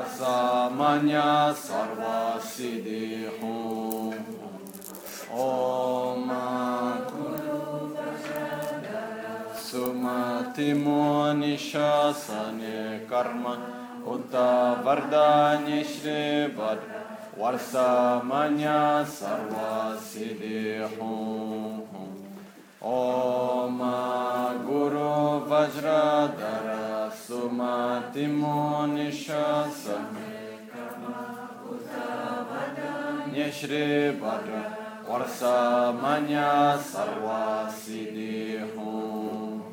Varsamanya Sarva Siddhi Hum. Om Sumati Nishasane Karma Uta Vardani Shri Vadra Varsamanya Sarva Siddhi Hum. Om Guru Vajradhara Sumati Nishasane Shri Vadra Varsamanya Sarva Siddhi Hum.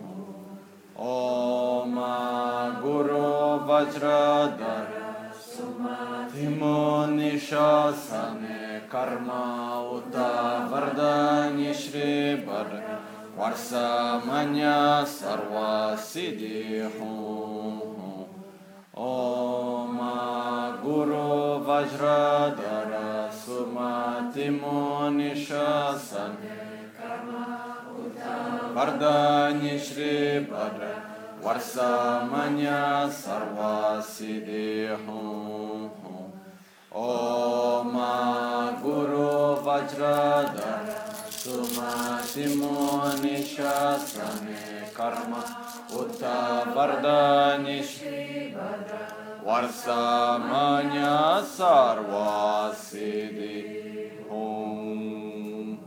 Om Guru Vajradhara Sumati Nishasane Karma Uta Vardani Shri Vadra Varsamanya Sarva Siddhi Hum. Om Guru Vajradhara Sumati Nishasane Vardani Shri Vadra Varsamanya Sarva Siddhi Hum. Om Guru Vajradhara Sumati Nishasane Karma Uta Vardani Shri Vadra Varsamanya Sarva Siddhi Hum.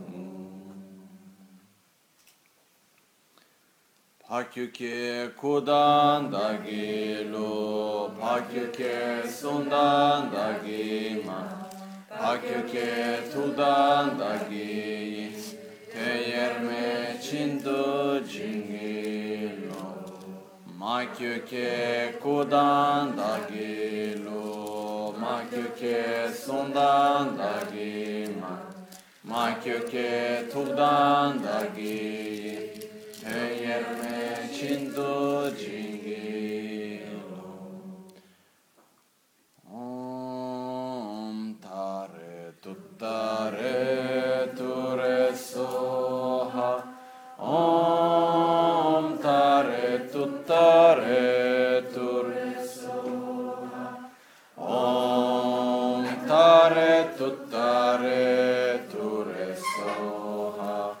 Pakyuke Kudan Dagilu Pakyuke Sundan Dagima Pakyuke Tudan Dagi Teyerme Chindu Jingilo Makyuke Kudan Dagilu Makyuke Sundan Dagima Makyuke Tudan Dagi Teyerme Chindu Jingilo Om Tare Tuttare Ture Soha Om Tare Tuttare Ture Soha Om Tare Tuttare Ture Soha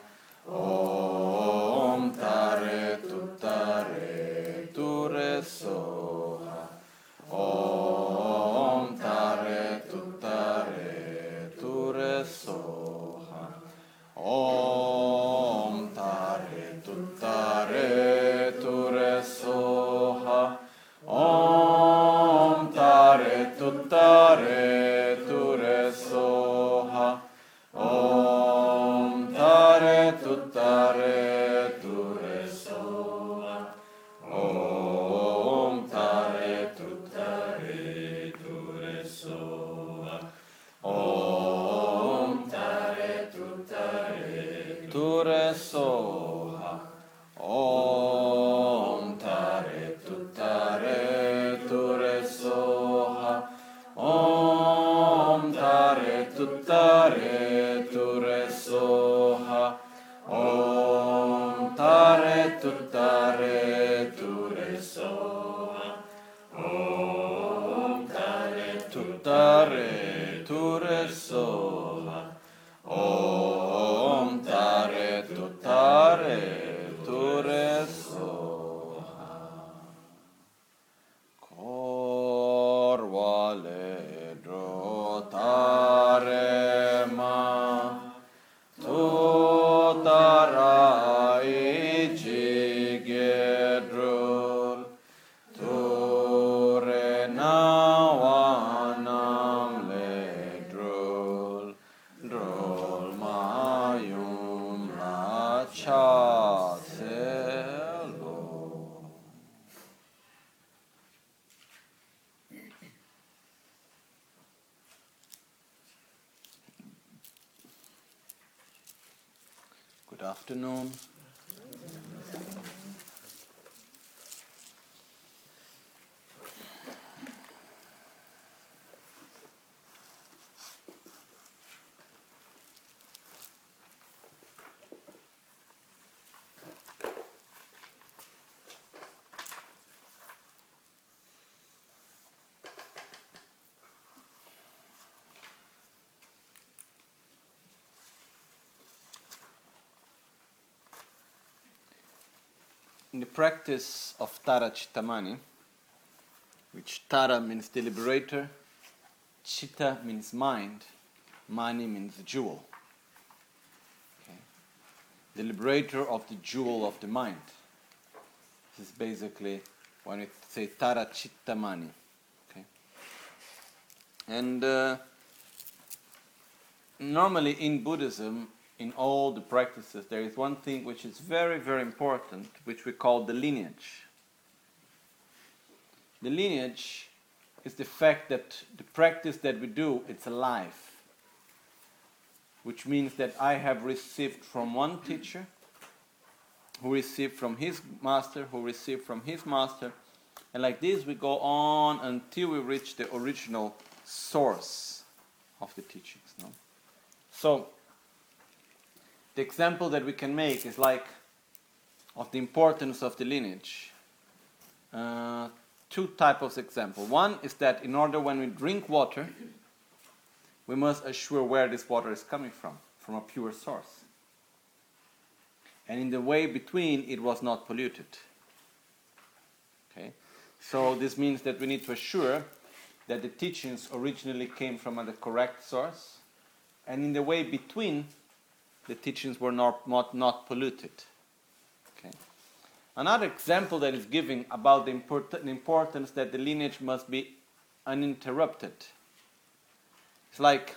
Om Tare Tuttare Ture Soha Om Tare Tuttare Ture Soha Om Tare Tuttare Ture Soha Om Tare Tuttare Ture Soha Om Tare Tuttare Ture Soha Om Tare Tuttare Ture Soha Om Tare Tuttare Ture Soha Om Tare Tuttare Ture Soha Om Tare Tuttare Ture Soha Om Tare Tuttare Ture Soha Om Tare Tuttare Ture Soha Om Tare Tuttare Ture Soha Korvale Drotare Ma Tutarai Jigedrul Ture Nawanam Ledrul Drul Mayum Rachaselo. Good afternoon. the practice of Tara Chittamani, which Tara means the liberator, Chitta means mind, Mani means jewel. Okay. The liberator of the jewel of the mind. This is basically when we say Tara Chittamani. Okay. And normally in Buddhism, in all the practices, there is one thing which is very, very important, which we call the lineage. The lineage is the fact that the practice that we do, it's alive. Which means that I have received from one teacher, who received from his master, who received from his master, and like this we go on until we reach the original source of the teachings. No? So, the example that we can make is like of the importance of the lineage. Two types of example. One is that in order when we drink water, we must assure where this water is coming from a pure source. And in the way between, it was not polluted. Okay? So this means that we need to assure that the teachings originally came from the correct source, and in the way between, the teachings were not polluted. Okay? Another example that is given about the importance that the lineage must be uninterrupted. It's like,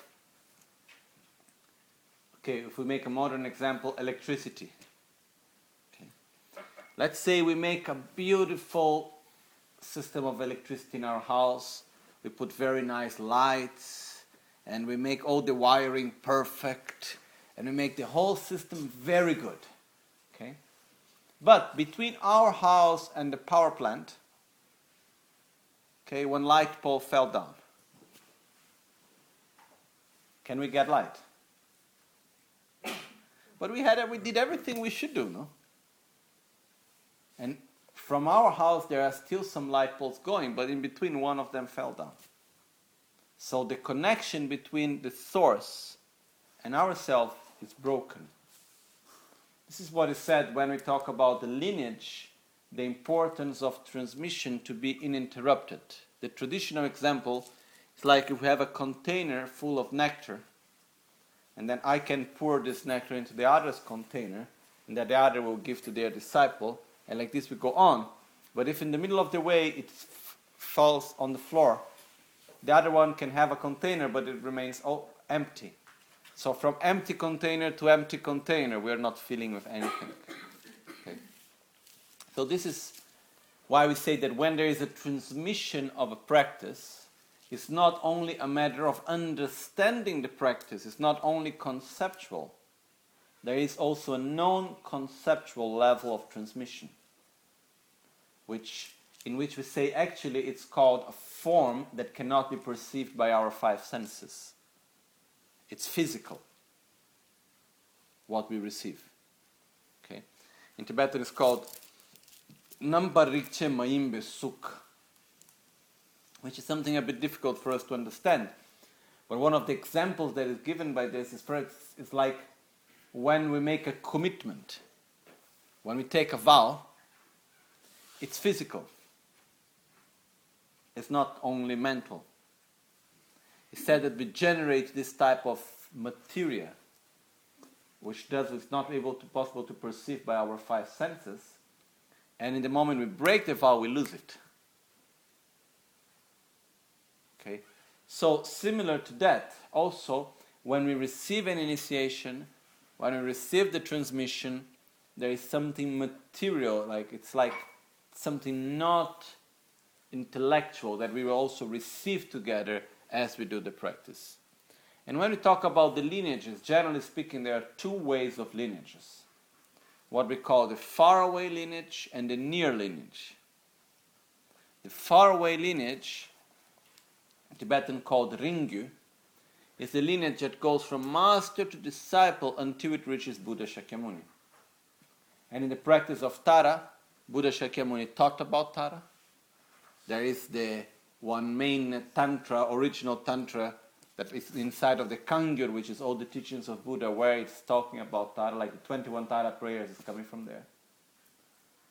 okay, if we make a modern example, electricity. Okay. Let's say we make a beautiful system of electricity in our house. We put very nice lights, and we make all the wiring perfect, and we make the whole system very good. Okay? But between our house and the power plant, okay, one light pole fell down. Can we get light? But we did everything we should do, no? And from our house there are still some light poles going, but in between one of them fell down. So the connection between the source and ourselves is broken. This is what is said when we talk about the lineage, the importance of transmission to be uninterrupted. The traditional example is like if we have a container full of nectar, and then I can pour this nectar into the other's container, and that the other will give to their disciple, and like this we go on. But if in the middle of the way it falls on the floor, the other one can have a container, but it remains all empty. So from empty container to empty container, we are not filling with anything. Okay. So this is why we say that when there is a transmission of a practice, it's not only a matter of understanding the practice, it's not only conceptual. There is also a non-conceptual level of transmission, in which we say actually it's called a form that cannot be perceived by our five senses. It's physical, what we receive. Okay? In Tibetan it's called Namparikche Maimbe Suk, which is something a bit difficult for us to understand. But one of the examples that is given by this is like when we make a commitment. When we take a vow, it's physical. It's not only mental. It's said that we generate this type of materia, which is not possible to perceive by our five senses, and in the moment we break the vow, we lose it. Okay? So similar to that, also, when we receive an initiation, when we receive the transmission, there is something material, it's like something not intellectual that we will also receive together as we do the practice. And when we talk about the lineages, generally speaking, there are two ways of lineages. What we call the faraway lineage and the near lineage. The faraway lineage, Tibetan called Ringyu, is the lineage that goes from master to disciple until it reaches Buddha Shakyamuni. And in the practice of Tara, Buddha Shakyamuni taught about Tara. There is the one main tantra, original tantra, that is inside of the Kangyur, which is all the teachings of Buddha, where it's talking about Tara, like the 21 Tara prayers is coming from there.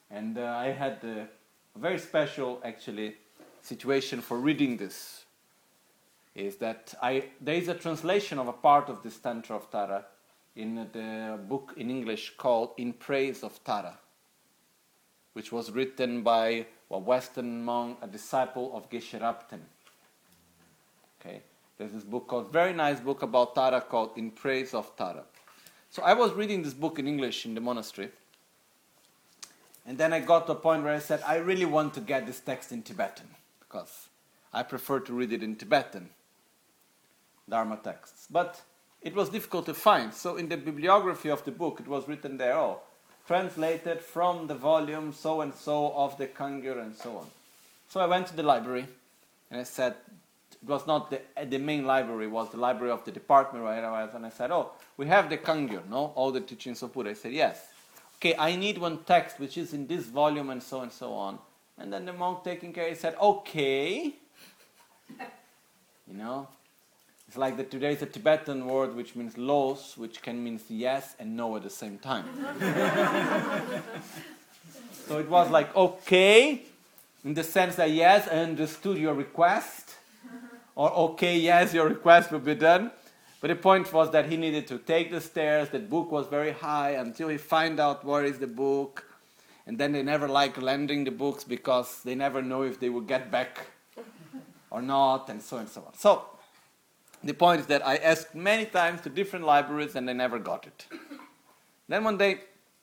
And I had a very special, actually, situation for reading this. Is that there is a translation of a part of this Tantra of Tara in the book in English called In Praise of Tara, which was written by a Western monk, a disciple of Geshe Rabten. Okay, there's this book called, very nice book about Tara called In Praise of Tara. So I was reading this book in English in the monastery, and then I got to a point where I said, I really want to get this text in Tibetan, because I prefer to read it in Tibetan, Dharma texts. But it was difficult to find, so in the bibliography of the book it was written there, translated from the volume so-and-so of the Kangyur and so on. So I went to the library, and I said, it was not the main library, it was the library of the department where I was, and I said, we have the Kangyur, no? All the teachings of Buddha. I said, yes. Okay, I need one text which is in this volume and so on. And then the monk taking care, he said, okay. It's like that today is a Tibetan word which means los, which can mean yes and no at the same time. So it was like, okay, in the sense that yes, I understood your request, or okay, yes, your request will be done. But the point was that he needed to take the stairs, the book was very high, until he find out where is the book. And then they never like lending the books because they never know if they will get back or not, and so on. So the point is that I asked many times to different libraries and they never got it. Then one day,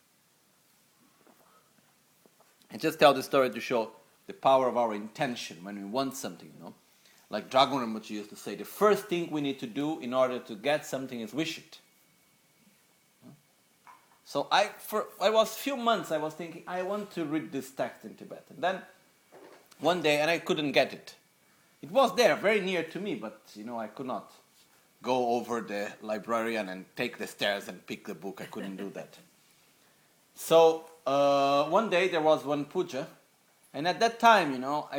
I just tell the story to show the power of our intention when we want something, Like Dragon Rinpoche used to say, the first thing we need to do in order to get something is wish it. So for a few months I was thinking, I want to read this text in Tibetan. Then one day, and I couldn't get it. It was there, very near to me, but I could not go over the librarian and take the stairs and pick the book. I couldn't do that. So one day there was one puja, and at that time,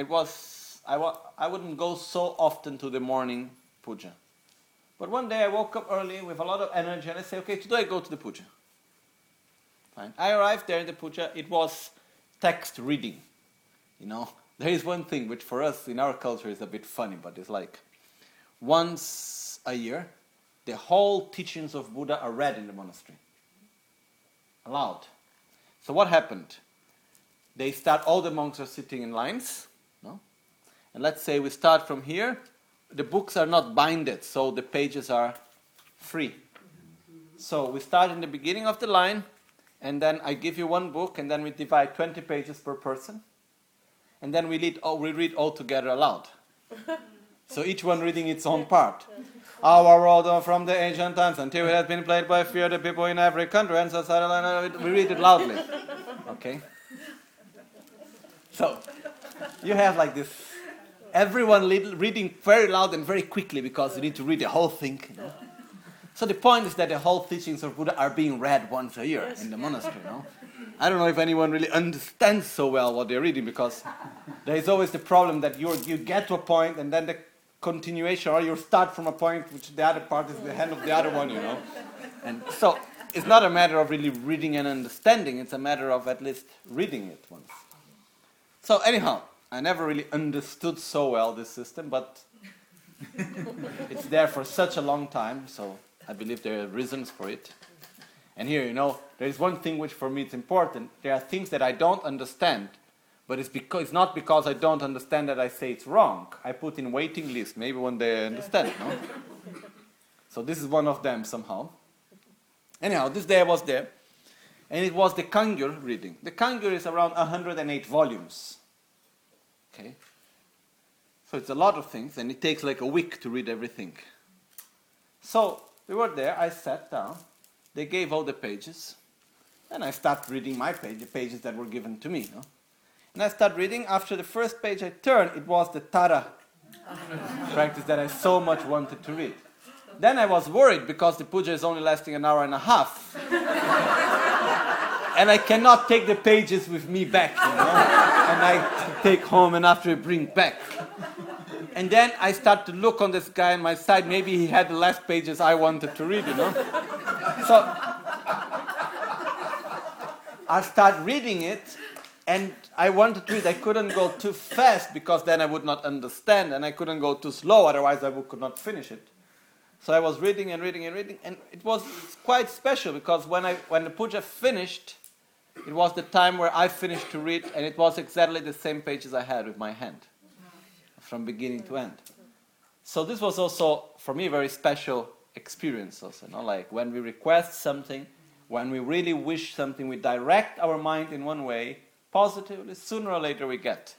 I wouldn't go so often to the morning puja. But one day I woke up early with a lot of energy and I said, okay, today I go to the puja. Fine. I arrived there in the puja. It was text reading. There is one thing which for us in our culture is a bit funny, but it's like once a year, the whole teachings of Buddha are read in the monastery. Aloud. So what happened? All the monks are sitting in lines, and let's say we start from here. The books are not binded, so the pages are free. So we start in the beginning of the line, and then I give you one book, and then we divide 20 pages per person, and then we read all together aloud. So each one reading its own part. Our road from the ancient times until it has been played by few the people in every country, and so we read it loudly. Okay? So you have like this, everyone reading very loud and very quickly because you need to read the whole thing. So the point is that the whole teachings of Buddha are being read once a year in the monastery. I don't know if anyone really understands so well what they're reading, because there is always the problem that you get to a point and then the continuation, or you start from a point which the other part is the hand of the other one, And so it's not a matter of really reading and understanding, it's a matter of at least reading it once. So anyhow, I never really understood so well this system, but it's there for such a long time, so I believe there are reasons for it. And here, there is one thing which for me is important. There are things that I don't understand, but it's not because I don't understand that I say it's wrong. I put in waiting list, maybe one day I understand, So this is one of them somehow. Anyhow, this day I was there, and it was the Kangyur reading. The Kangyur is around 108 volumes. Okay? So it's a lot of things, and it takes like a week to read everything. So we were there, I sat down, they gave all the pages, and I started reading my page, the pages that were given to me. And I started reading. After the first page I turned, it was the Tara practice that I so much wanted to read. Then I was worried because the puja is only lasting an hour and a half. And I cannot take the pages with me back, And I take home and after I bring back. And then I start to look on this guy on my side. Maybe he had the last pages I wanted to read, So I start reading it, And I wanted to read. I couldn't go too fast because then I would not understand, and I couldn't go too slow, otherwise could not finish it. So I was reading and reading and reading, and it was quite special because when the puja finished, it was the time where I finished to read, and it was exactly the same pages I had with my hand, from beginning to end. So this was also, for me, a very special experience also. Like when we request something, when we really wish something, we direct our mind in one way, positively, sooner or later we get.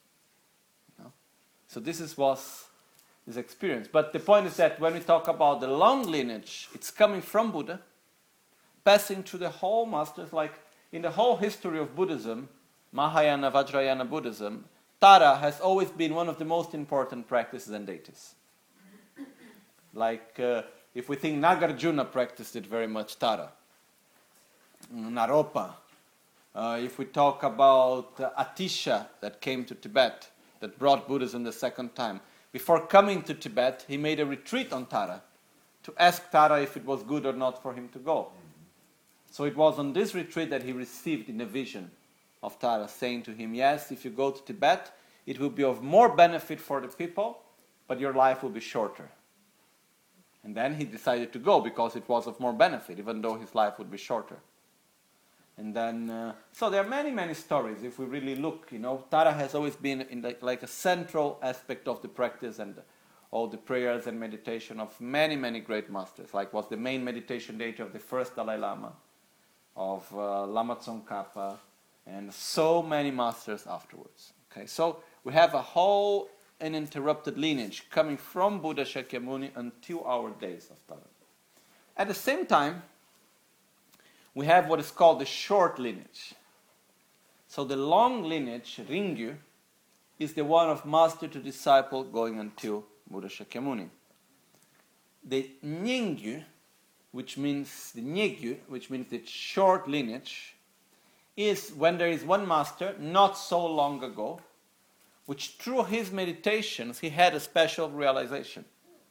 So this was this experience. But the point is that when we talk about the long lineage, it's coming from Buddha, passing through the whole masters, like in the whole history of Buddhism, Mahayana, Vajrayana Buddhism, Tara has always been one of the most important practices and deities. Like, if we think Nagarjuna practiced it very much, Tara. Naropa. If we talk about Atisha that came to Tibet, that brought Buddhism the second time. Before coming to Tibet, he made a retreat on Tara to ask Tara if it was good or not for him to go. So it was on this retreat that he received in a vision of Tara, saying to him, yes, if you go to Tibet, it will be of more benefit for the people, but your life will be shorter. And then he decided to go because it was of more benefit, even though his life would be shorter. And then, so there are many, many stories. If we really look, Tara has always been in like a central aspect of the practice and all the prayers and meditation of many, many great masters. Like was the main meditation deity of the first Dalai Lama, of Lama Tsongkhapa, and so many masters afterwards. Okay, so we have a whole uninterrupted lineage coming from Buddha Shakyamuni until our days of Tara. At the same time, we have what is called the short lineage. So the long lineage, Ringyu, is the one of master to disciple going until Buddha Shakyamuni. The Nyingyu, which means the short lineage, is when there is one master, not so long ago, which through his meditations he had a special realization.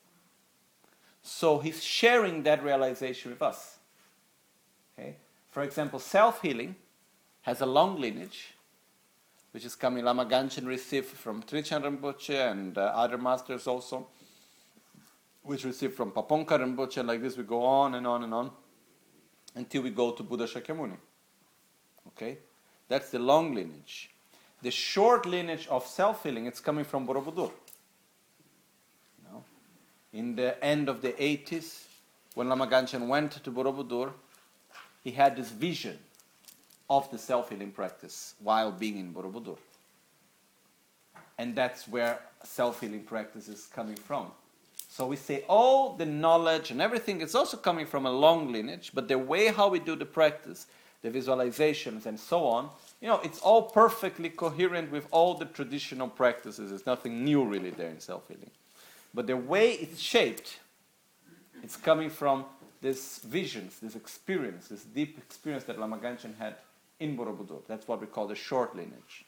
So he's sharing that realization with us. Okay. For example, self-healing has a long lineage, which is coming Lama Ganchen received from Trichan Rinpoche and other masters also, which received from Paponka Rinpoche, and like this we go on and on and on, until we go to Buddha Shakyamuni. Okay? That's the long lineage. The short lineage of self-healing, it's coming from Borobudur. In the end of the 80s, when Lama Ganchen went to Borobudur, he had this vision of the self-healing practice while being in Borobudur. And that's where self-healing practice is coming from. So we say all the knowledge and everything is also coming from a long lineage, but the way how we do the practice, the visualizations and so on, it's all perfectly coherent with all the traditional practices. There's nothing new really there in self-healing. But the way it's shaped, it's coming from these visions, this experience, this deep experience that Lama Ganchen had in Borobudur. That's what we call the short lineage.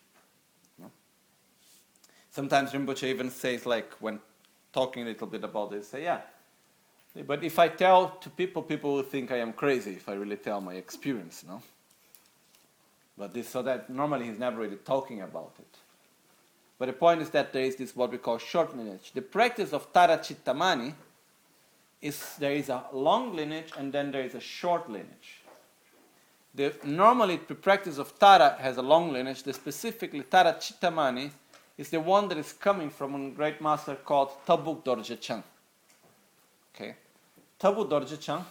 Sometimes Rinpoche even says, like, when talking a little bit about this, say, yeah, but if I tell to people, people will think I am crazy if I really tell my experience, But so that normally he's never really talking about it. But the point is that there is this what we call short lineage. The practice of Tara Chittamani there is a long lineage and then there is a short lineage. Normally the practice of Tara has a long lineage. Specifically Tara Chittamani is the one that is coming from a great master called Tabuk Dorje Chang. Okay, Tabuk Dorje Chang,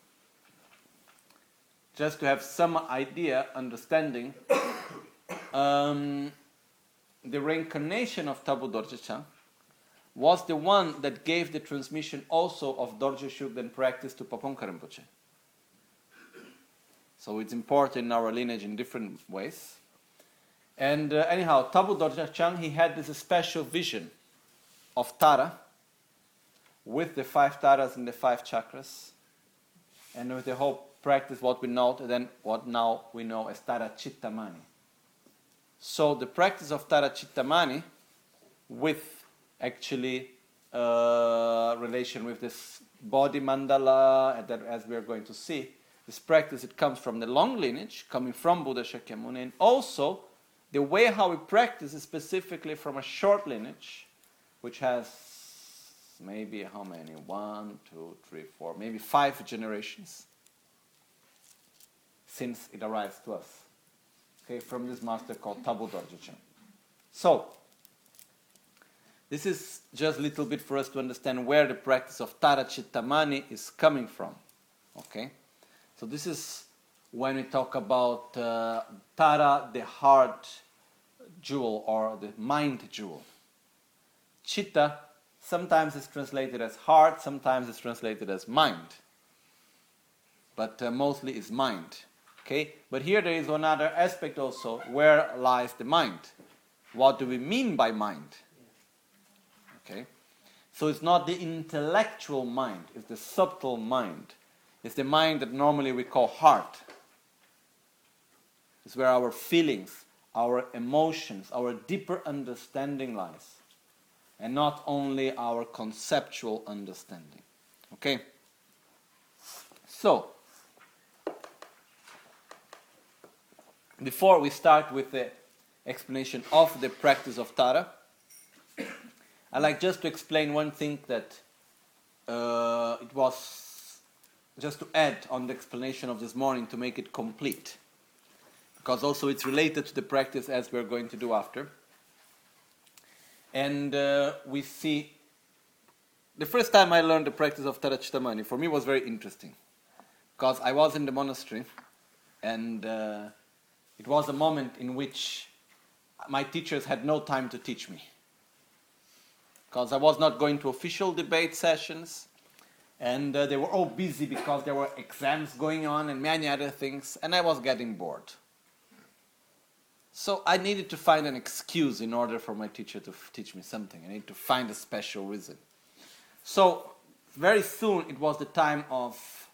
just to have some idea, understanding, the reincarnation of Tabuk Dorje Chang was the one that gave the transmission also of Dorje Shugden practice to Paponka Rinpoche. So it's important in our lineage in different ways. And anyhow, Tabuk Dorje Chang, he had this special vision of Tara with the 5 Taras and the 5 chakras, and with the whole practice, what we know, then what now we know as Tara Chittamani. So the practice of Tara Chittamani with actually relation with this body mandala, that as we are going to see, this practice, it comes from the long lineage, coming from Buddha Shakyamuni, and also the way how we practice is specifically from a short lineage, which has maybe how many? 1, 2, 3, 4, maybe 5 generations since it arrives to us. Okay, from this master called Tabu Dorje. So, this is just a little bit for us to understand where the practice of Tara Chitta Mani is coming from. Okay, so this is when we talk about Tara, the heart jewel or the mind jewel. Chitta sometimes is translated as heart, sometimes it's translated as mind, but mostly is mind. Okay, but here there is another aspect also. Where lies the mind? What do we mean by mind? Okay, so it's not the intellectual mind; it's the subtle mind. It's the mind that normally we call heart. It's where our feelings, our emotions, our deeper understanding lies, and not only our conceptual understanding. Okay? So, before we start with the explanation of the practice of Tara, I'd like just to explain one thing that it was just to add on the explanation of this morning to make it complete. Because also it's related to the practice as we're going to do after. And we see, the first time I learned the practice of Tara Chitta Mani, for me was very interesting. Because I was in the monastery, and it was a moment in which my teachers had no time to teach me. Because I was not going to official debate sessions, and they were all busy because there were exams going on and many other things, and I was getting bored. So I needed to find an excuse in order for my teacher to teach me something. I needed to find a special reason. So very soon it was the time of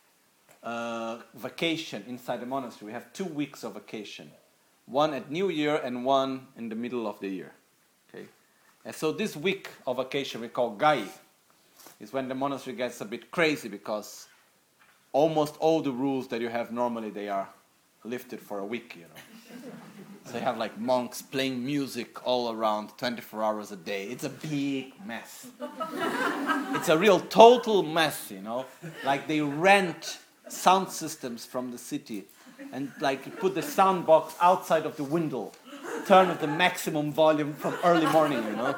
vacation inside the monastery. We have 2 weeks of vacation. One at New Year and one in the middle of the year. Okay? And so this week of vacation we call Gai. Is when the monastery gets a bit crazy because almost all the rules that you have normally, they are lifted for a week, you know. So you have like monks playing music all around 24 hours a day. It's a big mess. It's a real total mess, you know. Like they rent sound systems from the city and like you put the sound box outside of the window, turn up the maximum volume from early morning, you know.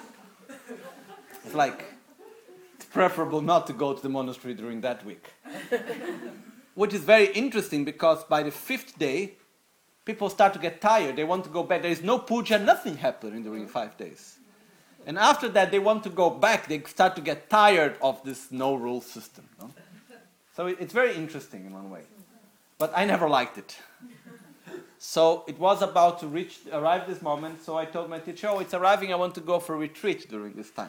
It's like, it's preferable not to go to the monastery during that week. Which is very interesting because by the 5th day, people start to get tired. They want to go back. There is no puja, nothing happening during 5 days. And after that, they want to go back. They start to get tired of this no-rule system. No? So it's very interesting in one way. But I never liked it. So it was about to arrive this moment. So I told my teacher, oh, it's arriving. I want to go for a retreat during this time.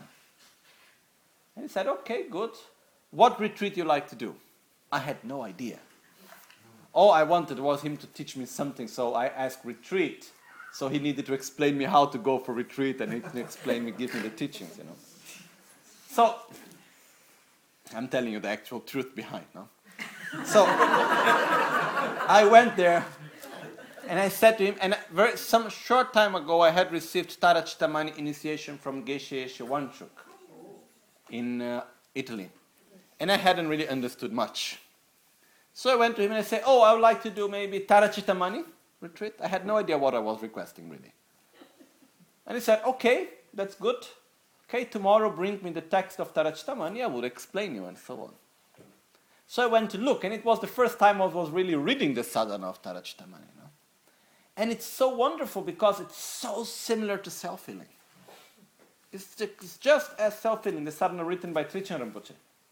And he said, okay, good. What retreat you like to do? I had no idea. All I wanted was him to teach me something, so I asked retreat. So he needed to explain me how to go for retreat, and he can explain me, give me the teachings, you know. So, I'm telling you the actual truth behind, no? So, I went there, and I said to him, and some short time ago I had received Tara Chitta Mani initiation from Geshe Yeshe Wanchuk in Italy. And I hadn't really understood much. So I went to him and I said, oh, I would like to do maybe Tara Chitta Mani retreat. I had no idea what I was requesting, really. And he said, okay, that's good. Okay, tomorrow bring me the text of Tara Chitta Mani. I will explain you and so on. So I went to look, and it was the first time I was really reading the sadhana of Tara Chitta Mani. You know? And it's so wonderful because it's so similar to self-healing. It's just as self-healing, the sadhana written by Trichan Rinpoche.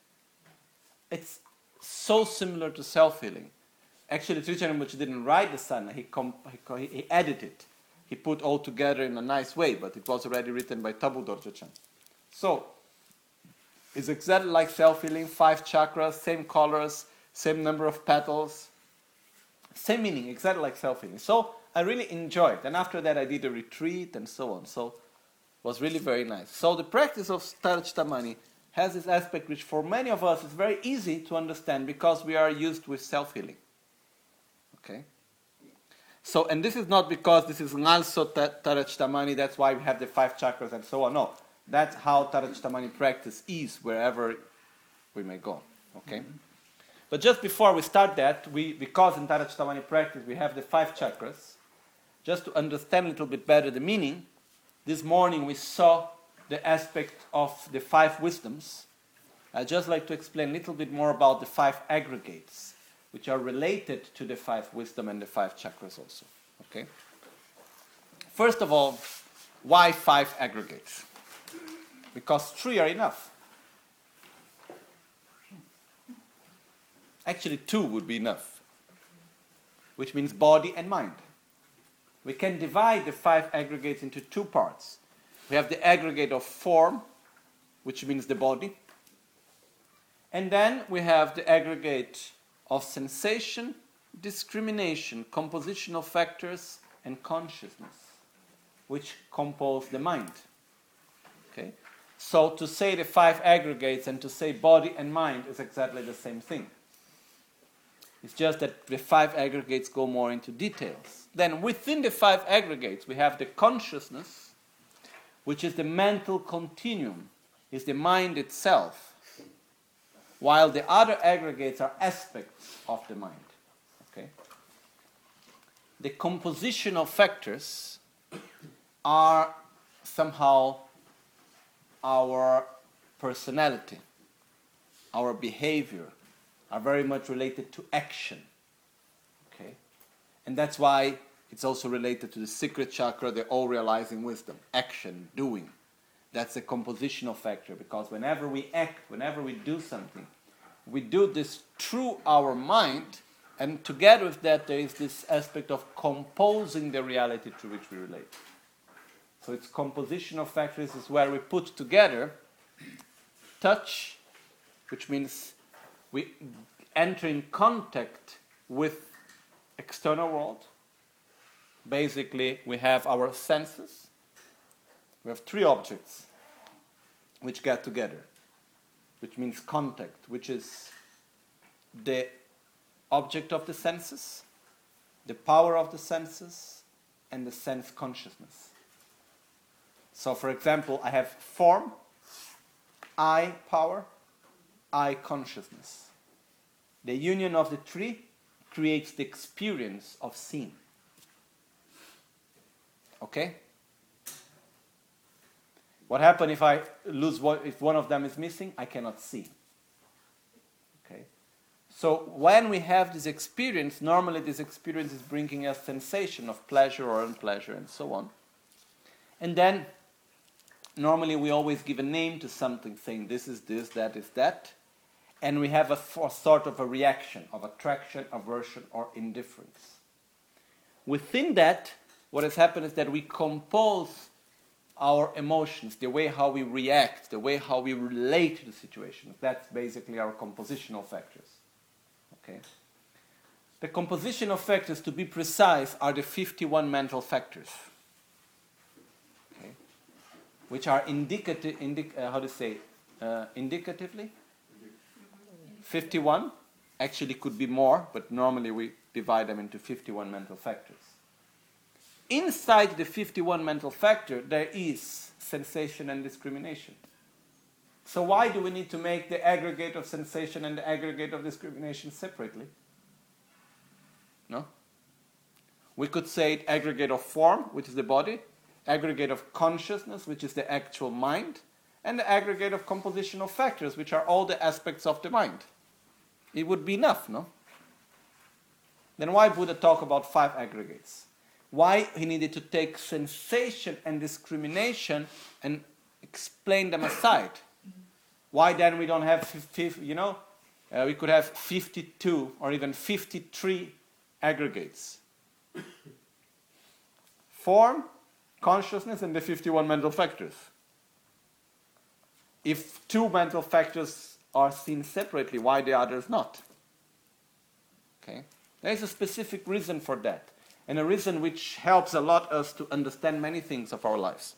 It's so similar to self-healing. Actually, Trichan Rinpoche didn't write the sadhana, he edited it. He put all together in a nice way, but it was already written by Tabu Dorje. So, it's exactly like self-healing, 5 chakras, same colors, same number of petals, same meaning, exactly like self-healing. So, I really enjoyed it. And after that, I did a retreat and so on. So, it was really very nice. So, the practice of Tara Chitta Mani has this aspect which for many of us is very easy to understand because we are used with self-healing. Okay? So, and this is not because this is also Tarajtamani, that's why we have the 5 chakras and so on. No, that's how Tarajtamani practice is wherever we may go. Okay? But just before we start that, because in Tarajtamani practice we have the 5 chakras, just to understand a little bit better the meaning, this morning we saw the aspect of the 5 wisdoms. I'd just like to explain a little bit more about the 5 aggregates, which are related to the 5 wisdom and the 5 chakras also. Okay? First of all, why 5 aggregates? Because 3 are enough. Actually, 2 would be enough, which means body and mind. We can divide the 5 aggregates into 2 parts. We have the aggregate of form, which means the body. And then we have the aggregate of sensation, discrimination, composition of factors, and consciousness, which compose the mind. Okay? So to say the 5 aggregates and to say body and mind is exactly the same thing. It's just that the 5 aggregates go more into details. Then within the 5 aggregates we have the consciousness, which is the mental continuum, is the mind itself, while the other aggregates are aspects of the mind. Okay? The composition of factors are somehow our personality, our behavior, are very much related to action. Okay? And that's why it's also related to the secret chakra, the all-realizing wisdom. Action, doing. That's the composition of factor, because whenever we act, whenever we do something, we do this through our mind, and together with that there is this aspect of composing the reality to which we relate. So it's composition of factors is where we put together touch, which means we enter in contact with external world. Basically, we have our senses. We have 3 objects which get together, which means contact, which is the object of the senses, the power of the senses, and the sense consciousness. So, for example, I have form, eye power, eye consciousness. The union of the 3 creates the experience of seeing. Okay? What happens if I lose if one of them is missing? I cannot see. Okay? So when we have this experience, normally this experience is bringing us sensation of pleasure or unpleasure and so on. And then normally we always give a name to something, saying this is this, that is that. And we have a sort of a reaction of attraction, aversion, or indifference. Within that, what has happened is that we compose our emotions, the way how we react, the way how we relate to the situation. That's basically our compositional factors. Okay? The compositional factors, to be precise, are the 51 mental factors. Okay? Which are indicatively 51. Actually could be more, but normally we divide them into 51 mental factors. Inside the 51 mental factor, there is sensation and discrimination. So why do we need to make the aggregate of sensation and the aggregate of discrimination separately? No? We could say aggregate of form, which is the body, aggregate of consciousness, which is the actual mind, and the aggregate of compositional factors, which are all the aspects of the mind. It would be enough, no? Then why Buddha talk about 5 aggregates? Why he needed to take sensation and discrimination and explain them aside? Why then we don't have, we could have 52 or even 53 aggregates. Form, consciousness, and the 51 mental factors. If 2 mental factors are seen separately, why the others not? Okay? There is a specific reason for that. And a reason which helps a lot us to understand many things of our lives.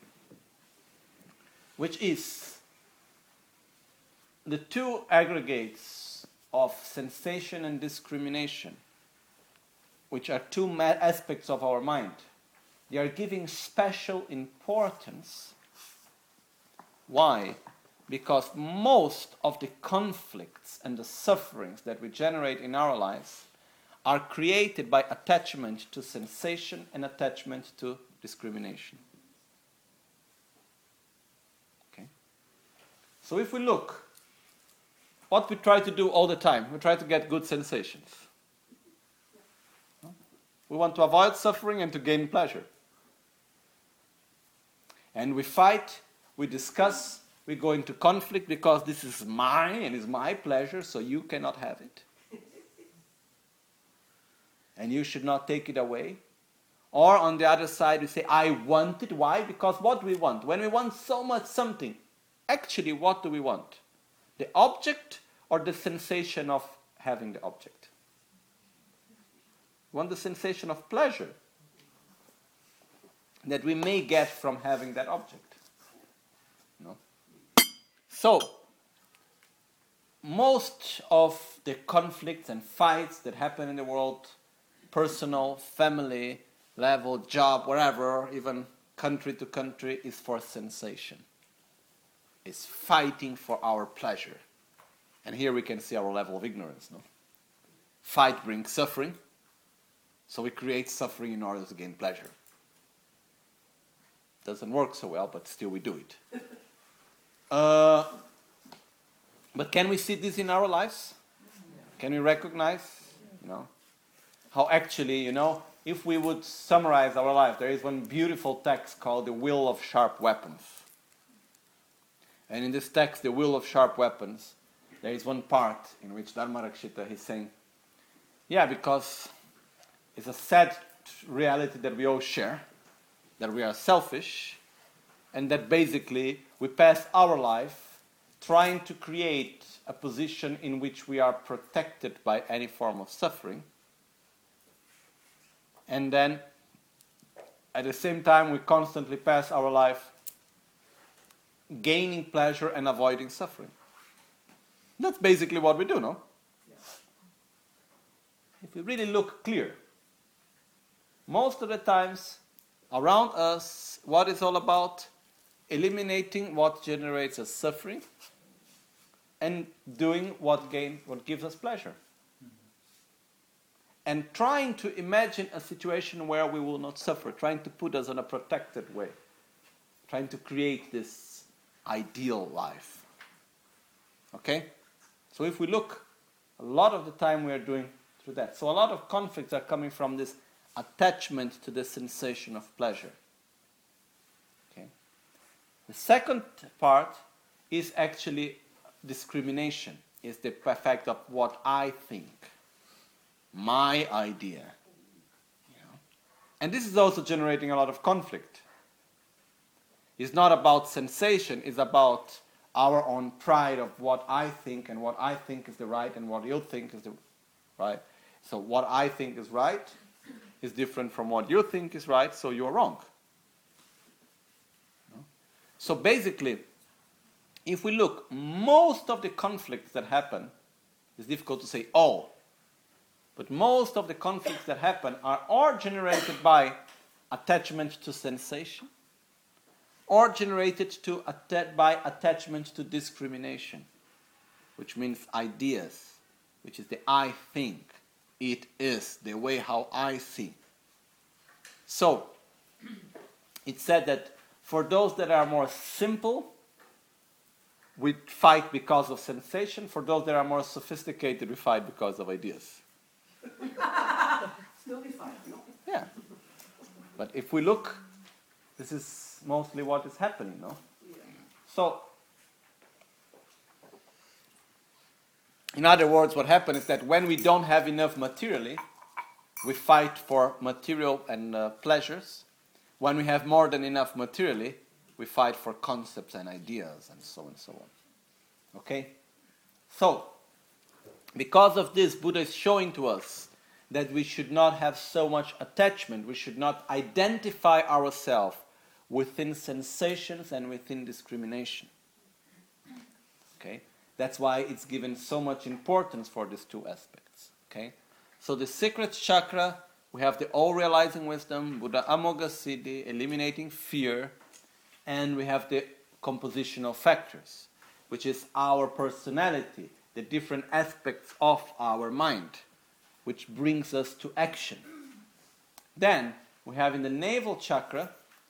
Which is the 2 aggregates of sensation and discrimination which are two aspects of our mind, they are giving special importance. Why? Because most of the conflicts and the sufferings that we generate in our lives are created by attachment to sensation and attachment to discrimination. Okay? So if we look, what we try to do all the time, we try to get good sensations. We want to avoid suffering and to gain pleasure. And we fight, we discuss, we go into conflict because this is mine and is my pleasure, so you cannot have it. And you should not take it away. Or on the other side, we say, I want it. Why? Because what do we want? When we want so much something, actually what do we want? The object or the sensation of having the object? We want the sensation of pleasure that we may get from having that object. No? So, most of the conflicts and fights that happen in the world, personal, family, level, job, wherever, even country to country, is for sensation. It's fighting for our pleasure. And here we can see our level of ignorance. No? Fight brings suffering, so we create suffering in order to gain pleasure. Doesn't work so well, but still we do it. But can we see this in our lives? Can we recognize, how actually, if we would summarize our life, there is one beautiful text called The Will of Sharp Weapons. And in this text, The Will of Sharp Weapons, there is one part in which Dharmarakshita is saying, because it's a sad reality that we all share, that we are selfish, and that basically we pass our life trying to create a position in which we are protected by any form of suffering. And then, at the same time, we constantly pass our life gaining pleasure and avoiding suffering. That's basically what we do, no? Yes. If we really look clear, most of the times around us, what is all about? Eliminating what generates us suffering and doing what gives us pleasure. And trying to imagine a situation where we will not suffer, trying to put us in a protected way, trying to create this ideal life. Okay? So if we look, a lot of the time we are doing through that. So a lot of conflicts are coming from this attachment to the sensation of pleasure. Okay? The second part is actually discrimination, is the effect of what I think. My idea. And this is also generating a lot of conflict. It's not about sensation, it's about our own pride of what I think and what I think is the right and what you think is the right. So what I think is right is different from what you think is right, so you're wrong. So basically, if we look, most of the conflicts that happen, it's difficult to say all, but most of the conflicts that happen are or generated by attachment to sensation, or generated by attachment to discrimination, which means ideas, which is the I think, it is, the way how I see. So, it's said that for those that are more simple, we fight because of sensation. For those that are more sophisticated, we fight because of ideas. Still be fine, no? Yeah. But if we look, this is mostly what is happening, no? Yeah. So, in other words, what happens is that when we don't have enough materially, we fight for material and pleasures. When we have more than enough materially, we fight for concepts and ideas and so on. Okay? So, because of this, Buddha is showing to us that we should not have so much attachment. We should not identify ourselves within sensations and within discrimination. Okay? That's why it's given so much importance for these two aspects. Okay? So the secret chakra we have the all-realizing wisdom, Buddha Amoghasiddhi, eliminating fear, and we have the compositional factors, which is our personality, the different aspects of our mind, which brings us to action. Then we have in the navel chakra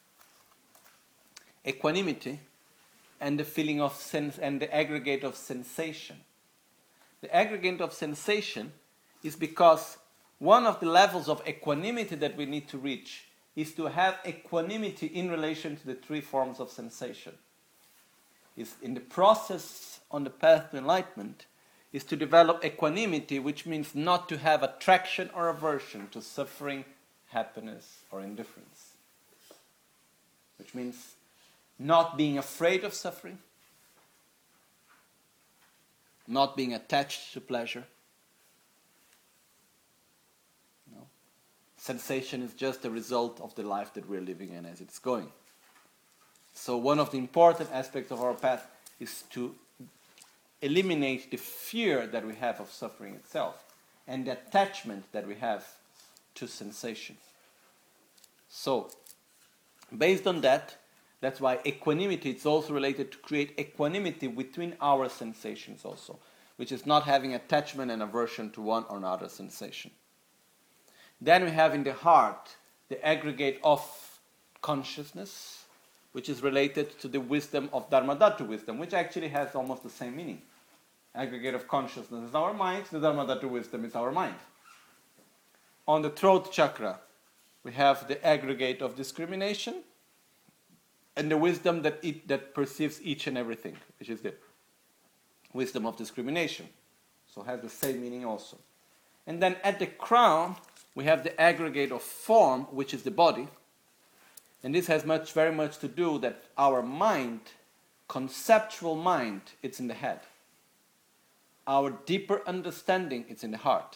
equanimity and the feeling of sense and the aggregate of sensation. The aggregate of sensation is because one of the levels of equanimity that we need to reach is to have equanimity in relation to the three forms of sensation. Is in the process on the path to enlightenment is to develop equanimity, which means not to have attraction or aversion to suffering, happiness, or indifference. Which means not being afraid of suffering, not being attached to pleasure. No. Sensation is just a result of the life that we're living in as it's going. So one of the important aspects of our path is to eliminate the fear that we have of suffering itself and the attachment that we have to sensation. So, based on that, that's why equanimity is also related to create equanimity between our sensations also, which is not having attachment and aversion to one or another sensation. Then we have in the heart the aggregate of consciousness, which is related to the wisdom of Dharmadhatu wisdom, which actually has almost the same meaning. Aggregate of consciousness is our mind, the Dharmadhatu wisdom is our mind. On the throat chakra, we have the aggregate of discrimination and the wisdom that perceives each and everything, which is the wisdom of discrimination. So it has the same meaning also. And then at the crown, we have the aggregate of form, which is the body. And this has very much to do that our mind, conceptual mind, it's in the head. Our deeper understanding, it's in the heart.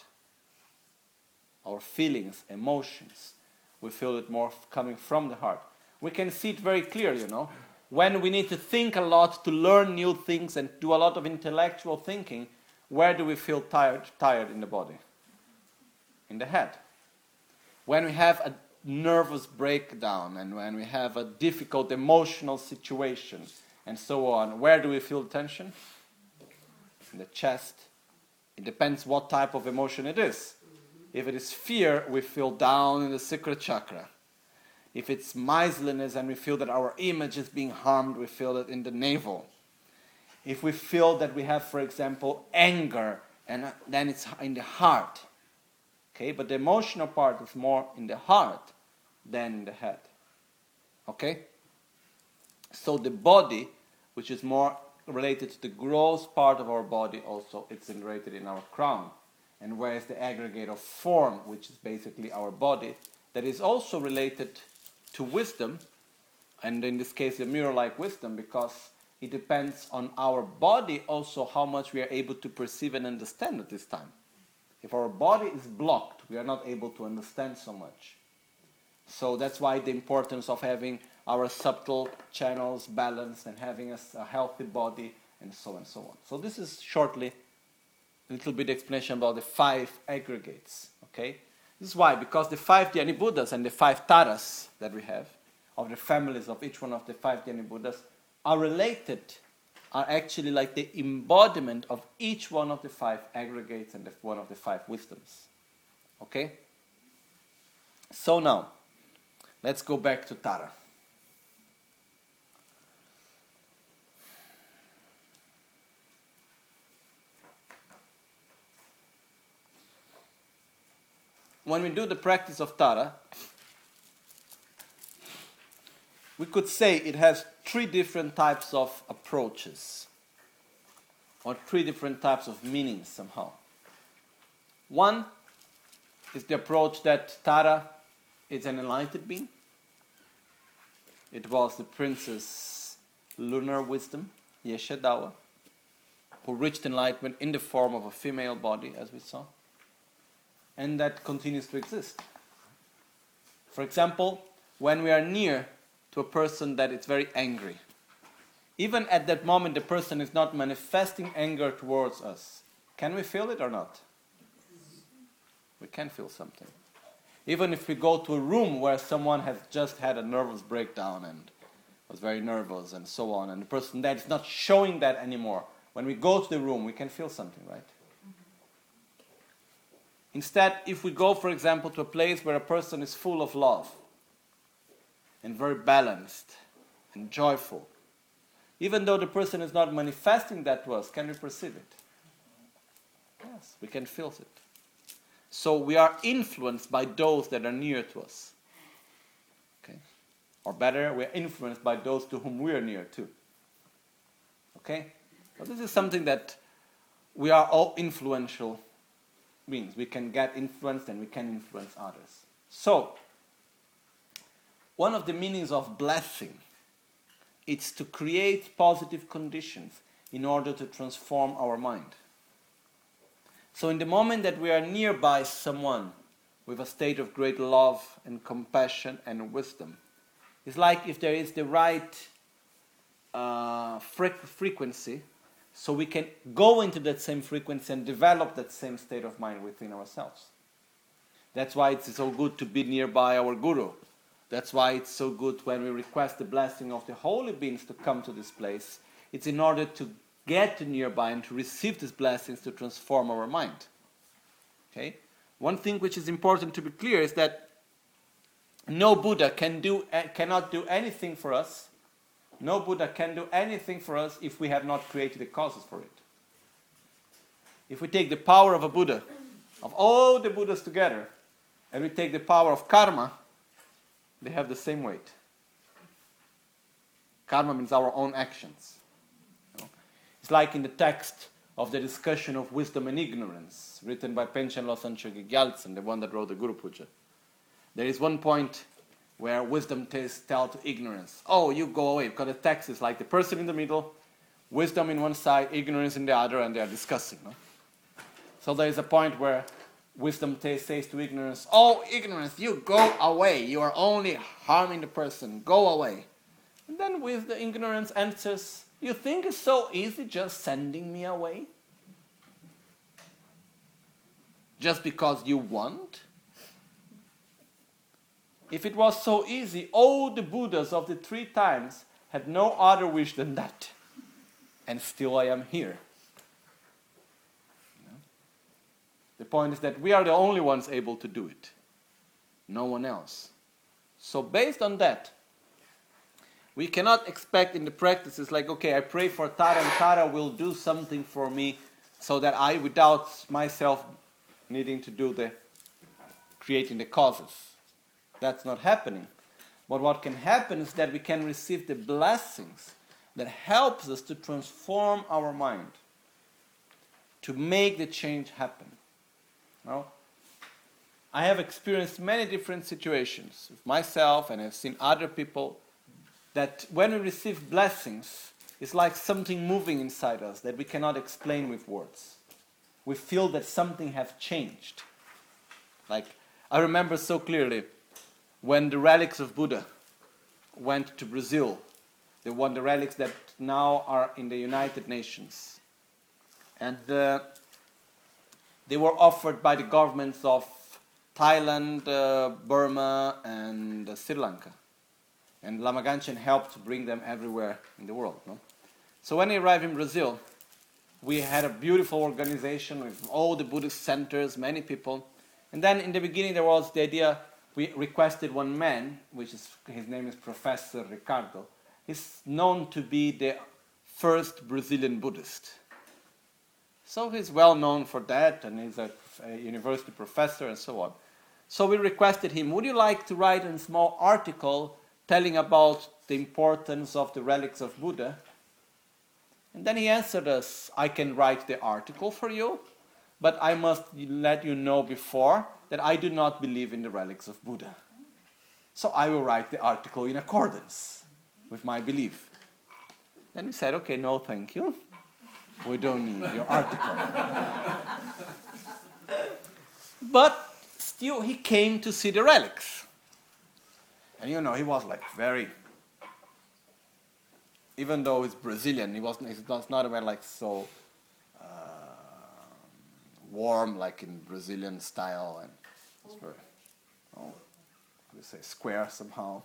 Our feelings, emotions, we feel it more coming from the heart. We can see it very clearly, When we need to think a lot to learn new things and do a lot of intellectual thinking, where do we feel tired in the body? In the head. When we have a nervous breakdown and when we have a difficult emotional situation and so on, where do we feel tension? In the chest. It depends what type of emotion it is. If it is fear, we feel down in the sacral chakra. If it's miserliness and we feel that our image is being harmed, we feel it in the navel. If we feel that we have, for example, anger, and then it's in the heart. Okay, but the emotional part is more in the heart than in the head. Okay? So the body, which is more related to the gross part of our body also, it's integrated in our crown. And whereas the aggregate of form, which is basically our body, that is also related to wisdom, and in this case the mirror-like wisdom, because it depends on our body also how much we are able to perceive and understand at this time. If our body is blocked, we are not able to understand so much. So that's why the importance of having our subtle channels balanced and having a healthy body and so on and so on. So this is shortly a little bit explanation about the 5 aggregates. Okay? This is why, because the 5 Dhyani Buddhas and the 5 Taras that we have, of the families of each one of the 5 Dhyani Buddhas, are related, are actually like the embodiment of each one of the 5 aggregates and one of the 5 wisdoms. Okay? So now, let's go back to Tara. When we do the practice of Tara, we could say it has 3 different types of approaches, or 3 different types of meanings somehow. One is the approach that Tara is an enlightened being. It was the princess lunar wisdom, Yeshadawa, who reached enlightenment in the form of a female body, as we saw. And that continues to exist. For example, when we are near to a person that is very angry, even at that moment the person is not manifesting anger towards us, can we feel it or not? We can feel something. Even if we go to a room where someone has just had a nervous breakdown and was very nervous and so on, and the person there is not showing that anymore, when we go to the room, we can feel something, right? Instead, if we go, for example, to a place where a person is full of love and very balanced and joyful, even though the person is not manifesting that to us, can we perceive it? Yes, we can feel it. So we are influenced by those that are near to us. Okay? Or better, we are influenced by those to whom we are near to. Okay? So this is something that we are all influential beings. We can get influenced and we can influence others. So, one of the meanings of blessing is to create positive conditions in order to transform our mind. So in the moment that we are nearby someone with a state of great love and compassion and wisdom, it's like if there is the right frequency, so we can go into that same frequency and develop that same state of mind within ourselves. That's why it's so good to be nearby our Guru. That's why it's so good when we request the blessing of the holy beings to come to this place. It's in order to get to nearby and to receive these blessings to transform our mind. Okay? One thing which is important to be clear is that no Buddha cannot do anything for us. No Buddha can do anything for us if we have not created the causes for it. If we take the power of a Buddha, of all the Buddhas together, and we take the power of karma, they have the same weight. Karma means our own actions. It's like in the text of the discussion of wisdom and ignorance, written by Panchen Losang Chogi Gyaltsen, the one that wrote the Guru Puja. There is one point where wisdom tells to ignorance, oh, you go away, because the text is like the person in the middle, wisdom in one side, ignorance in the other, and they are discussing. No? So there is a point where wisdom says to ignorance, oh, ignorance, you go away, you are only harming the person, go away. And then with the ignorance answers, you think it's so easy just sending me away? Just because you want? If it was so easy, all the Buddhas of the 3 times had no other wish than that. And still I am here. The point is that we are the only ones able to do it. No one else. So based on that, we cannot expect in the practices like, okay, I pray for Tara and Tara will do something for me so that I, without myself needing to do the creating the causes. That's not happening. But what can happen is that we can receive the blessings that helps us to transform our mind, to make the change happen. Now, I have experienced many different situations with myself, and I've seen other people, that when we receive blessings, it's like something moving inside us that we cannot explain with words. We feel that something has changed. Like, I remember so clearly when the relics of Buddha went to Brazil, the relics that now are in the United Nations. And they were offered by the governments of Thailand, Burma, and Sri Lanka. And Lama Ganchen helped to bring them everywhere in the world. No? So when I arrived in Brazil, we had a beautiful organization with all the Buddhist centers, many people. And then in the beginning there was the idea, we requested one man, his name is Professor Ricardo. He's known to be the first Brazilian Buddhist. So he's well known for that, and he's a university professor and so on. So we requested him, would you like to write a small article telling about the importance of the relics of Buddha? And then he answered us, I can write the article for you, but I must let you know before that I do not believe in the relics of Buddha. So I will write the article in accordance with my belief. Then we said, okay, no, thank you. We don't need your article. But still, he came to see the relics. And he was like very, even though he's Brazilian, he's not even like so warm like in Brazilian style. And it's very, we say square somehow,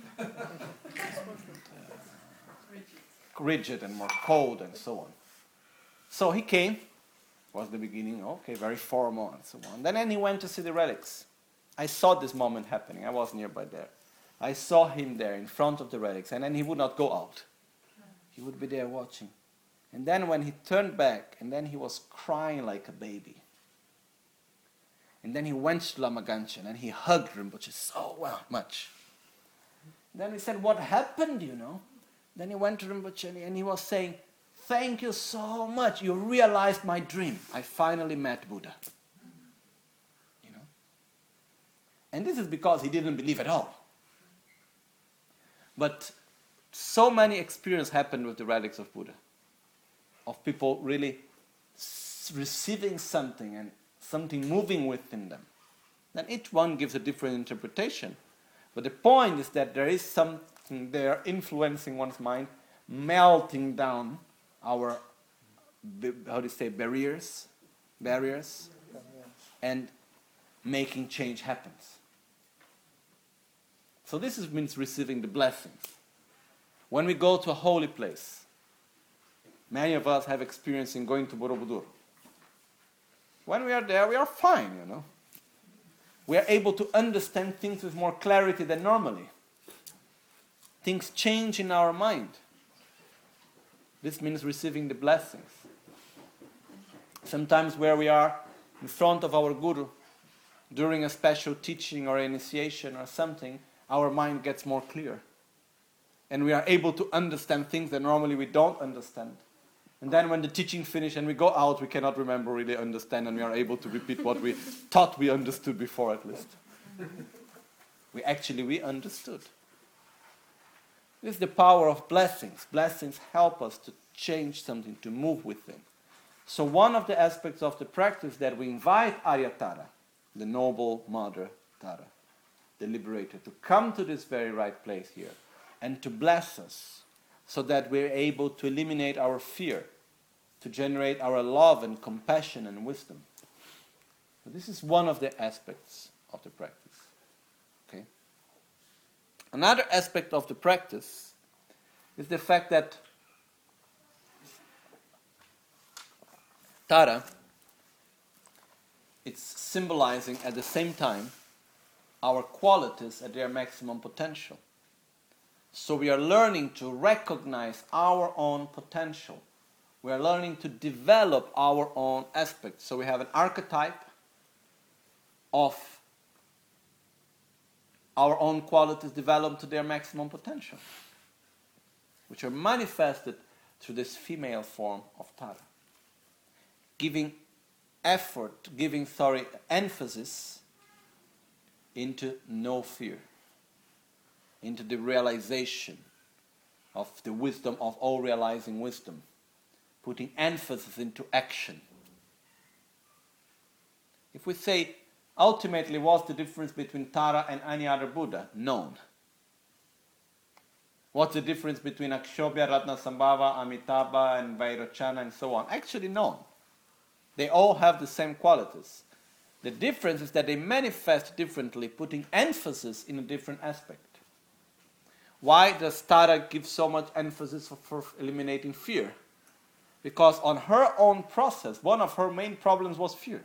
rigid and more cold and so on. So he came, was the beginning, okay, very formal and so on. Then he went to see the relics. I saw this moment happening. I was nearby there. I saw him there in front of the relics, and then he would not go out. He would be there watching. And then when he turned back, and then he was crying like a baby. And then he went to Lama Ganchen and he hugged Rinpoche so much. Then he said, what happened, Then he went to Rinpoche and he was saying, thank you so much. You realized my dream. I finally met Buddha. And this is because he didn't believe at all. But so many experiences happened with the relics of Buddha. Of people really receiving something and something moving within them. Then each one gives a different interpretation. But the point is that there is something there influencing one's mind, melting down our, barriers, and making change happens. So this means receiving the blessings. When we go to a holy place, many of us have experience in going to Borobudur. When we are there, we are fine, We are able to understand things with more clarity than normally. Things change in our mind. This means receiving the blessings. Sometimes where we are in front of our Guru, during a special teaching or initiation or something, our mind gets more clear. And we are able to understand things that normally we don't understand. And then when the teaching finishes and we go out, we cannot remember, really understand, and we are able to repeat what we thought we understood before at least. We understood. This is the power of blessings. Blessings help us to change something, to move within. So one of the aspects of the practice that we invite Arya Tara, the noble mother Tara, the liberator, to come to this very right place here and to bless us so that we're able to eliminate our fear, to generate our love and compassion and wisdom. So this is one of the aspects of the practice. Okay? Another aspect of the practice is the fact that Tara, it's symbolizing at the same time our qualities at their maximum potential. So we are learning to recognize our own potential. We are learning to develop our own aspects. So we have an archetype of our own qualities developed to their maximum potential, which are manifested through this female form of Tara. Giving emphasis into no fear, into the realization of the wisdom of all realizing wisdom, putting emphasis into action. If we say, ultimately, what's the difference between Tara and any other Buddha? Known. What's the difference between Akshobhya, Ratnasambhava, Amitabha, and Vairocana, and so on? Actually known. They all have the same qualities. The difference is that they manifest differently, putting emphasis in a different aspect. Why does Tara give so much emphasis for eliminating fear? Because on her own process, one of her main problems was fear.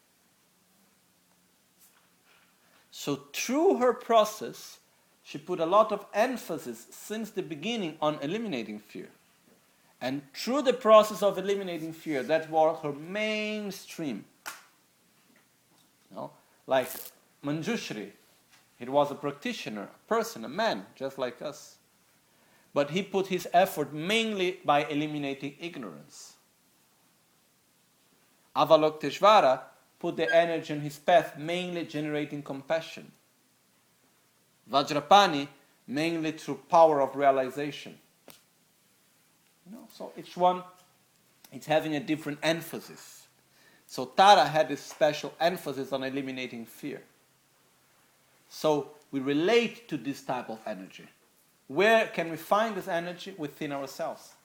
So through her process, she put a lot of emphasis since the beginning on eliminating fear. And through the process of eliminating fear, that was her mainstream. Like Manjushri, he was a practitioner, a person, a man, just like us. But he put his effort mainly by eliminating ignorance. Avalokiteshvara put the energy on his path mainly generating compassion. Vajrapani mainly through power of realization. So each one is having a different emphasis. So Tara had this special emphasis on eliminating fear. So we relate to this type of energy. Where can we find this energy? Within ourselves.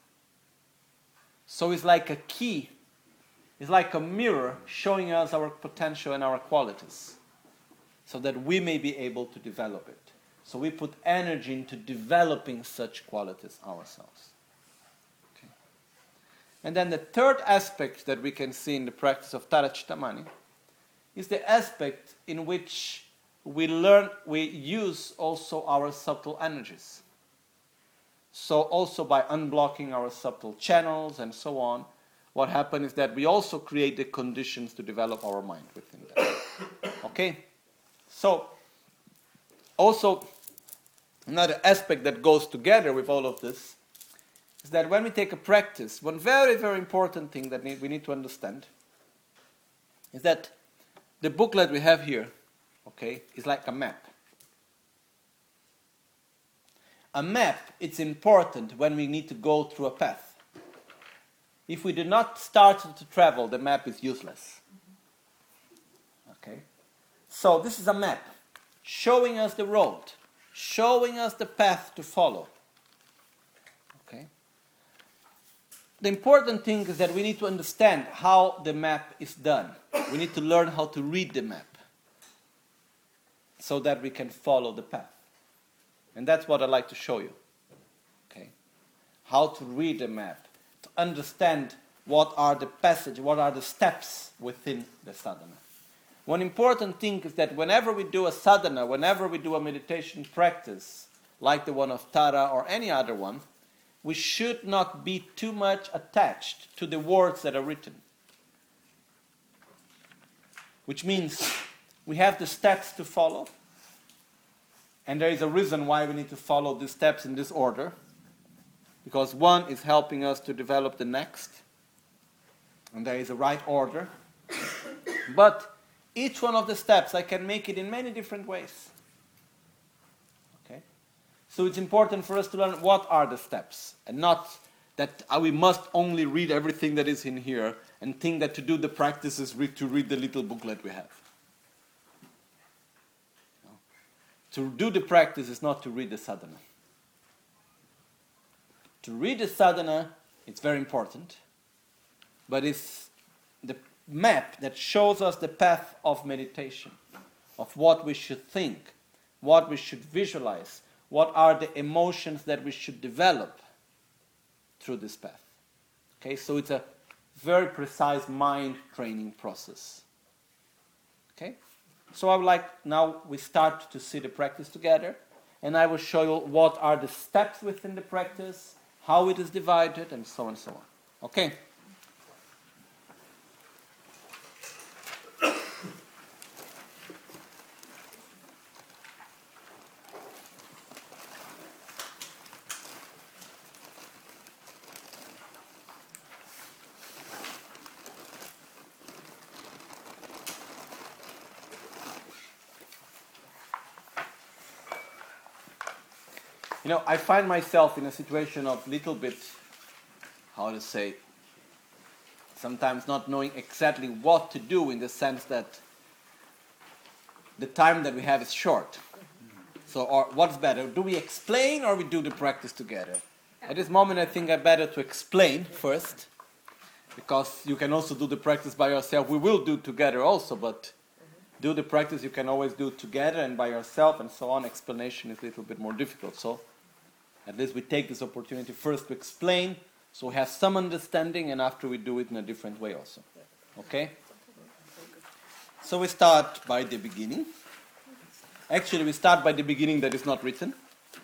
So it's like a key. It's like a mirror showing us our potential and our qualities. so that we may be able to develop it. So we put energy into developing such qualities ourselves. Okay. And then the third aspect that we can see in the practice of Tara Chittamani is the aspect in which we use also our subtle energies. So also by unblocking our subtle channels and so on, what happens is that we also create the conditions to develop our mind within that. Okay? So, also, another aspect that goes together with all of this is that when we take a practice, one very, very important thing that we need to understand is that the booklet we have here, okay, is like a map. A map, it's important when we need to go through a path. If we do not start to travel, the map is useless. Okay? So this is a map showing us the road, showing us the path to follow. Okay? The important thing is that we need to understand how the map is done. We need to learn how to read the map so that we can follow the path. And that's what I'd like to show you. Okay? How to read the map, to understand what are the passages, what are the steps within the sadhana. One important thing is that whenever we do a sadhana, whenever we do a meditation practice, like the one of Tara or any other one, we should not be too much attached to the words that are written. Which means we have the steps to follow, and there is a reason why we need to follow these steps in this order, because one is helping us to develop the next, and there is a right order. But each one of the steps, I can make it in many different ways. Okay? So it's important for us to learn what are the steps, and not that we must only read everything that is in here and think that to do the practice is to read the little booklet we have. No. To do the practice is not to read the sadhana. To read the sadhana, it's very important, but it's the map that shows us the path of meditation, of what we should think, what we should visualize, what are the emotions that we should develop through this path. Okay, so it's a very precise mind training process. Okay, so I would like now we start to see the practice together, and I will show you what are the steps within the practice, how it is divided, and so on and so on. Okay? You know, I find myself in a situation of little bit, how to say, sometimes not knowing exactly what to do, in the sense that the time that we have is short. So, or what's better? Do we explain or we do the practice together? At this moment, I think I'm better to explain first, because you can also do the practice by yourself. We will do together also, but do the practice you can always do together and by yourself and so on. Explanation is a little bit more difficult. So at least we take this opportunity first to explain, so we have some understanding, and after we do it in a different way also. Okay? So we start by the beginning. Actually, we start by the beginning that is not written.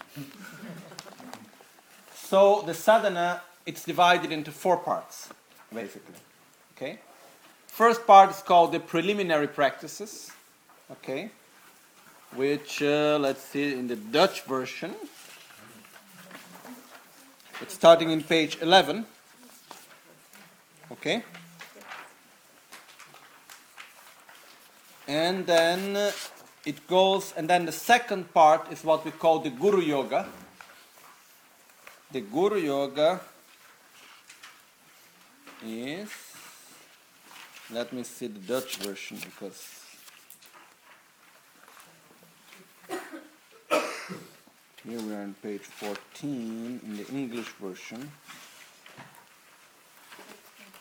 So the sadhana, it's divided into 4 parts, basically. Okay? First part is called the preliminary practices. Okay? Which, let's see, in the Dutch version, it's starting in page 11. Okay? And then it goes, and then the second part is what we call the Guru Yoga. The Guru Yoga is, let me see the Dutch version, because here we are on page 14 in the English version.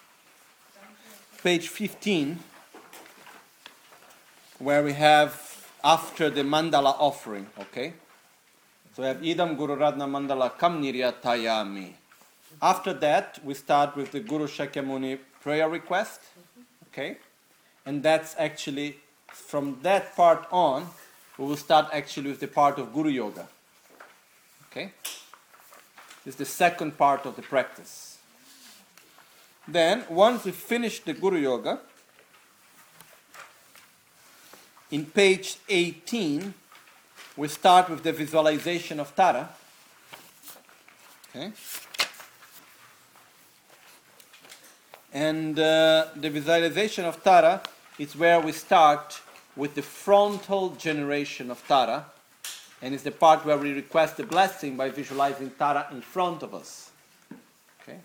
Page 15, where we have after the mandala offering, okay? So we have Idam Guru Radna Mandala Kam Niryatayami. After that, we start with the Guru Shakyamuni prayer request, okay? And that's actually, from that part on, we will start actually with the part of Guru Yoga, okay? This is the second part of the practice. Then, once we finish the Guru Yoga, in page 18, we start with the visualization of Tara. Okay? And the visualization of Tara is where we start with the frontal generation of Tara. And it's the part where we request the blessing by visualizing Tara in front of us. Okay?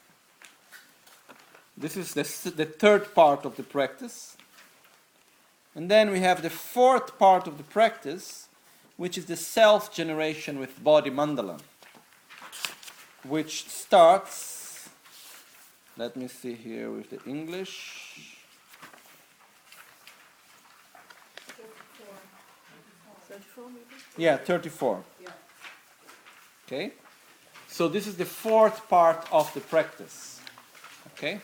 This is the third part of the practice. And then we have the fourth part of the practice, which is the self-generation with body mandala, which starts, let me see here with the English. 34 maybe? Yeah, 34. Yeah. Okay? So this is the fourth part of the practice. Okay?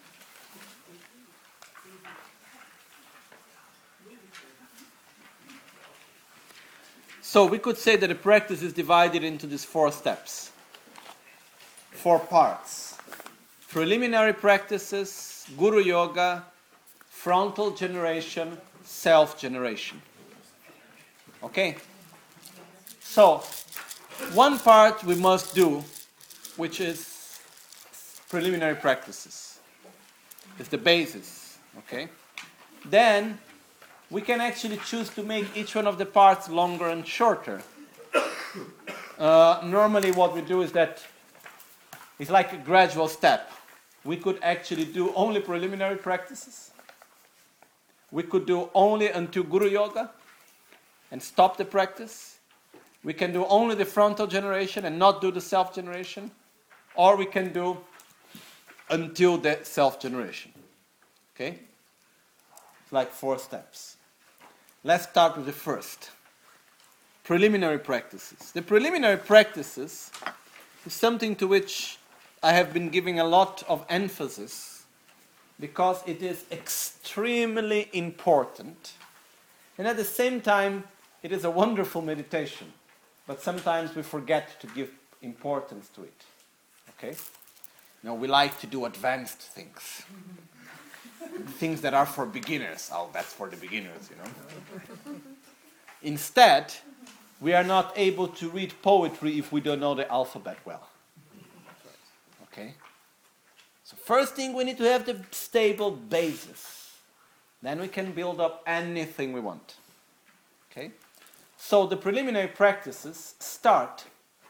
So we could say that the practice is divided into these 4 steps, 4 parts. Preliminary practices, Guru Yoga, frontal generation, self-generation. Okay? So, one part we must do, which is preliminary practices. It's the basis. Okay? Then, we can actually choose to make each one of the parts longer and shorter. Normally what we do is that it's like a gradual step. We could actually do only preliminary practices. We could do only until Guru Yoga and stop the practice. We can do only the frontal generation and not do the self-generation. Or we can do until the self-generation. Okay? It's like 4 steps. Let's start with the first. Preliminary practices. The preliminary practices is something to which I have been giving a lot of emphasis because it is extremely important. And at the same time, it is a wonderful meditation. But sometimes we forget to give importance to it. Okay? Now we like to do advanced things. Things that are for beginners. Oh, that's for the beginners, you know. Instead, we are not able to read poetry if we don't know the alphabet well. Okay? So first thing, we need to have the stable basis. Then we can build up anything we want. Okay? So the preliminary practices start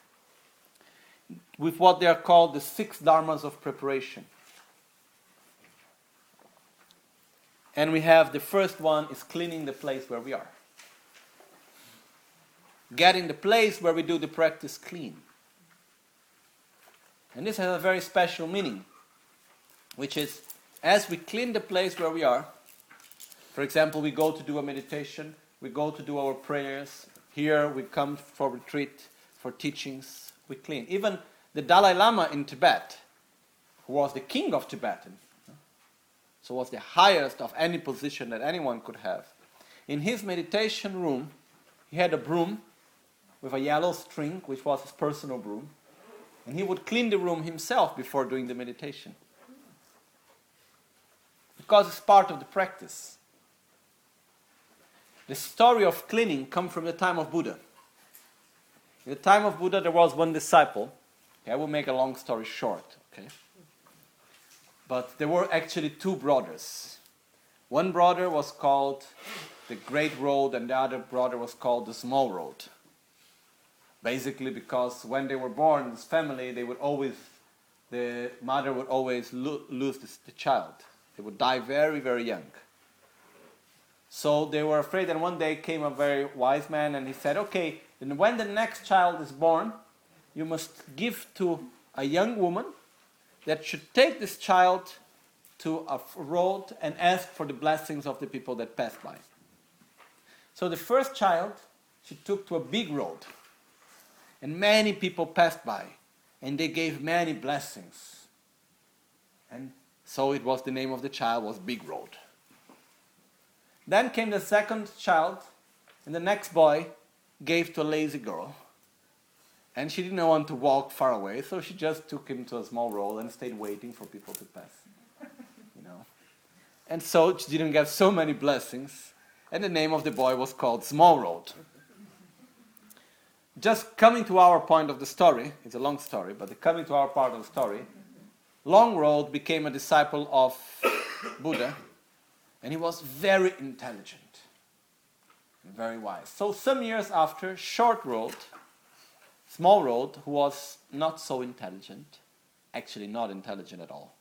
with what they are called the 6 dharmas of preparation. And we have the first one is cleaning the place where we are. Getting the place where we do the practice clean. And this has a very special meaning, which is as we clean the place where we are, for example, we go to do a meditation, we go to do our prayers, here we come for retreat, for teachings, we clean. Even the Dalai Lama in Tibet, who was the king of Tibet, so was the highest of any position that anyone could have. In his meditation room, he had a broom with a yellow string, which was his personal broom, and he would clean the room himself before doing the meditation. Because it's part of the practice. The story of cleaning comes from the time of Buddha. In the time of Buddha, there was one disciple. Okay, I will make a long story short. Okay? But there were actually 2 brothers. One brother was called the Great Road and the other brother was called the Small Road. Basically because when they were born, this family, the mother would always lose the child. They would die very, very young. So they were afraid, and one day came a very wise man and he said, okay, then when the next child is born, you must give to a young woman that should take this child to a road and ask for the blessings of the people that pass by. So the first child she took to a big road. And many people passed by. And they gave many blessings. And so it was the name of the child was Big Road. Then came the second child. And the next boy gave to a lazy girl. And she didn't want to walk far away. So she just took him to a small road and stayed waiting for people to pass. And so she didn't get so many blessings. And the name of the boy was called Small Road. Just coming to our point of the story, it's a long story, but coming to our part of the story, Long Road became a disciple of Buddha, and he was very intelligent and very wise. So some years after, Short Road, Small Road, who was not so intelligent, actually not intelligent at all,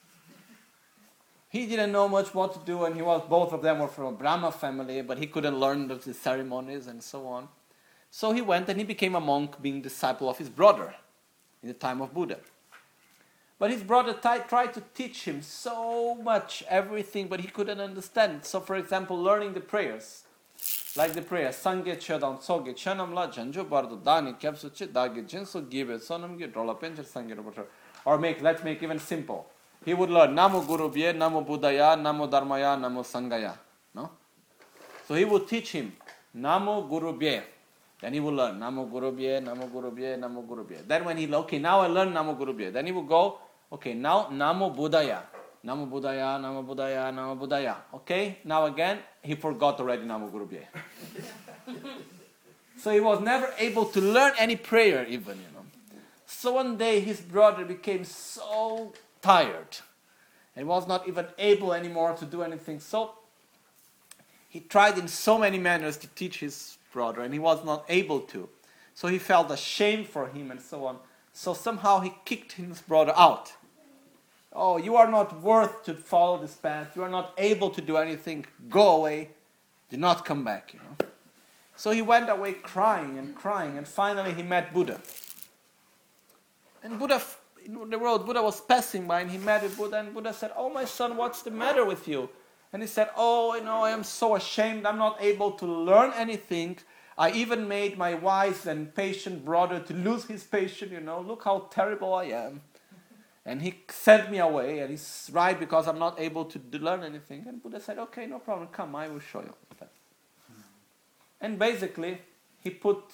he didn't know much what to do, and both of them were from a Brahma family, but he couldn't learn the ceremonies and so on. So he went and he became a monk, being disciple of his brother in the time of Buddha. But his brother tried to teach him so much, everything, but he couldn't understand. So for example, learning the prayers, like the prayer, Sangye Chodam Soge Chanam La Janjo Bardo Dani Kapsuchi Dagi Jinso Gibe Sonam Gi Drola Pencher Sangye Roboter. Or let's make even simple. He would learn Namo Guru Bhye, Namo Buddhaya, Namo Dharmaya, Namo Sangaya. No? So he would teach him Namo Guru Bhye. Then he would learn Namo Guru Bhye, Namo Guru Bhye, Namo Guru Bhye. Then when now I learn Namo Guru Bhye. Then he would go, okay, now Namo Buddhaya. Namo Buddhaya, Namo Buddhaya, Namo Buddhaya. Okay, now again, he forgot already Namo Guru Bhye. So he was never able to learn any prayer even, So one day his brother became so tired and was not even able anymore to do anything. So he tried in so many manners to teach his brother, and he was not able to. So he felt ashamed for him and so on. So somehow he kicked his brother out. Oh, you are not worth to follow this path. You are not able to do anything. Go away. Do not come back, So he went away crying, and finally he met Buddha. And Buddha, in the road, Buddha was passing by, and he met with Buddha, and Buddha said, "Oh, my son, what's the matter with you?" And he said, "Oh, I am so ashamed. I'm not able to learn anything. I even made my wise and patient brother to lose his patience, Look how terrible I am. And he sent me away, and he's right because I'm not able to learn anything." And Buddha said, "Okay, no problem. Come, I will show you." And basically, he put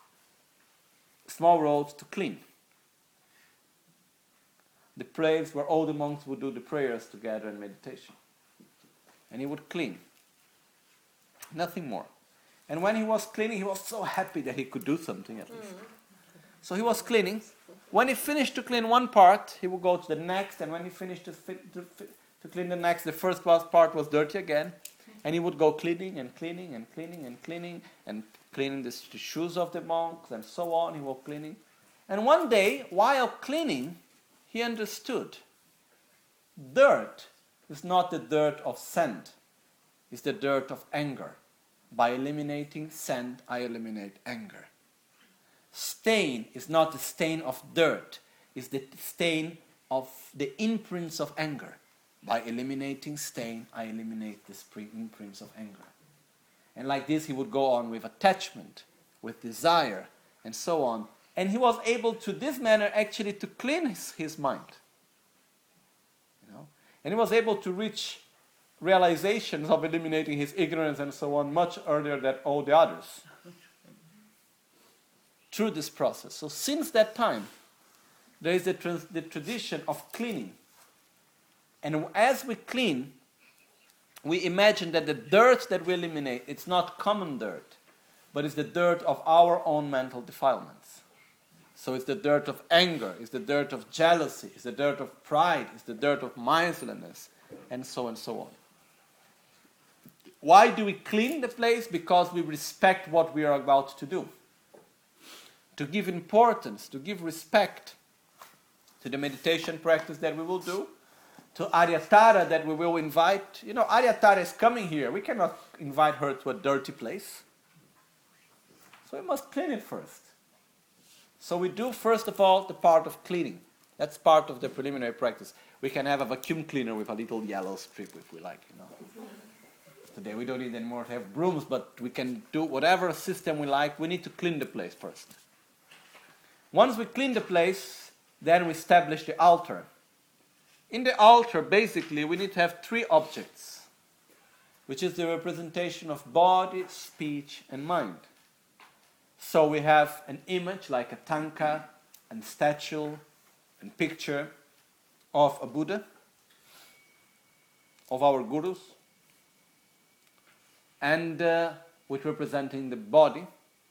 Small Road to clean. The place where all the monks would do the prayers together and meditation. And he would clean. Nothing more. And when he was cleaning, he was so happy that he could do something at least. So he was cleaning. When he finished to clean one part, he would go to the next. And when he finished to clean the next, the first part was dirty again. And he would go cleaning and cleaning and cleaning and cleaning and cleaning the shoes of the monks and so on. He was cleaning. And one day, while cleaning, he understood dirt is not the dirt of sand. It's the dirt of anger. By eliminating sand, I eliminate anger. Stain is not the stain of dirt. It's the stain of the imprints of anger. By eliminating stain, I eliminate the imprints of anger. And like this, he would go on with attachment, with desire, and so on. And he was able to, this manner, actually to clean his mind. And he was able to reach realizations of eliminating his ignorance and so on much earlier than all the others. Through this process. So since that time, there is the tradition of cleaning. And as we clean, we imagine that the dirt that we eliminate, it's not common dirt, but it's the dirt of our own mental defilements. So it's the dirt of anger, it's the dirt of jealousy, it's the dirt of pride, it's the dirt of mindfulness, and so on. Why do we clean the place? Because we respect what we are about to do. To give importance, to give respect to the meditation practice that we will do, to Aryatara that we will invite. Aryatara is coming here. We cannot invite her to a dirty place. So we must clean it first. So we do, first of all, the part of cleaning. That's part of the preliminary practice. We can have a vacuum cleaner with a little yellow strip if we like, today. We don't need anymore to have brooms, but we can do whatever system we like. We need to clean the place first. Once we clean the place, then we establish the altar. In the altar, basically, we need to have three objects, which is the representation of body, speech, and mind. So we have an image like a tanka, and statue, and picture of a Buddha, of our gurus, and with representing the body.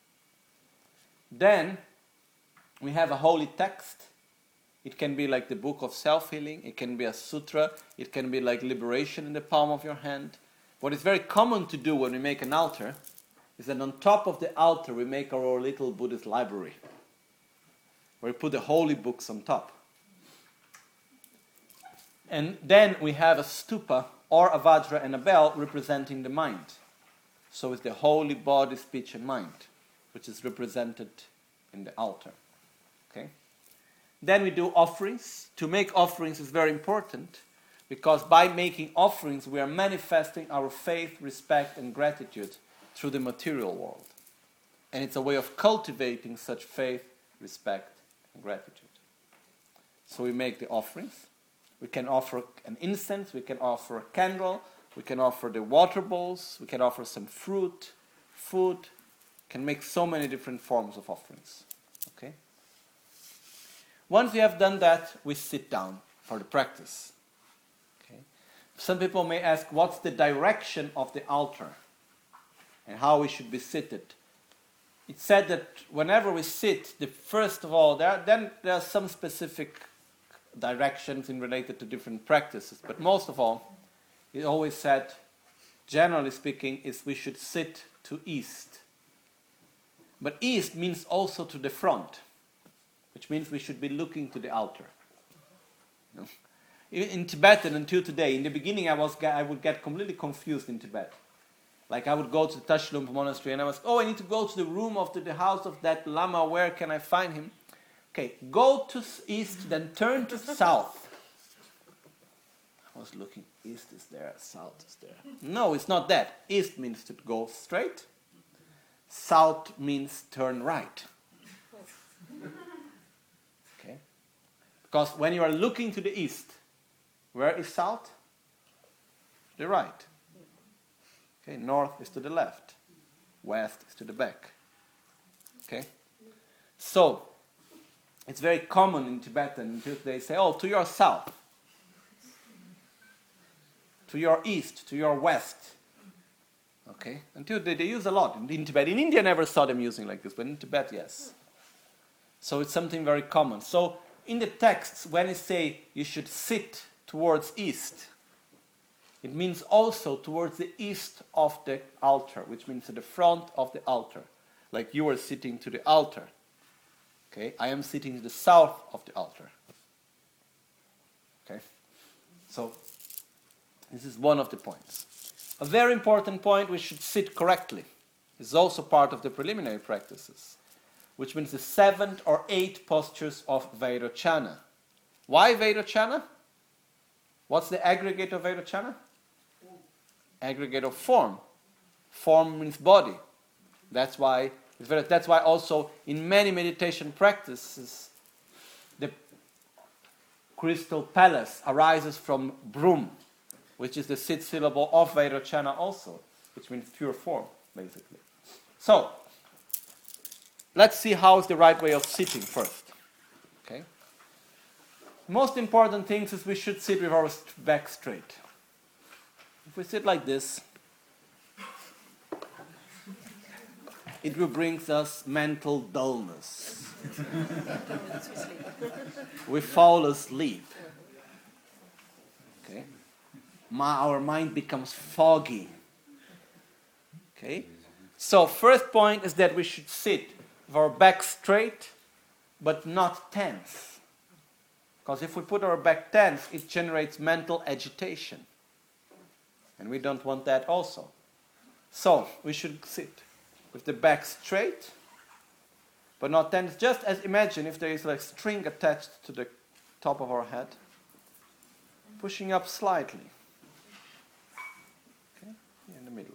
Then we have a holy text. It can be like the book of self-healing, it can be a sutra, it can be like liberation in the palm of your hand. What is very common to do when we make an altar is that on top of the altar we make our little Buddhist library, where we put the holy books on top. And then we have a stupa or a vajra and a bell representing the mind. So it's the holy body, speech and mind, which is represented in the altar. Okay? Then we do offerings. To make offerings is very important, because by making offerings we are manifesting our faith, respect and gratitude through the material world. And it's a way of cultivating such faith, respect and gratitude. So we make the offerings. We can offer an incense, we can offer a candle, we can offer the water bowls, we can offer some fruit, food, can make so many different forms of offerings. Okay? Once we have done that, we sit down for the practice. Okay? Some people may ask, what's the direction of the altar? And how we should be seated? It's said that whenever we sit, first of all, there are some specific directions in related to different practices, but most of all, it always said, generally speaking, is we should sit to east. But east means also to the front, which means we should be looking to the altar. You know? In Tibetan until today, in the beginning I would get completely confused in Tibet. Like I would go to the Tashilhunpo monastery and I was, I need to go to the room of the house of that Lama, where can I find him? Okay, go to east, then turn to south. I was looking, east is there, south is there. No, it's not that. East means to go straight. South means turn right. Okay? Because when you are looking to the east, where is south? The right. Okay, north is to the left. West is to the back. Okay? So, it's very common in Tibetan until they say, to your south, to your east, to your west. Okay? Until they use a lot in Tibet. In India I never saw them using like this, but in Tibet, yes. So it's something very common. So in the texts, when it say you should sit towards east, it means also towards the east of the altar, which means to the front of the altar. Like you are sitting to the altar. Okay, I am sitting to the south of the altar. Okay, so this is one of the points. A very important point, we should sit correctly. This is also part of the preliminary practices, which means the 7 or 8 postures of Vairocana. Why Vairocana? What's the aggregate of Vairocana? Aggregate of form. Form means body. That's why also in many meditation practices, the crystal palace arises from Brum, which is the 6th syllable of Vairocana also, which means pure form, basically. So, let's see how is the right way of sitting first. Okay? Most important thing is we should sit with our back straight. If we sit like this, it will bring us mental dullness. We fall asleep. Okay? Our mind becomes foggy. Okay? So first point is that we should sit with our back straight, but not tense. Because if we put our back tense, it generates mental agitation. And we don't want that also. So we should sit with the back straight, but not tense. Just as imagine if there is like string attached to the top of our head, pushing up slightly. Okay, in the middle.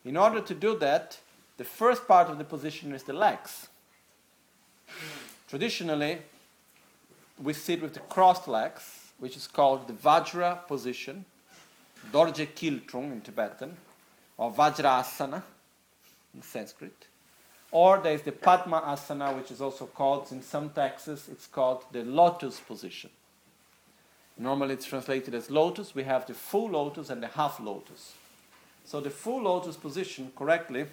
In order to do that, the first part of the position is the legs. Traditionally, we sit with the crossed legs, which is called the Vajra position, Dorje Kiltrung in Tibetan, or Vajrasana in Sanskrit. Or there is the Padma Asana, which is also called, in some texts, it's called the lotus position. Normally it's translated as lotus. We have the full lotus and the half lotus. So the full lotus position, correctly,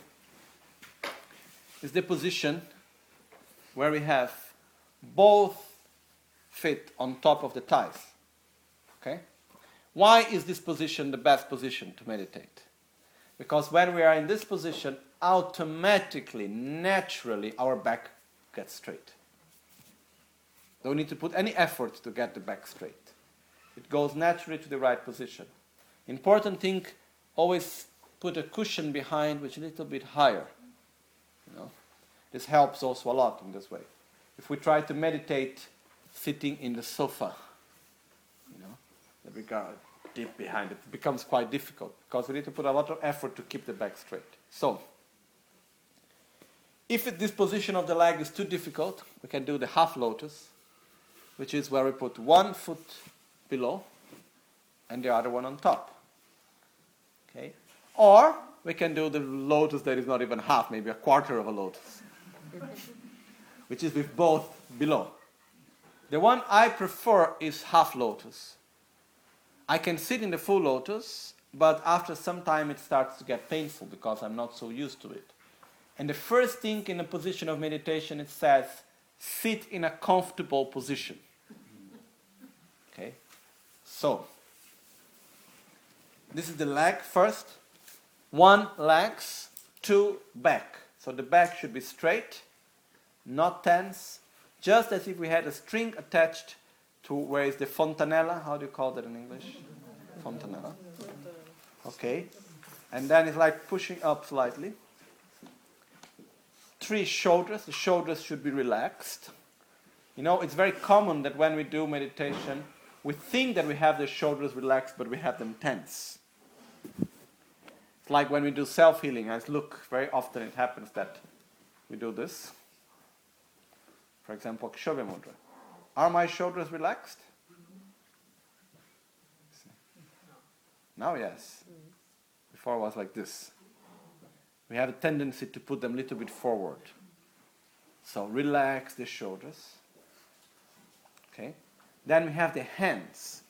is the position where we have both feet on top of the thighs. Okay? Why is this position the best position to meditate? Because when we are in this position, automatically, naturally, our back gets straight. Don't need to put any effort to get the back straight. It goes naturally to the right position. Important thing, always put a cushion behind which is a little bit higher. This helps also a lot in this way. If we try to meditate sitting in the sofa, that we go deep behind it becomes quite difficult because we need to put a lot of effort to keep the back straight. So, if this position of the leg is too difficult, we can do the half lotus, which is where we put one foot below and the other one on top. Okay? Or we can do the lotus that is not even half, maybe a quarter of a lotus, which is with both below. The one I prefer is half lotus. I can sit in the full lotus, but after some time it starts to get painful because I'm not so used to it. And the first thing in a position of meditation, it says, sit in a comfortable position. Okay? So, this is the leg first. One legs, two back. So the back should be straight, not tense, just as if we had a string attached to where is the fontanella. How do you call that in English? Fontanella. Okay. And then it's like pushing up slightly. Three shoulders. The shoulders should be relaxed. It's very common that when we do meditation, we think that we have the shoulders relaxed, but we have them tense. It's like when we do self-healing. Very often it happens that we do this. For example, Kshobe Mudra. Are my shoulders relaxed? Now, yes. Before it was like this. We have a tendency to put them a little bit forward. So relax the shoulders. Okay. Then we have the hands.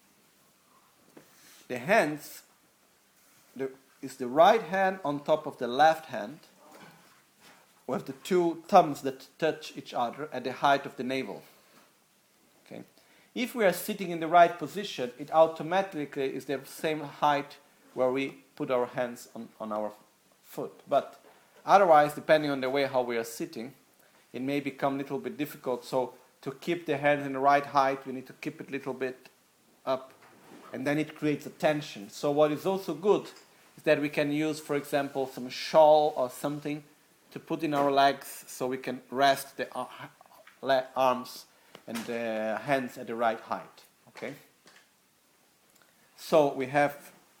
The hands is the right hand on top of the left hand, with the two thumbs that touch each other at the height of the navel. Okay. If we are sitting in the right position, it automatically is the same height where we put our hands on our foot. But otherwise, depending on the way how we are sitting, it may become a little bit difficult. So to keep the hands in the right height, we need to keep it a little bit up, and then it creates a tension. So what is also good is that we can use, for example, some shawl or something to put in our legs so we can rest the arms and the hands at the right height. Okay? So we have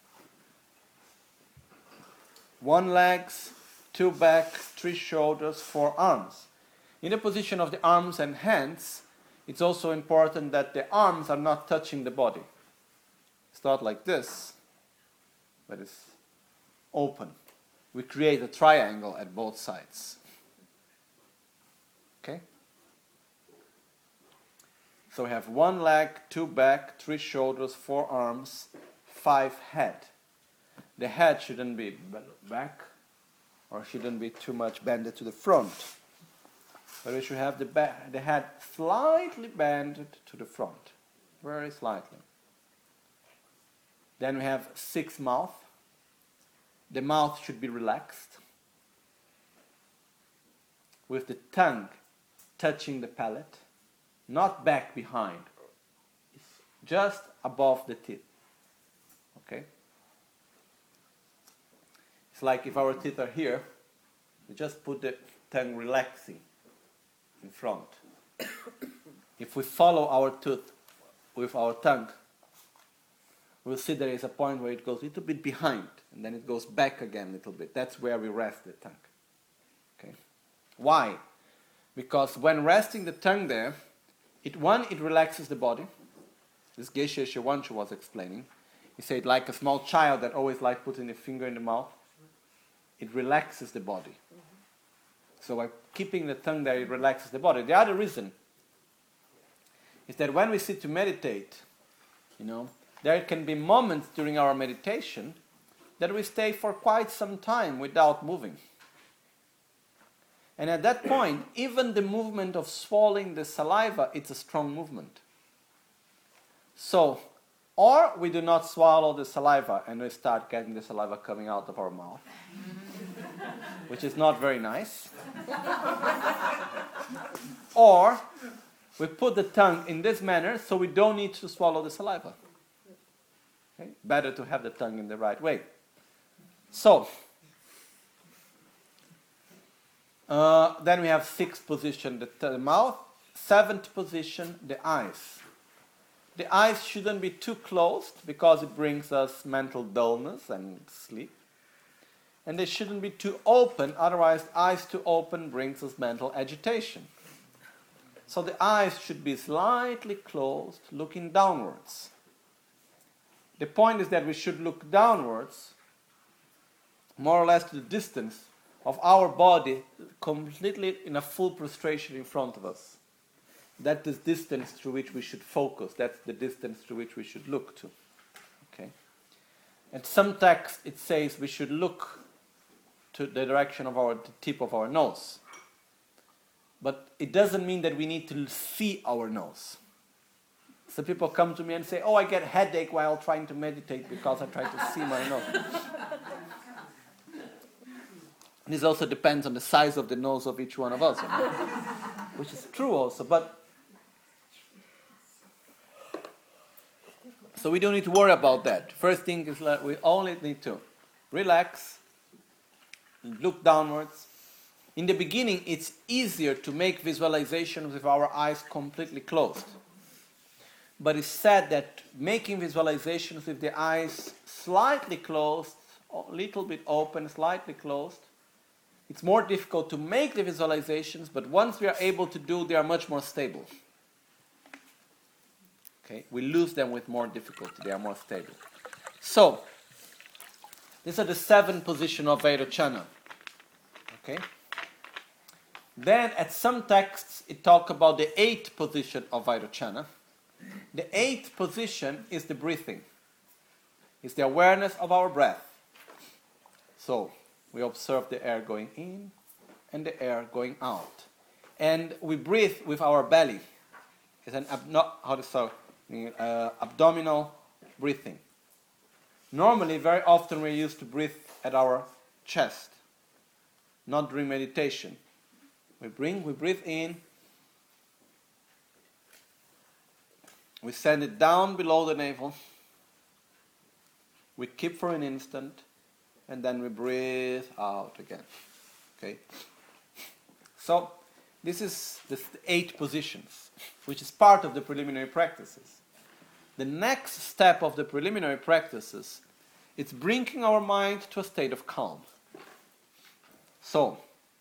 one legs, two back, three shoulders, four arms. In the position of the arms and hands, it's also important that the arms are not touching the body. It's not like this, but it's open. We create a triangle at both sides. Okay? So we have one leg, two back, three shoulders, four arms, five head. The head shouldn't be back or shouldn't be too much bended to the front. But we should have the head slightly bended to the front. Very slightly. Then we have six mouth. The mouth should be relaxed, with the tongue touching the palate, not back behind. It's just above the teeth. Okay? It's like if our teeth are here, we just put the tongue relaxing in front. If we follow our tooth with our tongue, we'll see there is a point where it goes a little bit behind, and then it goes back again a little bit. That's where we rest the tongue. Okay? Why? Because when resting the tongue there, it relaxes the body. This Geshe Shiwanshu was explaining. He said, like a small child that always likes putting a finger in the mouth, it relaxes the body. So by keeping the tongue there, it relaxes the body. The other reason is that when we sit to meditate, there can be moments during our meditation that we stay for quite some time without moving. And at that point, even the movement of swallowing the saliva, it's a strong movement. So, or we do not swallow the saliva and we start getting the saliva coming out of our mouth, which is not very nice. Or we put the tongue in this manner so we don't need to swallow the saliva. Okay? Better to have the tongue in the right way. So, then we have sixth position, the mouth. Seventh position, the eyes. The eyes shouldn't be too closed because it brings us mental dullness and sleep. And they shouldn't be too open, otherwise eyes too open brings us mental agitation. So the eyes should be slightly closed, looking downwards. The point is that we should look downwards, more or less to the distance of our body, completely in a full prostration in front of us. That's the distance through which we should focus. That's the distance through which we should look to. Okay. And some text it says we should look to the direction of the tip of our nose. But it doesn't mean that we need to see our nose. So people come to me and say, I get headache while trying to meditate because I try to see my nose. This also depends on the size of the nose of each one of us, which is true also. So we don't need to worry about that. First thing is that we only need to relax, look downwards. In the beginning, it's easier to make visualizations with our eyes completely closed. But it's said that making visualizations with the eyes slightly closed, a little bit open, slightly closed, it's more difficult to make the visualizations, but once we are able to do, they are much more stable. Okay, we lose them with more difficulty, they are more stable. So, these are the 7 positions of Vairochana. Okay? Then, at some texts, it talks about the 8th position of Vairochana. The 8th position is the breathing. It's the awareness of our breath. So, we observe the air going in and the air going out. And we breathe with our belly. It's an abdominal breathing. Normally, very often we're used to breathe at our chest, not during meditation. We breathe in, we send it down below the navel, we keep for an instant, and then we breathe out again. Okay? So, this is the 8 positions, which is part of the preliminary practices. The next step of the preliminary practices, it's bringing our mind to a state of calm. So,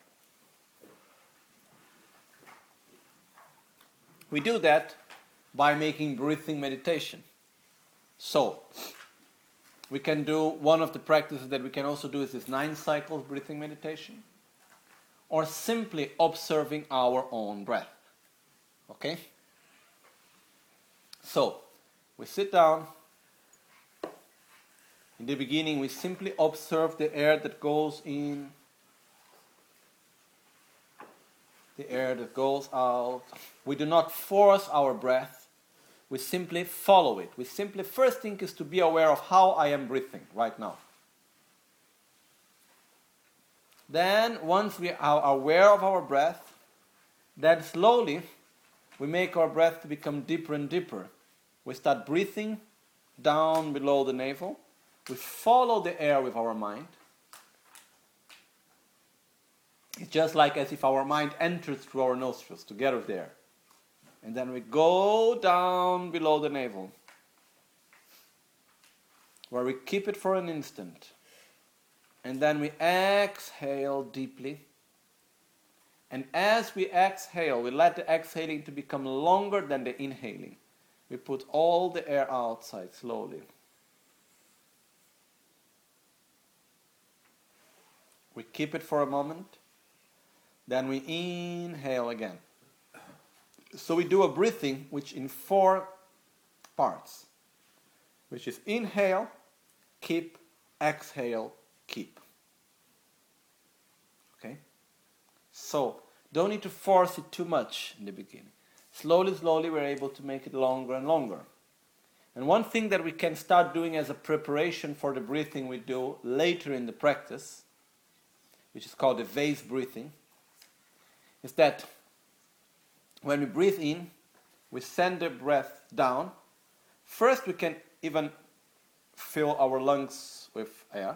we do that by making breathing meditation. So, we can do one of the practices that we can also do is this 9 cycles breathing meditation, or simply observing our own breath. Okay? So, we sit down. In the beginning, we simply observe the air that goes in, the air that goes out. We do not force our breath. We simply follow it. First thing is to be aware of how I am breathing right now. Then, once we are aware of our breath, then slowly we make our breath to become deeper and deeper. We start breathing down below the navel. We follow the air with our mind. It's just like as if our mind enters through our nostrils together with the air. And then we go down below the navel. where we keep it for an instant. And then we exhale deeply. And as we exhale, we let the exhaling to become longer than the inhaling. We put all the air outside slowly. We keep it for a moment. Then we inhale again. So we do a breathing which in 4 parts, which is inhale, keep, exhale, keep. Okay? So, don't need to force it too much in the beginning. Slowly, slowly, we're able to make it longer and longer. And one thing that we can start doing as a preparation for the breathing we do later in the practice, which is called the vase breathing, is that when we breathe in, we send the breath down. First, we can even fill our lungs with air.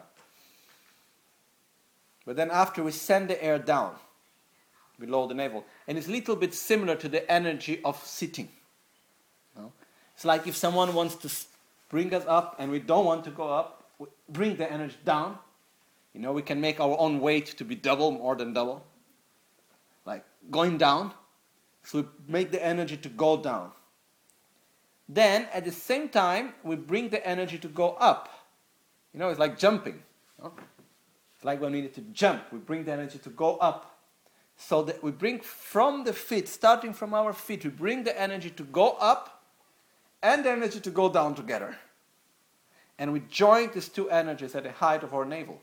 But then after, we send the air down below the navel. And it's a little bit similar to the energy of sitting. No? It's like if someone wants to bring us up and we don't want to go up, we bring the energy down. You know, we can make our own weight to be double, more than double. Like going down. So we make the energy to go down. Then, at the same time, we bring the energy to go up. You know, it's like jumping. No? It's like when we need to jump, we bring the energy to go up. So that we bring from the feet, starting from our feet, we bring the energy to go up and the energy to go down together. And we join these 2 energies at the height of our navel.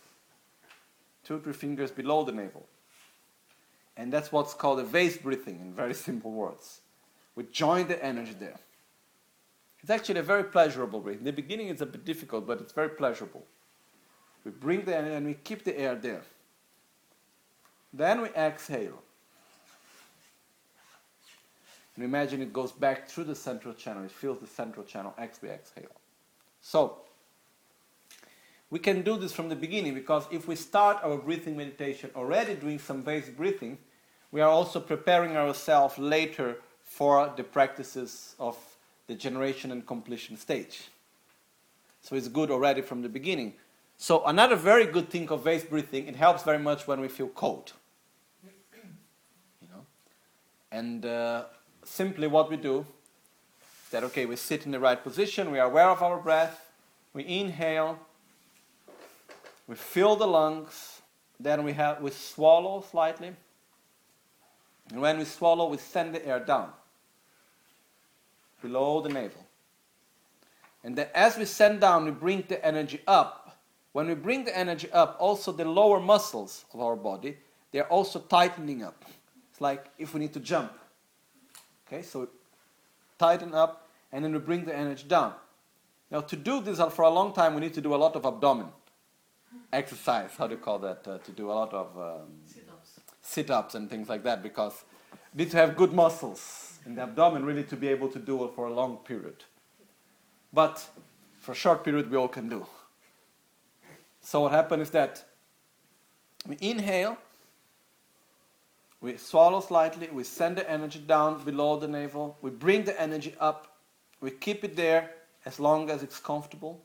2 3 fingers below the navel. And that's what's called a vase breathing in very simple words. We join the energy there. It's actually a very pleasurable breath. In the beginning it's a bit difficult, but it's very pleasurable. We bring the energy and we keep the air there. Then we exhale. And imagine it goes back through the central channel. It fills the central channel as we exhale. So, we can do this from the beginning, because if we start our breathing meditation already doing some vase breathing, we are also preparing ourselves later for the practices of the generation and completion stage. So it's good already from the beginning. So another very good thing of vase breathing, it helps very much when we feel cold. You know? And simply what we do is that, okay, we sit in the right position, we are aware of our breath, we inhale, we fill the lungs, then we swallow slightly. And when we swallow, we send the air down, below the navel. And then as we send down, we bring the energy up. When we bring the energy up, also the lower muscles of our body, they're also tightening up. It's like if we need to jump. Okay, so we tighten up, and then we bring the energy down. Now to do this for a long time, we need to do a lot of abdomen exercise, how do you call that, to do a lot of sit-ups and things like that, because we need to have good muscles in the abdomen really to be able to do it for a long period. But for a short period we all can do. So what happens is that we inhale, we swallow slightly, we send the energy down below the navel, we bring the energy up, we keep it there as long as it's comfortable.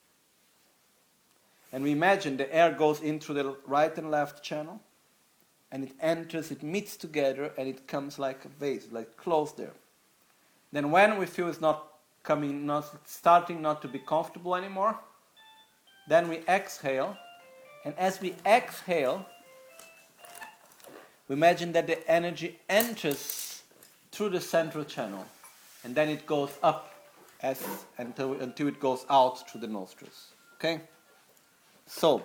And we imagine the air goes in through the right and left channel, and it enters, it meets together, and it comes like a vase, like closed there. Then when we feel it's starting not to be comfortable anymore, then we exhale, and as we exhale, we imagine that the energy enters through the central channel, and then it goes up until it goes out through the nostrils. Okay? So,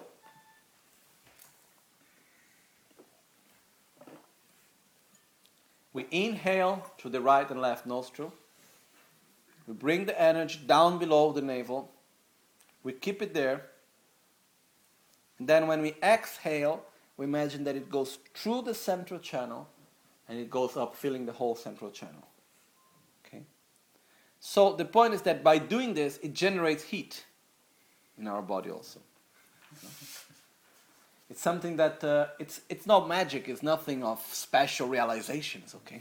we inhale through the right and left nostril. We bring the energy down below the navel. We keep it there. And then when we exhale, we imagine that it goes through the central channel and it goes up, filling the whole central channel. Okay? So the point is that by doing this, it generates heat in our body also. It's something that, it's not magic, it's nothing of special realizations, okay?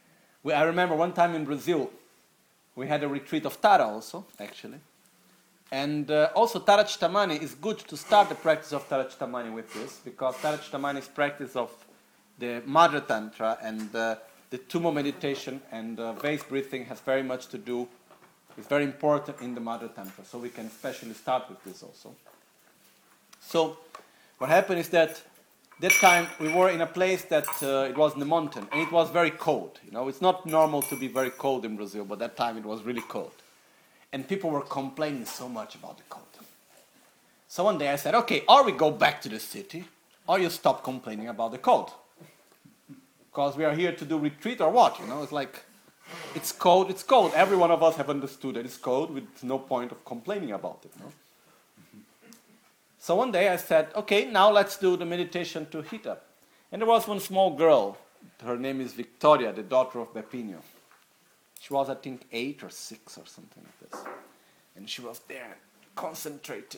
I remember one time in Brazil, we had a retreat of Tara also, actually. And also Tarachtamani is good to start the practice of Tarachtamani with this, because Tarachtamani is practice of the Madhya Tantra, and the Tummo meditation and vase breathing has very much to do, is very important in the Madhya Tantra, so we can especially start with this also. So what happened is that time we were in a place that it was in the mountain, and it was very cold. You know, it's not normal to be very cold in Brazil, but that time it was really cold. And people were complaining so much about the cold. So one day I said, okay, or we go back to the city, or you stop complaining about the cold. Because we are here to do retreat or what, you know, it's like, it's cold, it's cold. Every one of us have understood that it's cold with no point of complaining about it, no? So one day I said, okay, now let's do the meditation to heat up. And there was one small girl, her name is Victoria, the daughter of Bepinho. She was, I think, 8 or 6 or something like this. And she was there, concentrating.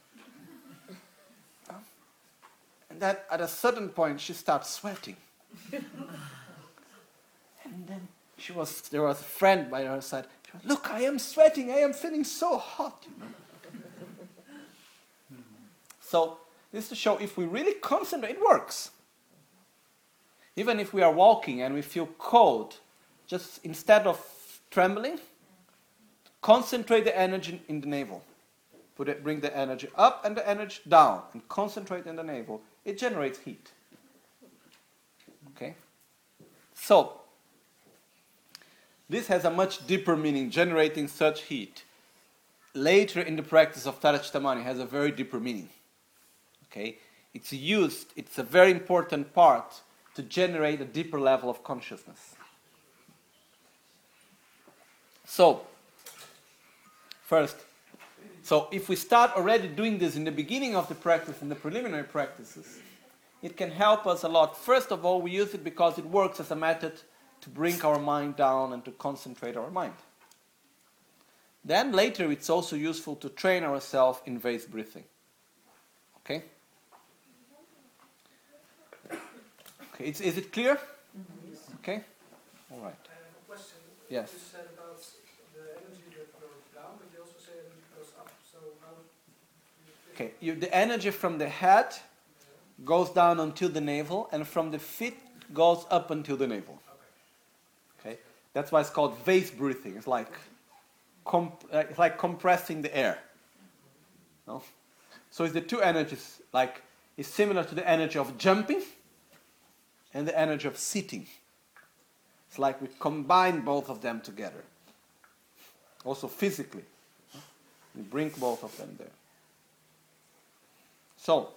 And then at a certain point, she started sweating. And then there was a friend by her side. She was, look, I am sweating, I am feeling so hot. You know? So this is to show if we really concentrate, it works. Even if we are walking and we feel cold, just instead of trembling, concentrate the energy in the navel. Bring the energy up and the energy down, and concentrate in the navel. It generates heat. Okay? So, this has a much deeper meaning, generating such heat. Later in the practice of Tarachtamani has a very deeper meaning. Okay? It's a very important part to generate a deeper level of consciousness. So, first, if we start already doing this in the beginning of the practice, in the preliminary practices, it can help us a lot. First of all, we use it because it works as a method to bring our mind down and to concentrate our mind. Then later, it's also useful to train ourselves in vase breathing. Okay? Okay, is it clear? Okay? All right. I have a question. Yes. You said about the energy that goes down, but you also said it goes up. So how? Okay, the energy from the head goes down until the navel, and from the feet goes up until the navel. Okay, that's why it's called vase breathing. It's like compressing the air. No? So it's the two energies. Like it's similar to the energy of jumping and the energy of sitting. It's like we combine both of them together. Also physically. We bring both of them there. So,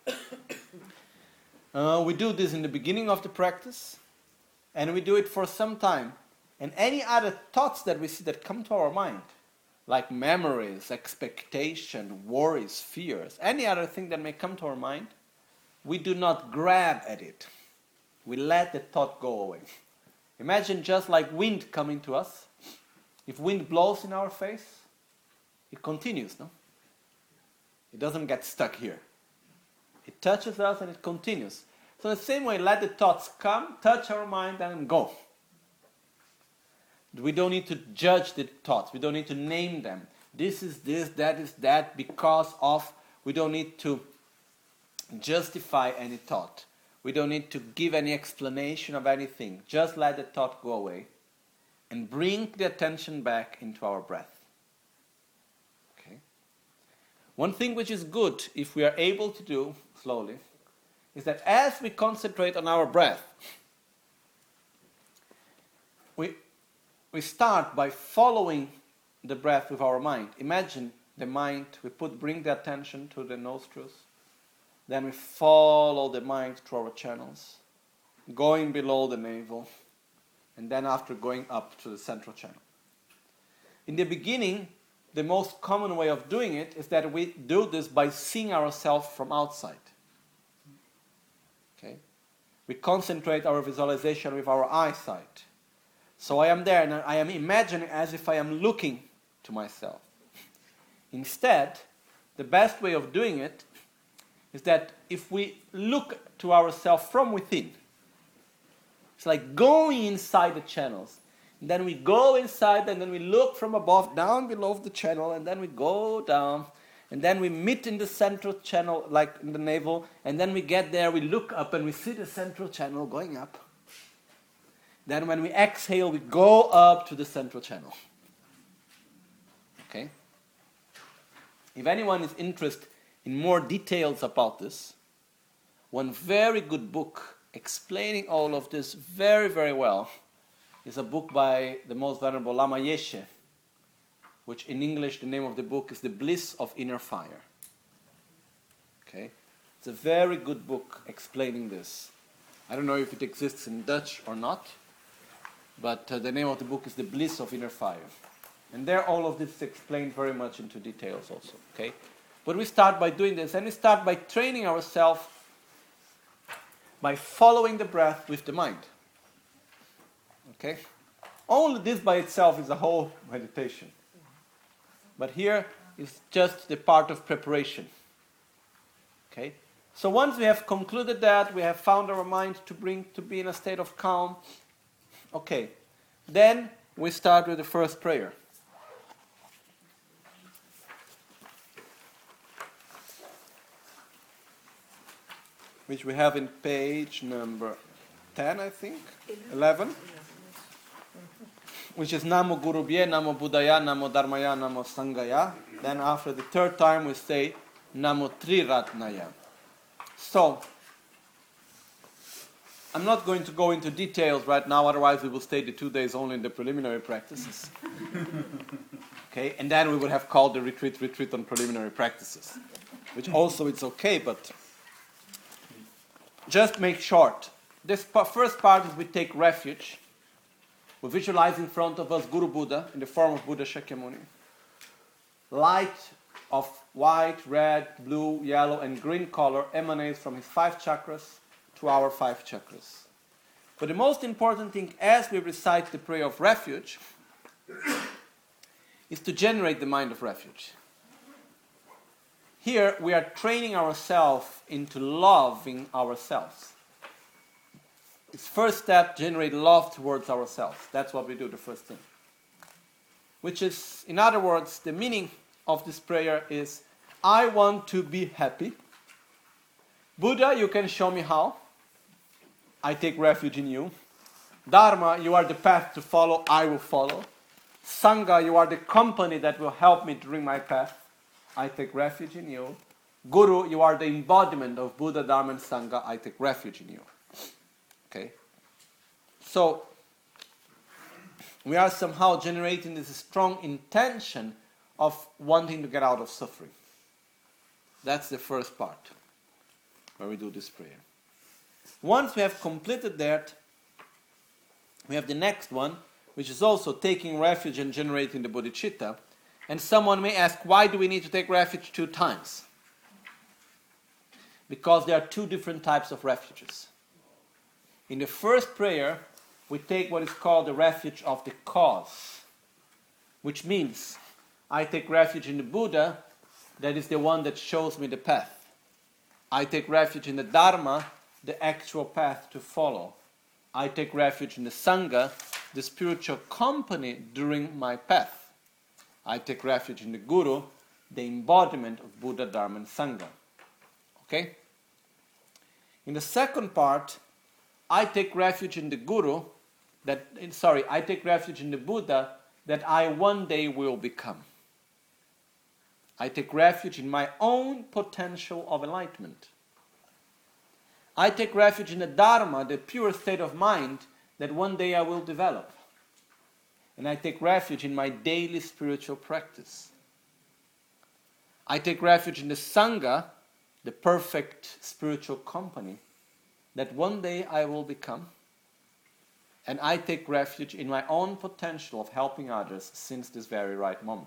we do this in the beginning of the practice, and we do it for some time. And any other thoughts that we see that come to our mind, like memories, expectation, worries, fears, any other thing that may come to our mind, we do not grab at it. We let the thought go away. Imagine just like wind coming to us. If wind blows in our face, it continues, no? It doesn't get stuck here. It touches us and it continues. So in the same way, let the thoughts come, touch our mind, and go. We don't need to judge the thoughts. We don't need to name them. This is this, that is that, because of. We don't need to justify any thought. We don't need to give any explanation of anything. Just let the thought go away and bring the attention back into our breath. Okay? One thing which is good, if we are able to do slowly, is that as we concentrate on our breath, we start by following the breath with our mind. Imagine the mind, bring the attention to the nostrils, then we follow the mind through our channels, going below the navel, and then after going up to the central channel. In the beginning, the most common way of doing it is that we do this by seeing ourselves from outside. Okay? We concentrate our visualization with our eyesight. So I am there and I am imagining as if I am looking to myself. Instead, the best way of doing it is that if we look to ourselves from within, it's like going inside the channels. Then we go inside, and then we look from above, down below the channel, and then we go down, and then we meet in the central channel, like in the navel, and then we get there, we look up, and we see the central channel going up. Then when we exhale, we go up to the central channel. Okay? If anyone is interested in more details about this, one very good book explaining all of this very, very well is a book by the most venerable Lama Yeshe, which in English the name of the book is The Bliss of Inner Fire. Okay? It's a very good book explaining this. I don't know if it exists in Dutch or not, but the name of the book is The Bliss of Inner Fire. And there all of this is explained very much into details also. Okay? But we start by doing this, and we start by training ourselves by following the breath with the mind. Okay? Only this by itself is a whole meditation. But here is just the part of preparation. Okay? So once we have concluded that, we have found our mind to be in a state of calm. Okay. Then we start with the first prayer. Which we have in page number 10, I think, 11, which is Namo Guru Bhye, Namo Buddhaya, Namo Dharmaya, Namo Sanghaya. Then after the third time we say Namo Triratnaya. So, I'm not going to go into details right now, otherwise we will stay the 2 days only in the preliminary practices. Okay, and then we would have called the retreat on preliminary practices, which also it's okay, but just make short. This first part is we take refuge. We visualize in front of us Guru Buddha in the form of Buddha Shakyamuni. Light of white, red, blue, yellow, and green color emanates from his 5 chakras to our 5 chakras. But the most important thing as we recite the prayer of refuge is to generate the mind of refuge. Here we are training ourselves into loving ourselves. This first step, generate love towards ourselves. That's what we do, the first thing. Which is, in other words, the meaning of this prayer is, I want to be happy. Buddha, you can show me how. I take refuge in you. Dharma, you are the path to follow, I will follow. Sangha, you are the company that will help me during my path. I take refuge in you. Guru, you are the embodiment of Buddha, Dharma, and Sangha. I take refuge in you. Okay? So, we are somehow generating this strong intention of wanting to get out of suffering. That's the first part where we do this prayer. Once we have completed that, we have the next one, which is also taking refuge and generating the bodhicitta. And someone may ask, why do we need to take refuge 2 times? Because there are 2 different types of refuges. In the first prayer, we take what is called the refuge of the cause, which means I take refuge in the Buddha, that is the one that shows me the path. I take refuge in the Dharma, the actual path to follow. I take refuge in the Sangha, the spiritual company during my path. I take refuge in the Guru, the embodiment of Buddha, Dharma, and Sangha. Okay? In the second part, I take refuge in the Guru, I take refuge in the Buddha that I one day will become. I take refuge in my own potential of enlightenment. I take refuge in the Dharma, the pure state of mind that one day I will develop. And I take refuge in my daily spiritual practice. I take refuge in the Sangha, the perfect spiritual company that one day I will become. And I take refuge in my own potential of helping others since this very right moment.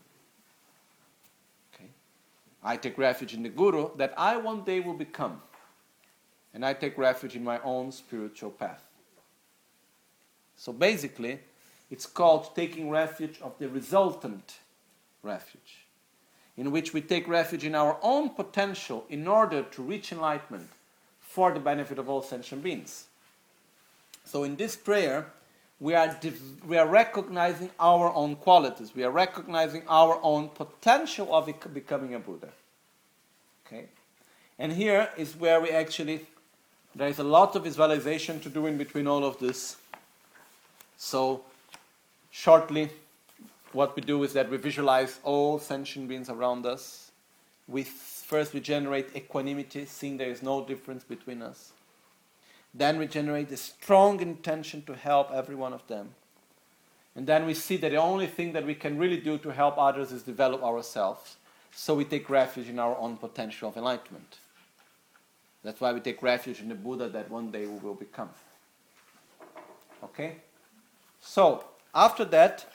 Okay? I take refuge in the Guru that I one day will become. And I take refuge in my own spiritual path. So basically, it's called taking refuge of the resultant refuge, in which we take refuge in our own potential in order to reach enlightenment for the benefit of all sentient beings. So in this prayer, we are recognizing our own qualities. We are recognizing our own potential of becoming a Buddha. Okay? And here is where we actually, there is a lot of visualization to do in between all of this. So, shortly, what we do is that we visualize all sentient beings around us. First we generate equanimity, seeing there is no difference between us. Then we generate a strong intention to help every one of them. And then we see that the only thing that we can really do to help others is develop ourselves. So we take refuge in our own potential of enlightenment. That's why we take refuge in the Buddha that one day we will become. Okay? So, after that,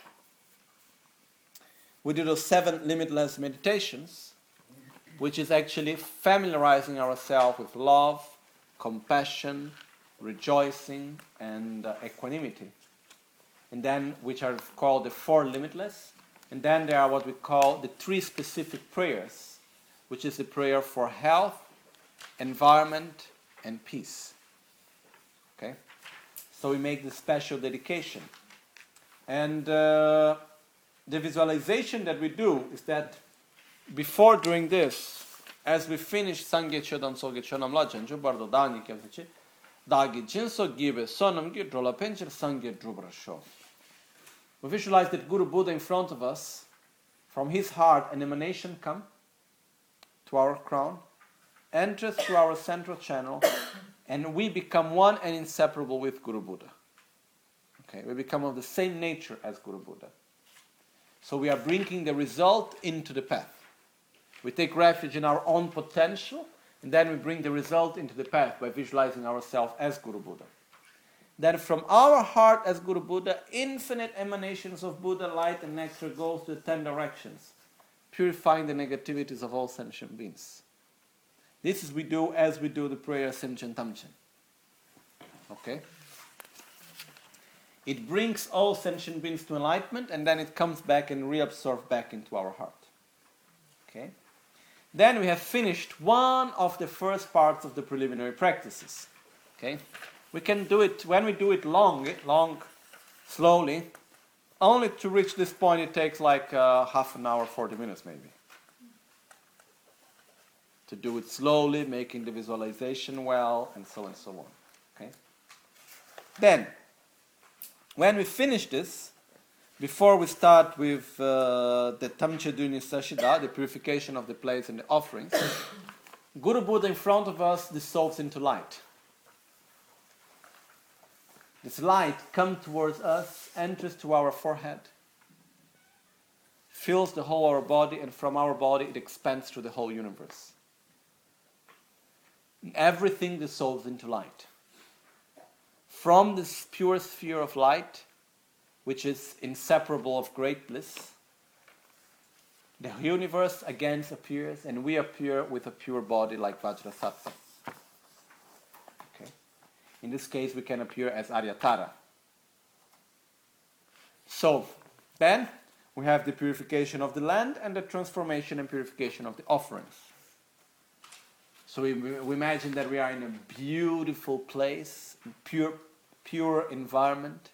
we do those 7 limitless meditations, which is actually familiarizing ourselves with love, compassion, rejoicing, and equanimity. And then, which are called the 4 limitless. And then there are what we call the 3 specific prayers, which is the prayer for health, environment, and peace. Okay? So we make the special dedication. And the visualization that we do is that before doing this, as we finish Sangye Chodam Soge Chonam Lajan, Jubardo Dani Kevchi, Dagi Jinso Gibe Sonam Gidrola Pencher Sangye Drubrasho. We visualize that Guru Buddha in front of us, from his heart an emanation come to our crown, enters through our central channel, and we become one and inseparable with Guru Buddha. Okay, we become of the same nature as Guru Buddha. So we are bringing the result into the path. We take refuge in our own potential, and then we bring the result into the path by visualizing ourselves as Guru Buddha. Then from our heart as Guru Buddha, infinite emanations of Buddha light and nectar goes to the 10 directions, purifying the negativities of all sentient beings. This is we do as we do the prayer Simchen Tamchen. Okay? It brings all sentient beings to enlightenment, and then it comes back and reabsorbs back into our heart. Okay? Then we have finished one of the first parts of the preliminary practices. Okay? We can do it, when we do it long, slowly, only to reach this point it takes like half an hour, 40 minutes maybe. To do it slowly, making the visualization well, and so on. Okay? Then, when we finish this, before we start with the Tamche Duni Sashida, the purification of the plates and the offerings, Guru Buddha in front of us dissolves into light. This light comes towards us, enters to our forehead, fills the whole of our body, and from our body it expands to the whole universe. Everything dissolves into light. From this pure sphere of light, which is inseparable of great bliss, the universe again appears, and we appear with a pure body like Vajrasattva. Okay? In this case, we can appear as Aryatara. So, then we have the purification of the land and the transformation and purification of the offerings. So we imagine that we are in a beautiful place, pure environment.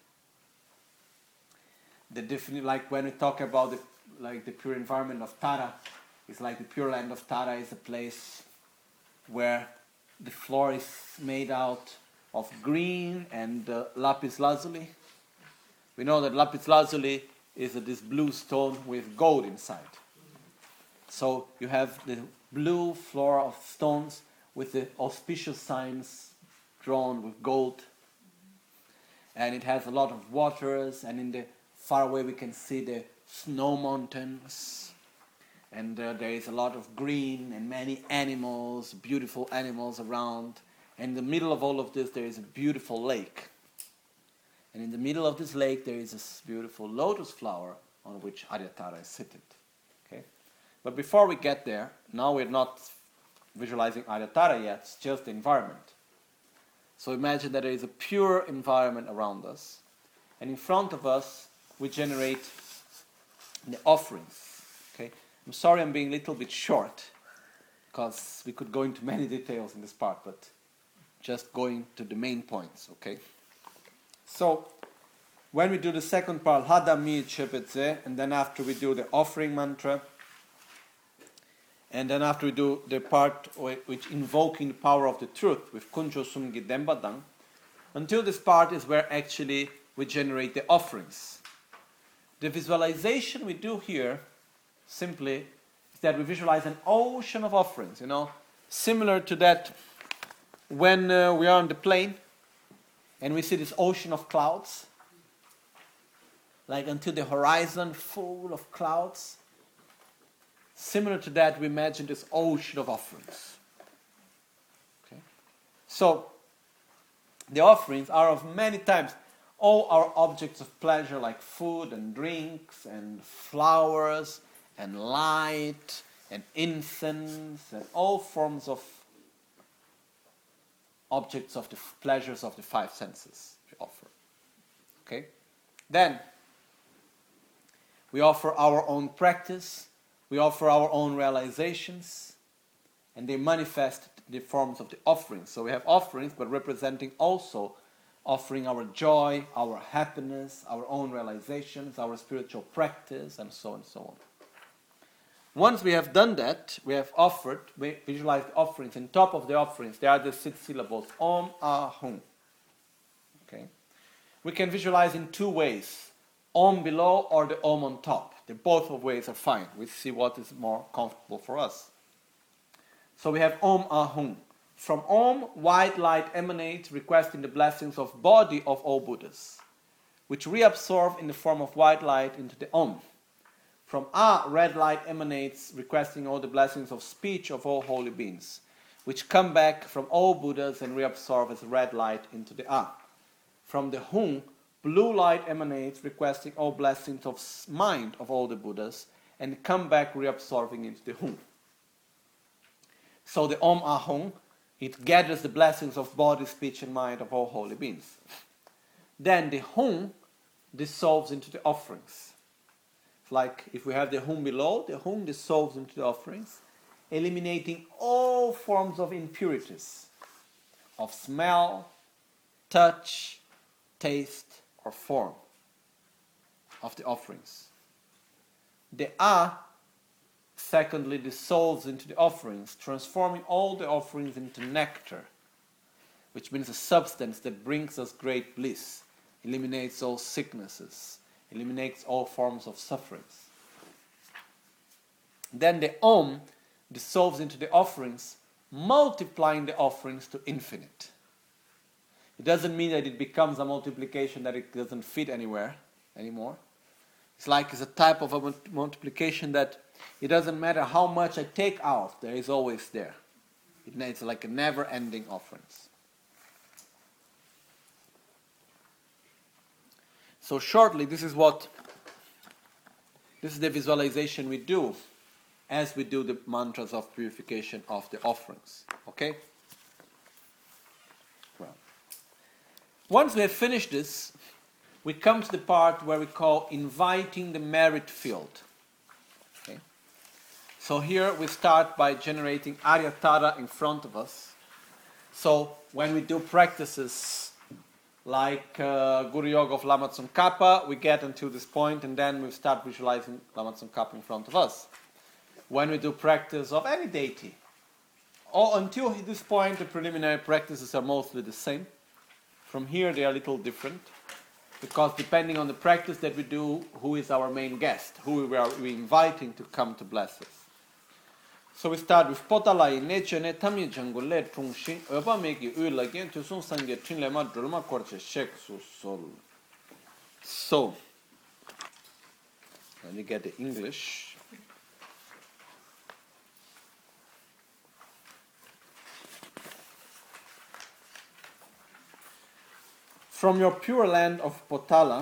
Like when we talk about the pure environment of Tara, it's like the pure land of Tara is a place where the floor is made out of green and lapis lazuli. We know that lapis lazuli is this blue stone with gold inside. So you have the blue floor of stones with the auspicious signs drawn with gold. And it has a lot of waters, and in the far away we can see the snow mountains. And there is a lot of green and many animals, beautiful animals around. And in the middle of all of this there is a beautiful lake. And in the middle of this lake there is this beautiful lotus flower on which Aryatara is seated. Okay? But before we get there, now we're not visualizing Aryatara yet, it's just the environment. So imagine that there is a pure environment around us. And in front of us, we generate the offerings. Okay? I'm sorry I'm being a little bit short, because we could go into many details in this part, but just going to the main points, okay? So, when we do the second part, Hadami Chepetse, and then after we do the offering mantra, and then after we do the part which invoking the power of the truth with Kunjo Sumgi Dembadang, until this part is where actually we generate the offerings. The visualization we do here simply is that we visualize an ocean of offerings, similar to that when we are on the plane and we see this ocean of clouds, like until the horizon full of clouds. Similar to that, we imagine this ocean of offerings. Okay? So, the offerings are of many types. All our objects of pleasure like food and drinks and flowers and light and incense and all forms of objects of the pleasures of the five senses we offer. Okay? Then, we offer our own practice, we offer our own realizations, and they manifest the forms of the offerings. So we have offerings, but representing also offering our joy, our happiness, our own realizations, our spiritual practice, and so on and so on. Once we have done that, we have offered, we visualize the offerings. On top of the offerings, there are the 6 syllables, Om, Ah, Hum. Okay? We can visualize in 2 ways, Om below or the Om on top. Both of ways are fine. We see what is more comfortable for us. So we have Om, Ah, Hum. From Om, white light emanates, requesting the blessings of body of all Buddhas, which reabsorb in the form of white light into the Om. From Ah, red light emanates, requesting all the blessings of speech of all holy beings, which come back from all Buddhas and reabsorb as red light into the Ah. From the Hum, blue light emanates, requesting all blessings of mind of all the Buddhas, and come back reabsorbing into the Hum. So the Om Ah Hum, it gathers the blessings of body, speech, and mind of all holy beings. Then the Hum dissolves into the offerings. It's like if we have the Hum below, the Hum dissolves into the offerings, eliminating all forms of impurities, of smell, touch, taste, or form of the offerings. The Ah, secondly, dissolves into the offerings, transforming all the offerings into nectar, which means a substance that brings us great bliss, eliminates all sicknesses, eliminates all forms of sufferings. Then the Om dissolves into the offerings, multiplying the offerings to infinite. It doesn't mean that it becomes a multiplication that it doesn't fit anywhere anymore. It's like it's a type of a multiplication that it doesn't matter how much I take out, there is always there. It's like a never-ending offerings. So shortly, this is the visualization we do as we do the mantras of purification of the offerings. Okay? Well, once we have finished this, we come to the part where we call inviting the merit field. Okay? So here we start by generating Aryatara in front of us. So when we do practices like Guru Yoga of Lama Tsongkhapa, we get until this point and then we start visualizing Lama Tsongkhapa in front of us. When we do practice of any deity, until this point the preliminary practices are mostly the same. From here they are a little different, because depending on the practice that we do, who is our main guest, who we are inviting to come to bless us. So we start with Potalai Neche Ne Tamye Jangule Trungshin Oba Meki Ula Gen to Sun Sange Trinlema Druma Korche Shek Su Sol. So let me get the English. From your pure land of Potala,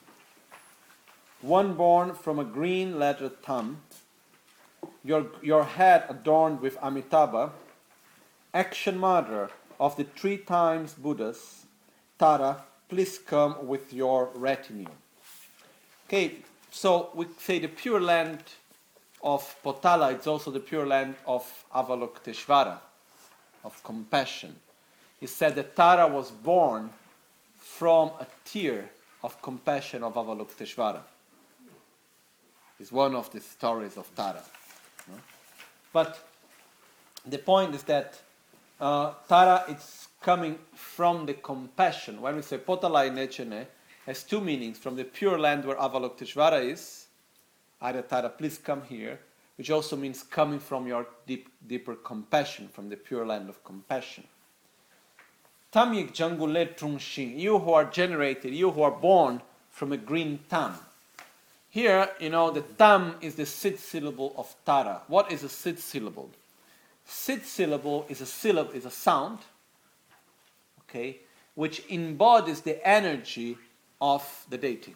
one born from a green lettered thumb, your head adorned with Amitabha, action mother of the 3 times Buddhas, Tara, please come with your retinue. Okay, so we say the pure land of Potala, it's also the pure land of Avalokiteshvara, of compassion. He said that Tara was born from a tear of compassion of Avalokiteshvara. It's one of the stories of Tara. No? But the point is that Tara is coming from the compassion. When we say Potalai Nechene, has two meanings. From the pure land where Avalokiteshvara is, Arya Tara, please come here, which also means coming from your deeper compassion, from the pure land of compassion. Tamyik Jangule Trungshin, you who are generated, you who are born from a green tam. Here, the tam is the sit syllable of Tara. What is a sit syllable? Sit syllable is a sound, okay, which embodies the energy of the deity.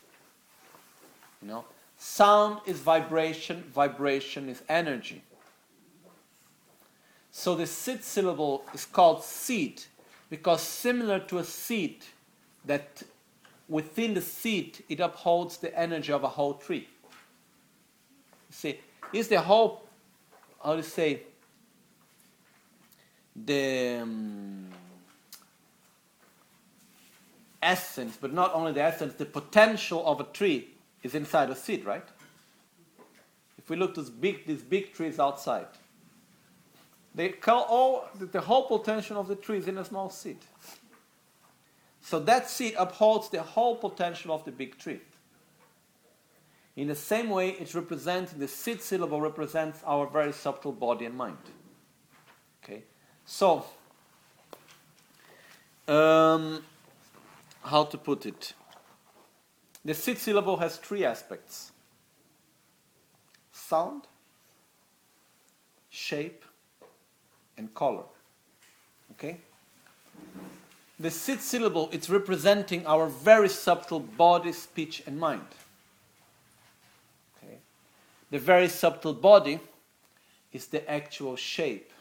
Sound is vibration, vibration is energy. So the sit syllable is called seed because similar to a seed, that within the seed it upholds the energy of a whole tree. See, is the whole, how to say, the essence, but not only the essence, the potential of a tree is inside a seed, right? If we look at these big trees outside, they call the whole potential of the tree is in a small seed. So that seed upholds the whole potential of the big tree. In the same way, it's representing, the seed syllable represents our very subtle body and mind. Okay, so how to put it? The seed syllable has three aspects: sound, shape, and color. Okay? The seed syllable, it's representing our very subtle body, speech, and mind. Okay? The very subtle body is the actual shape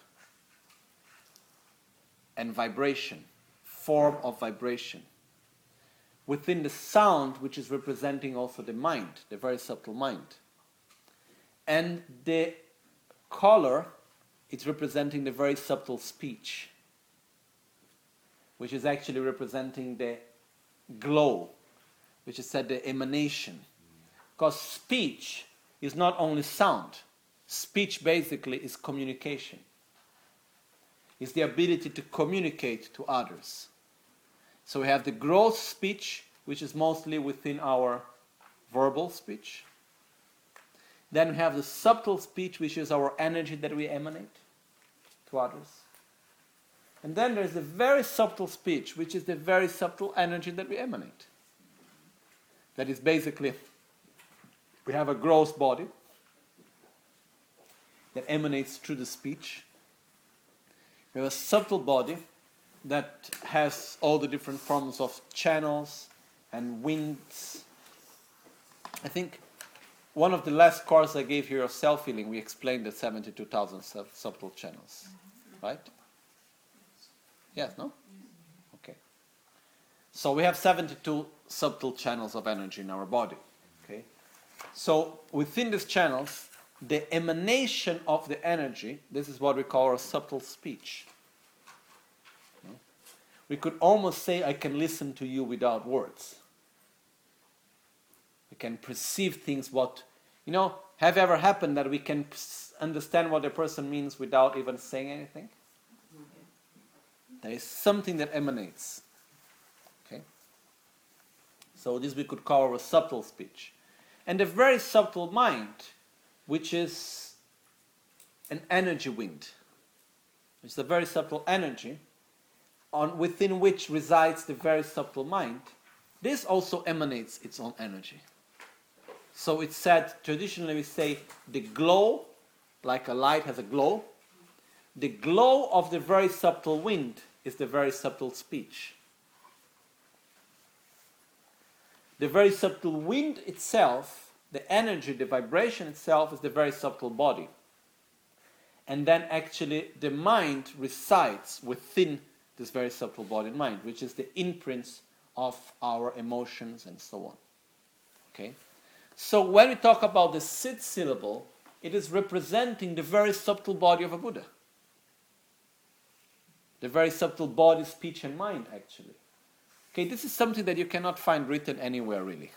and vibration, form of vibration. Within the sound, which is representing also the mind, the very subtle mind. And the color, it's representing the very subtle speech, which is actually representing the glow, which is said the emanation. Because speech is not only sound. Speech basically is communication. It's the ability to communicate to others. So we have the gross speech, which is mostly within our verbal speech. Then we have the subtle speech, which is our energy that we emanate to others. And then there's the very subtle speech, which is the very subtle energy that we emanate. That is basically, we have a gross body that emanates through the speech. We have a subtle body that has all the different forms of channels and winds. I think one of the last courses I gave here of self-healing, we explained the 72,000 subtle channels, right? Yes, no? Okay. So we have 72 subtle channels of energy in our body, okay? So within these channels, the emanation of the energy, this is what we call our subtle speech. We could almost say, I can listen to you without words. We can perceive things have ever happened that we can understand what a person means without even saying anything? There is something that emanates. Okay? So this we could call our subtle speech. And the very subtle mind, which is an energy wind. It's a very subtle energy within which resides the very subtle mind. This also emanates its own energy. So it's said, traditionally we say, the glow, like a light has a glow, the glow of the very subtle wind is the very subtle speech. The very subtle wind itself, the energy, the vibration itself is the very subtle body. And then actually the mind resides within this very subtle body and mind, which is the imprints of our emotions and so on. Okay? So when we talk about the sit syllable, it is representing the very subtle body of a Buddha. The very subtle body, speech and mind, actually. Okay, this is something that you cannot find written anywhere really.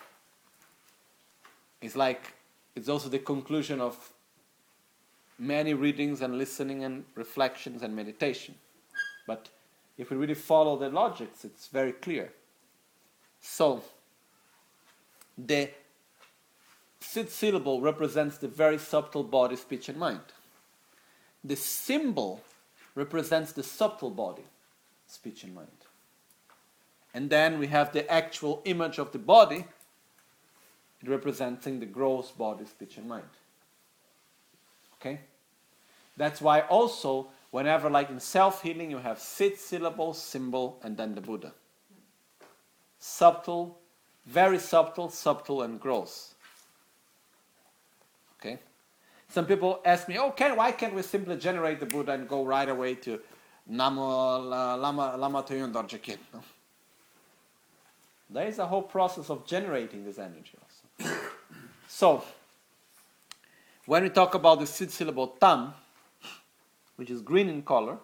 It's also the conclusion of many readings and listening and reflections and meditation. But if we really follow the logics, it's very clear. So, the sixth syllable represents the very subtle body, speech, and mind. The symbol represents the subtle body, speech, and mind. And then we have the actual image of the body, representing the gross body, speech, and mind. Okay? That's why also, whenever like in self-healing, you have sixth syllable, symbol, and then the Buddha. Subtle, very subtle, subtle, and gross. Okay? Some people ask me, why can't we simply generate the Buddha and go right away to Namo Lama Tuyun Dorje Kin? No? There is a whole process of generating this energy also. So, when we talk about the sixth syllable Tam, which is green in color,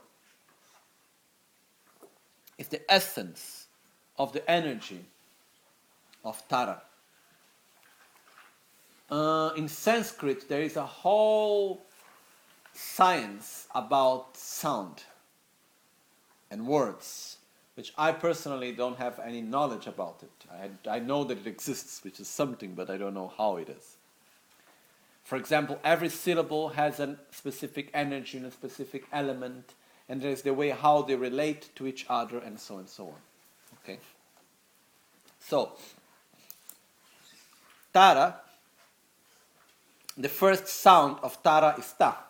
it's the essence of the energy of Tara. In Sanskrit, there is a whole science about sound and words, which I personally don't have any knowledge about it. I know that it exists, which is something, but I don't know how it is. For example, every syllable has a specific energy and a specific element, and there's the way how they relate to each other, and so on. Okay? So, Tara, the first sound of Tara is Ta.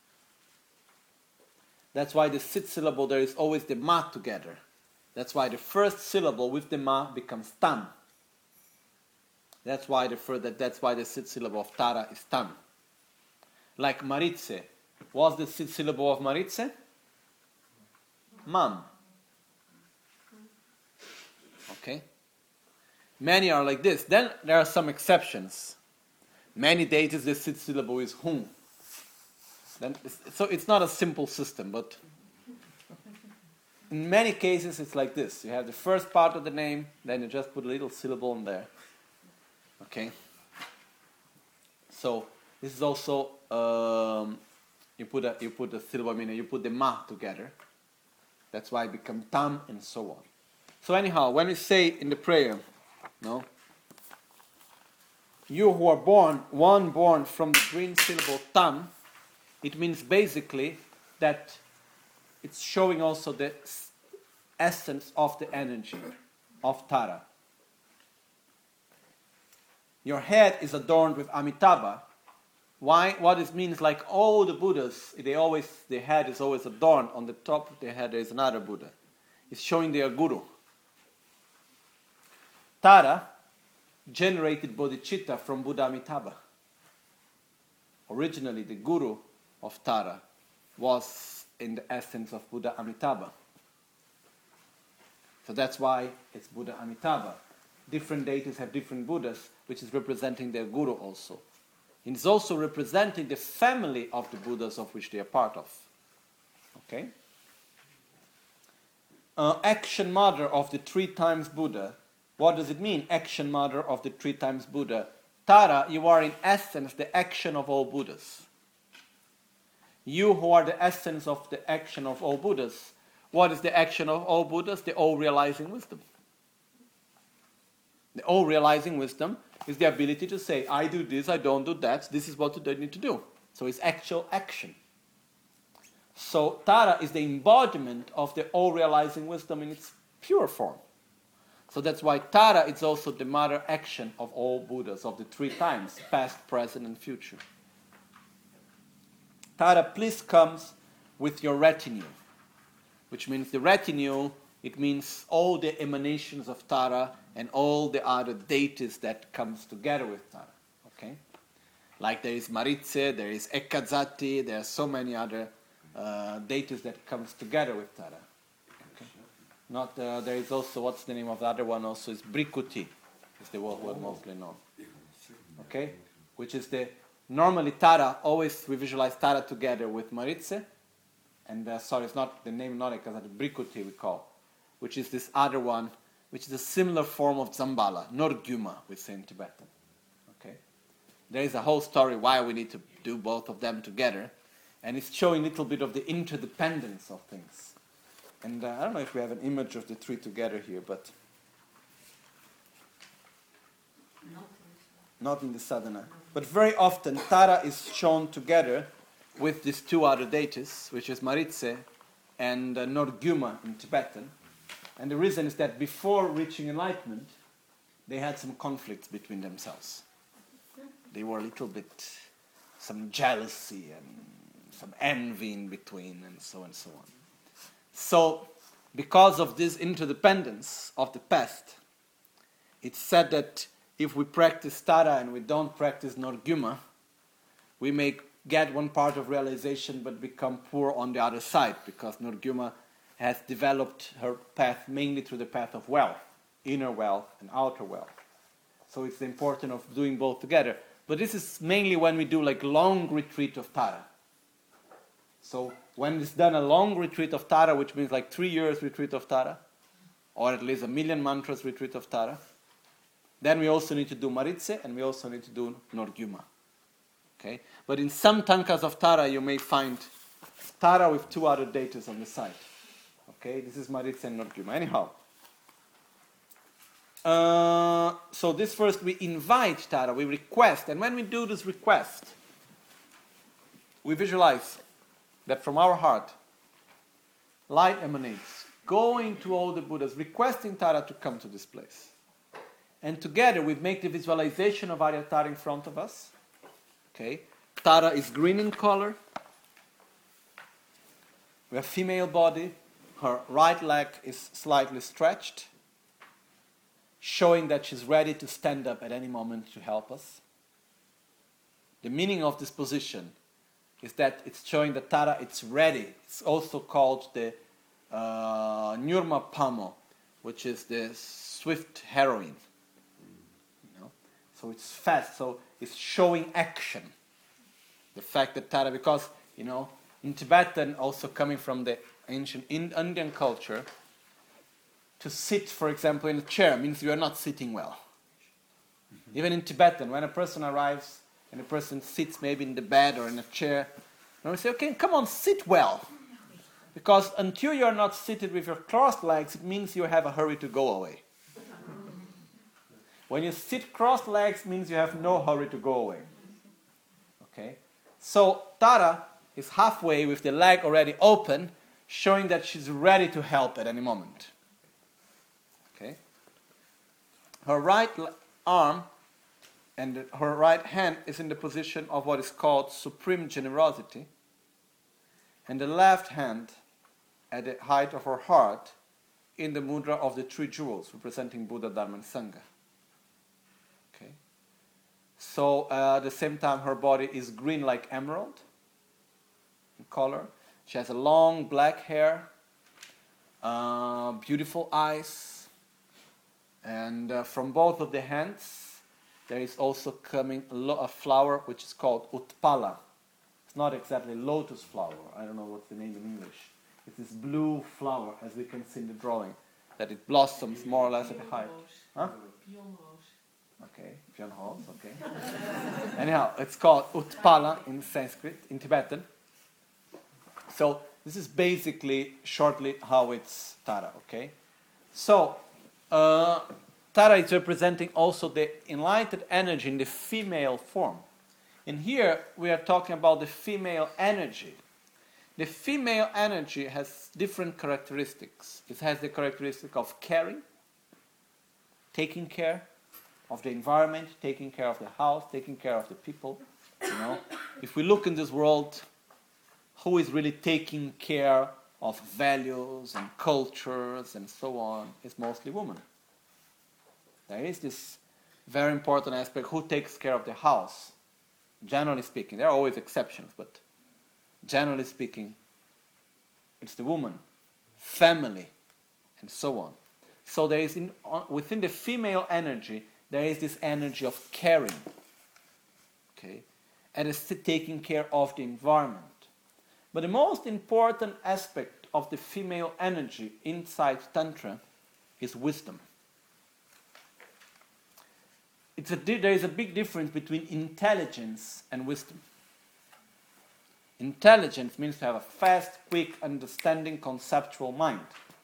That's why the sixth syllable, there is always the Ma together. That's why the first syllable with the Ma becomes Tam. That's why the sixth syllable of Tara is Tam. Like Maritze. What's the sixth syllable of Maritze? Mam. Okay? Many are like this. Then there are some exceptions. Many deities, the sixth syllable is Hum. So it's not a simple system, but in many cases it's like this. You have the first part of the name, then you just put a little syllable in there. Okay? So this is also you put a syllable, meaning you put the Ma together. That's why it becomes Tam and so on. So anyhow, when we say in the prayer, no, you who are born from the green syllable Tam, it means basically that it's showing also the essence of the energy of Tara. Your head is adorned with Amitabha. Why? What it means, like all the Buddhas, the head is always adorned. On the top of the head there is another Buddha. It's showing their guru. Tara generated bodhicitta from Buddha Amitabha. Originally, the guru of Tara was in the essence of Buddha Amitabha. So that's why it's Buddha Amitabha. Different deities have different Buddhas, which is representing their guru also. And it's also representing the family of the Buddhas of which they are part of. Okay? Action mother of the 3 times Buddha. What does it mean, action mother of the 3 times Buddha? Tara, you are in essence the action of all Buddhas. You who are the essence of the action of all Buddhas. What is the action of all Buddhas? The all-realizing wisdom. The all-realizing wisdom is the ability to say, I do this, I don't do that, this is what I need to do. So it's actual action. So Tara is the embodiment of the all-realizing wisdom in its pure form. So that's why Tara is also the mother action of all Buddhas, of the 3 times, past, present, and future. Tara, please comes with your retinue, which means the retinue, it means all the emanations of Tara and all the other deities that comes together with Tara. Okay? Like there is Maritze, there is Ekadzati, there are so many other deities that comes together with Tara. Okay? There is also, what's the name of the other one also, is Brikuti, is the word mostly known. Okay? Which is normally Tara, always we visualize Tara together with Maritze, and it's not the name, not Ekadzati, Brikuti we call, which is this other one which is a similar form of Zambala, Norgyuma, we say in Tibetan. Okay? There is a whole story why we need to do both of them together, and it's showing a little bit of the interdependence of things. And I don't know if we have an image of the three together here, but not in the sadhana. But very often, Tara is shown together with these two other deities, which is Maritse and Norgyuma in Tibetan. And the reason is that before reaching enlightenment, they had some conflicts between themselves. They were a little bit, some jealousy and some envy in between, and so on. So, because of this interdependence of the past, it's said that if we practice Tara and we don't practice Norgyuma, we may get one part of realization but become poor on the other side, because Norgyuma has developed her path mainly through the path of wealth, inner wealth and outer wealth. So it's the importance of doing both together. But this is mainly when we do like long retreat of Tara. So when it's done a long retreat of Tara, which means like 3 years retreat of Tara, or at least 1,000,000 mantras retreat of Tara, then we also need to do Maritse and we also need to do Norgyuma. Okay? But in some tankas of Tara you may find Tara with two other deities on the side. Okay, this is Maritse and Norgyuma. Anyhow, so this first we invite Tara, we request, and when we do this request, we visualize that from our heart, light emanates, going to all the Buddhas, requesting Tara to come to this place. And together we make the visualization of Arya Tara in front of us. Okay, Tara is green in color. We have female body. Her right leg is slightly stretched, showing that she's ready to stand up at any moment to help us. The meaning of this position is that it's showing that Tara is ready. It's also called the Nyurma Pamo, which is the swift heroine. You know? So it's fast, so it's showing action. The fact that Tara, because, you know, in Tibetan, also coming from the ancient Indian culture, to sit, for example, in a chair means you are not sitting well. Mm-hmm. Even in Tibetan, when a person arrives and a person sits maybe in the bed or in a chair, and we say, okay, come on, sit well. Because until you are not seated with your crossed legs, it means you have a hurry to go away. When you sit crossed legs, means you have no hurry to go away. Okay? So Tara is halfway with the leg already open, showing that she's ready to help at any moment. Okay? Her right arm and her right hand is in the position of what is called supreme generosity, and the left hand at the height of her heart in the mudra of the three jewels representing Buddha, Dharma and Sangha. Okay? So at the same time her body is green like emerald in color. She has a long black hair, beautiful eyes, and from both of the hands there is also coming a flower which is called Utpala. It's not exactly lotus flower. I don't know what's the name in English. It's this blue flower, as we can see in the drawing, that it blossoms more or less at the height. Huh? Okay, Pion Rose, okay. Anyhow, it's called Utpala in Sanskrit, in Tibetan. So this is basically, shortly, how it's Tara, okay? So, Tara is representing also the enlightened energy in the female form. And here we are talking about the female energy. The female energy has different characteristics. It has the characteristic of caring, taking care of the environment, taking care of the house, taking care of the people. You know, if we look in this world, who is really taking care of values and cultures and so on, is mostly women. There is this very important aspect, who takes care of the house. Generally speaking, there are always exceptions, but generally speaking, it's the woman, family, and so on. So there is, within the female energy, there is this energy of caring, okay, and it's taking care of the environment. But the most important aspect of the female energy inside Tantra is wisdom. there is a big difference between intelligence and wisdom. Intelligence means to have a fast, quick, understanding, conceptual mind.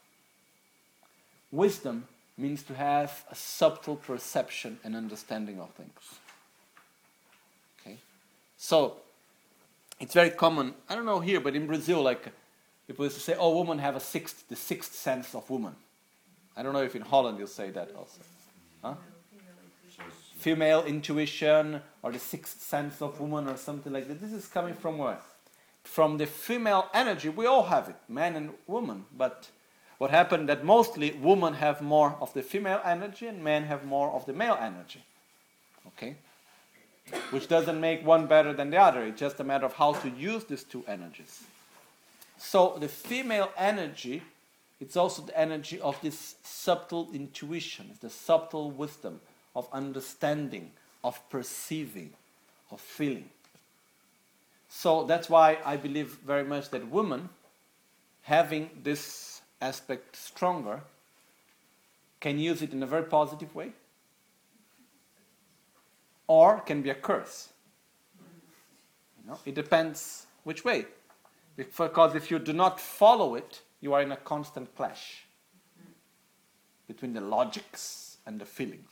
Wisdom means to have a subtle perception and understanding of things. Okay? So, it's very common, I don't know here, but in Brazil, like, people used to say, oh, women have the sixth sense of woman. I don't know if in Holland you'll say that also. Huh? Female intuition, or the sixth sense of woman, or something like that. This is coming from where? From the female energy. We all have it, man and woman. But what happened that mostly women have more of the female energy and men have more of the male energy. Okay? Which doesn't make one better than the other. It's just a matter of how to use these two energies. So the female energy, it's also the energy of this subtle intuition, the subtle wisdom of understanding, of perceiving, of feeling. So that's why I believe very much that women, having this aspect stronger, can use it in a very positive way, or can be a curse. You know, it depends which way. Because if you do not follow it, you are in a constant clash between the logics and the feelings.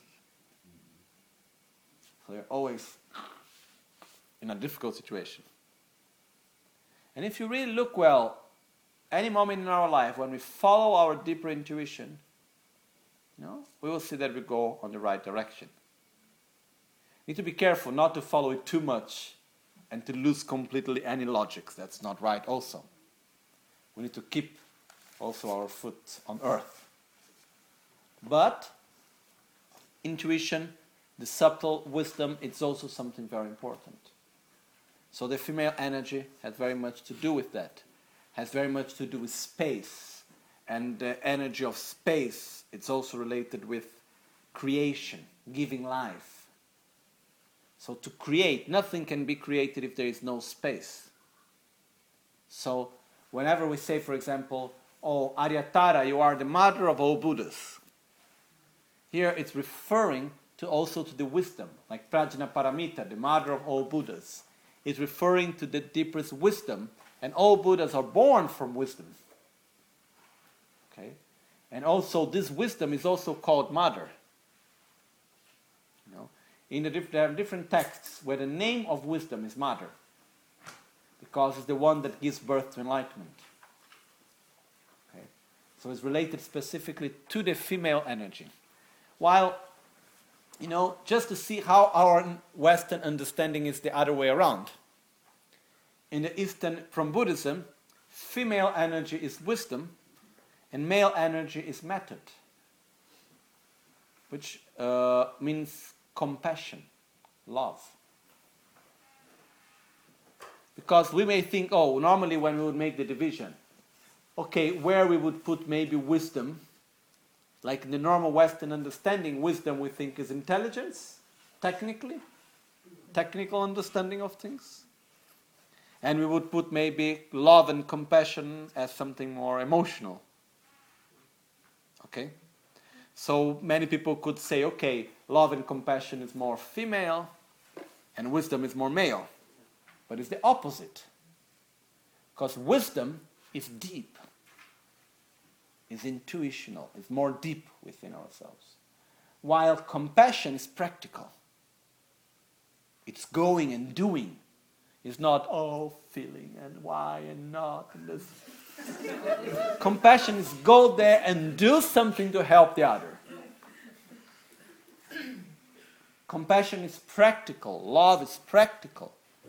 So you're always in a difficult situation. And if you really look well, any moment in our life when we follow our deeper intuition, you know, we will see that we go on the right direction. Need to be careful not to follow it too much and to lose completely any logics. That's not right also. We need to keep also our foot on earth. But intuition, the subtle wisdom, it's also something very important. So the female energy has very much to do with that. Has very much to do with space. And the energy of space, it's also related with creation, giving life. So to create, nothing can be created if there is no space. So whenever we say, for example, oh, Aryatara, you are the mother of all Buddhas. Here it's referring to also to the wisdom, like Prajnaparamita, the mother of all Buddhas. It's referring to the deepest wisdom, and all Buddhas are born from wisdom. Okay? And also this wisdom is also called mother. You know? There are different texts where the name of wisdom is mother, because it's the one that gives birth to enlightenment. Okay? So it's related specifically to the female energy. While, you know, just to see how our Western understanding is the other way around. In the Eastern, from Buddhism, female energy is wisdom and male energy is method, which means compassion, love. Because we may think, oh, normally when we would make the division, okay, where we would put maybe wisdom, like in the normal Western understanding, wisdom we think is intelligence, technical understanding of things. And we would put maybe love and compassion as something more emotional. Okay? So many people could say, okay, love and compassion is more female and wisdom is more male. But it's the opposite. Because wisdom is deep, is intuitional, is more deep within ourselves. While compassion is practical. It's going and doing. It's not, oh, feeling and why and not. And this. Compassion is go there and do something to help the other. Compassion is practical. Love is practical.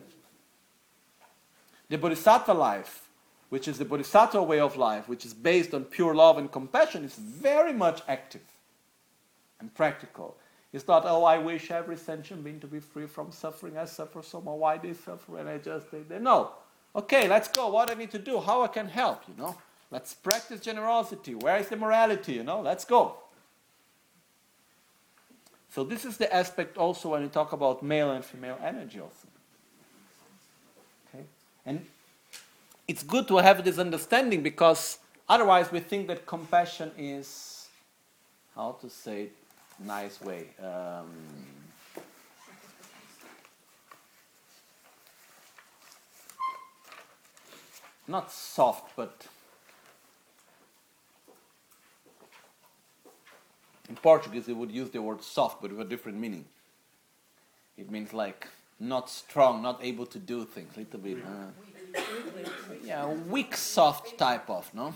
The Bodhisattva life, which is the Bodhisattva way of life, which is based on pure love and compassion, is very much active and practical. It's not, oh, I wish every sentient being to be free from suffering. I suffer so much. Why they suffer? And I just think that. No. Okay, let's go. What do I need to do? How I can help, you know? Let's practice generosity. Where is the morality, you know? Let's go. So this is the aspect also when we talk about male and female energy also. Okay? And it's good to have this understanding because otherwise we think that compassion is, how to say it, nice way. not soft, but in Portuguese they would use the word soft, but with a different meaning. It means like not strong, not able to do things, a little bit. Yeah, weak, soft type of, no?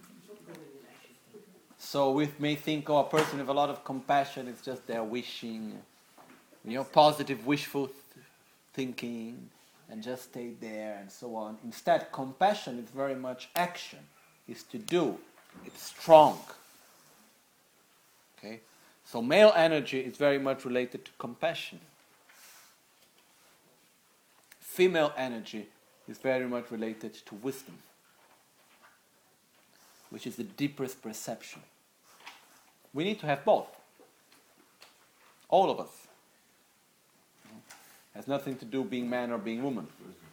So we may think, oh, a person with a lot of compassion is just there wishing, positive, wishful thinking, and just stay there and so on. Instead, compassion is very much action, is to do. It's strong. Okay? So male energy is very much related to compassion. Female energy is very much related to wisdom, which is the deepest perception. We need to have both. All of us. Has nothing to do being man or being woman.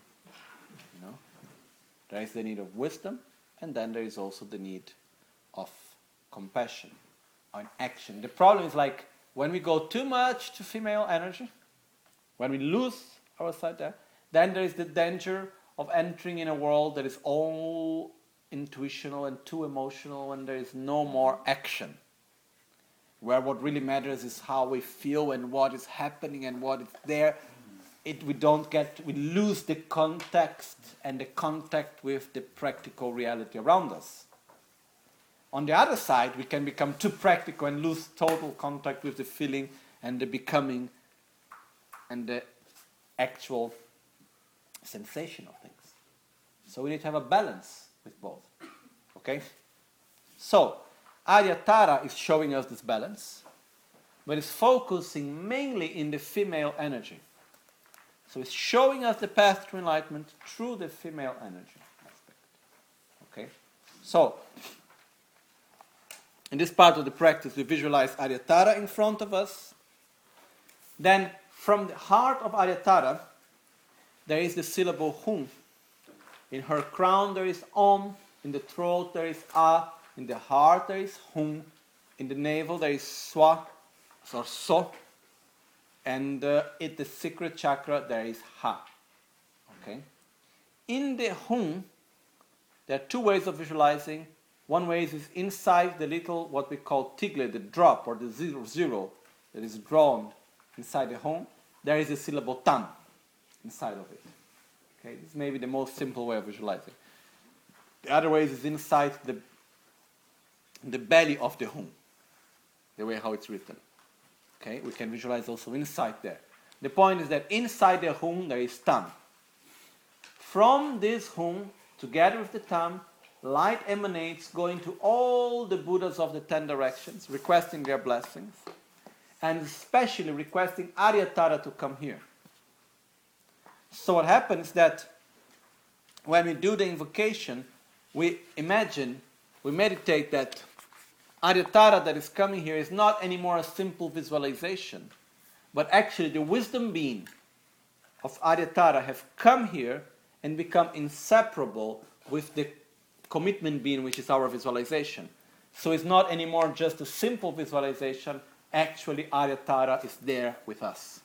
There is the need of wisdom, and then there is also the need of compassion and action. The problem is like when we go too much to female energy, when we lose our side there, then there is the danger of entering in a world that is all intuitional and too emotional, and there is no more action. Where what really matters is how we feel and what is happening and what is there. We lose the context and the contact with the practical reality around us. On the other side, we can become too practical and lose total contact with the feeling and the becoming and the actual sensation of things. So we need to have a balance with both. Okay? So, Aryatara is showing us this balance, but it's focusing mainly in the female energy. So it's showing us the path to enlightenment through the female energy aspect. Okay? So, in this part of the practice, we visualize Aryatara in front of us. Then, from the heart of Aryatara, there is the syllable Hum. In her crown there is Om. In the throat there is A. In the heart there is Hum. In the navel there is Swa, or So. And in the secret chakra there is Ha. Okay? In the Hum, there are two ways of visualizing. One way is inside the little, what we call tigle, the drop, or the zero that is drawn inside the Hum. There is a syllable Tam inside of it. Okay? This may be the most simple way of visualizing. The other way is inside the belly of the Hum, the way how it's written. Okay, we can visualize also inside there. The point is that inside the Hum there is Tam. From this Hum, together with the Tam, light emanates going to all the Buddhas of the 10 directions, requesting their blessings, and especially requesting Aryatara to come here. So what happens is that when we do the invocation, we meditate that Aryatara that is coming here is not anymore a simple visualization, but actually the wisdom being of Aryatara have come here and become inseparable with the commitment being, which is our visualization. So it's not anymore just a simple visualization, actually Aryatara is there with us.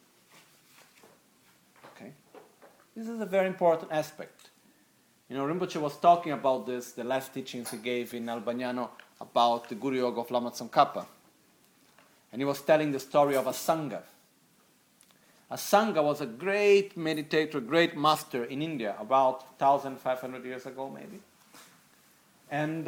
Okay? This is a very important aspect. Rinpoche was talking about this, the last teachings he gave in Albagnano, about the Guru Yoga of Lama Tsongkhapa. And he was telling the story of Asanga. Asanga was a great meditator, great master in India, about 1,500 years ago maybe. And,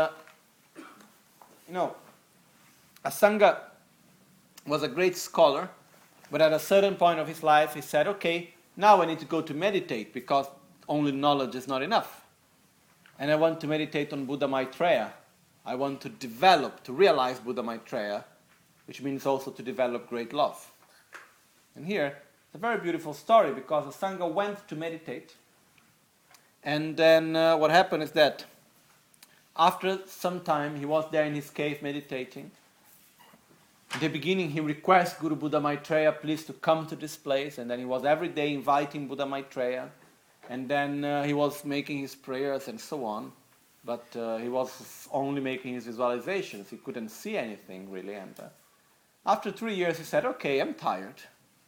Asanga was a great scholar, but at a certain point of his life he said, okay, now I need to go to meditate because only knowledge is not enough. And I want to meditate on Buddha Maitreya. I want to develop, to realize Buddha Maitreya, which means also to develop great love. And here, it's a very beautiful story because Asanga went to meditate. And then what happened is that after some time, he was there in his cave meditating. In the beginning, he requests Guru Buddha Maitreya, please to come to this place. And then he was every day inviting Buddha Maitreya. And then he was making his prayers and so on. But he was only making his visualizations. He couldn't see anything really. And after 3 years, he said, okay, I'm tired.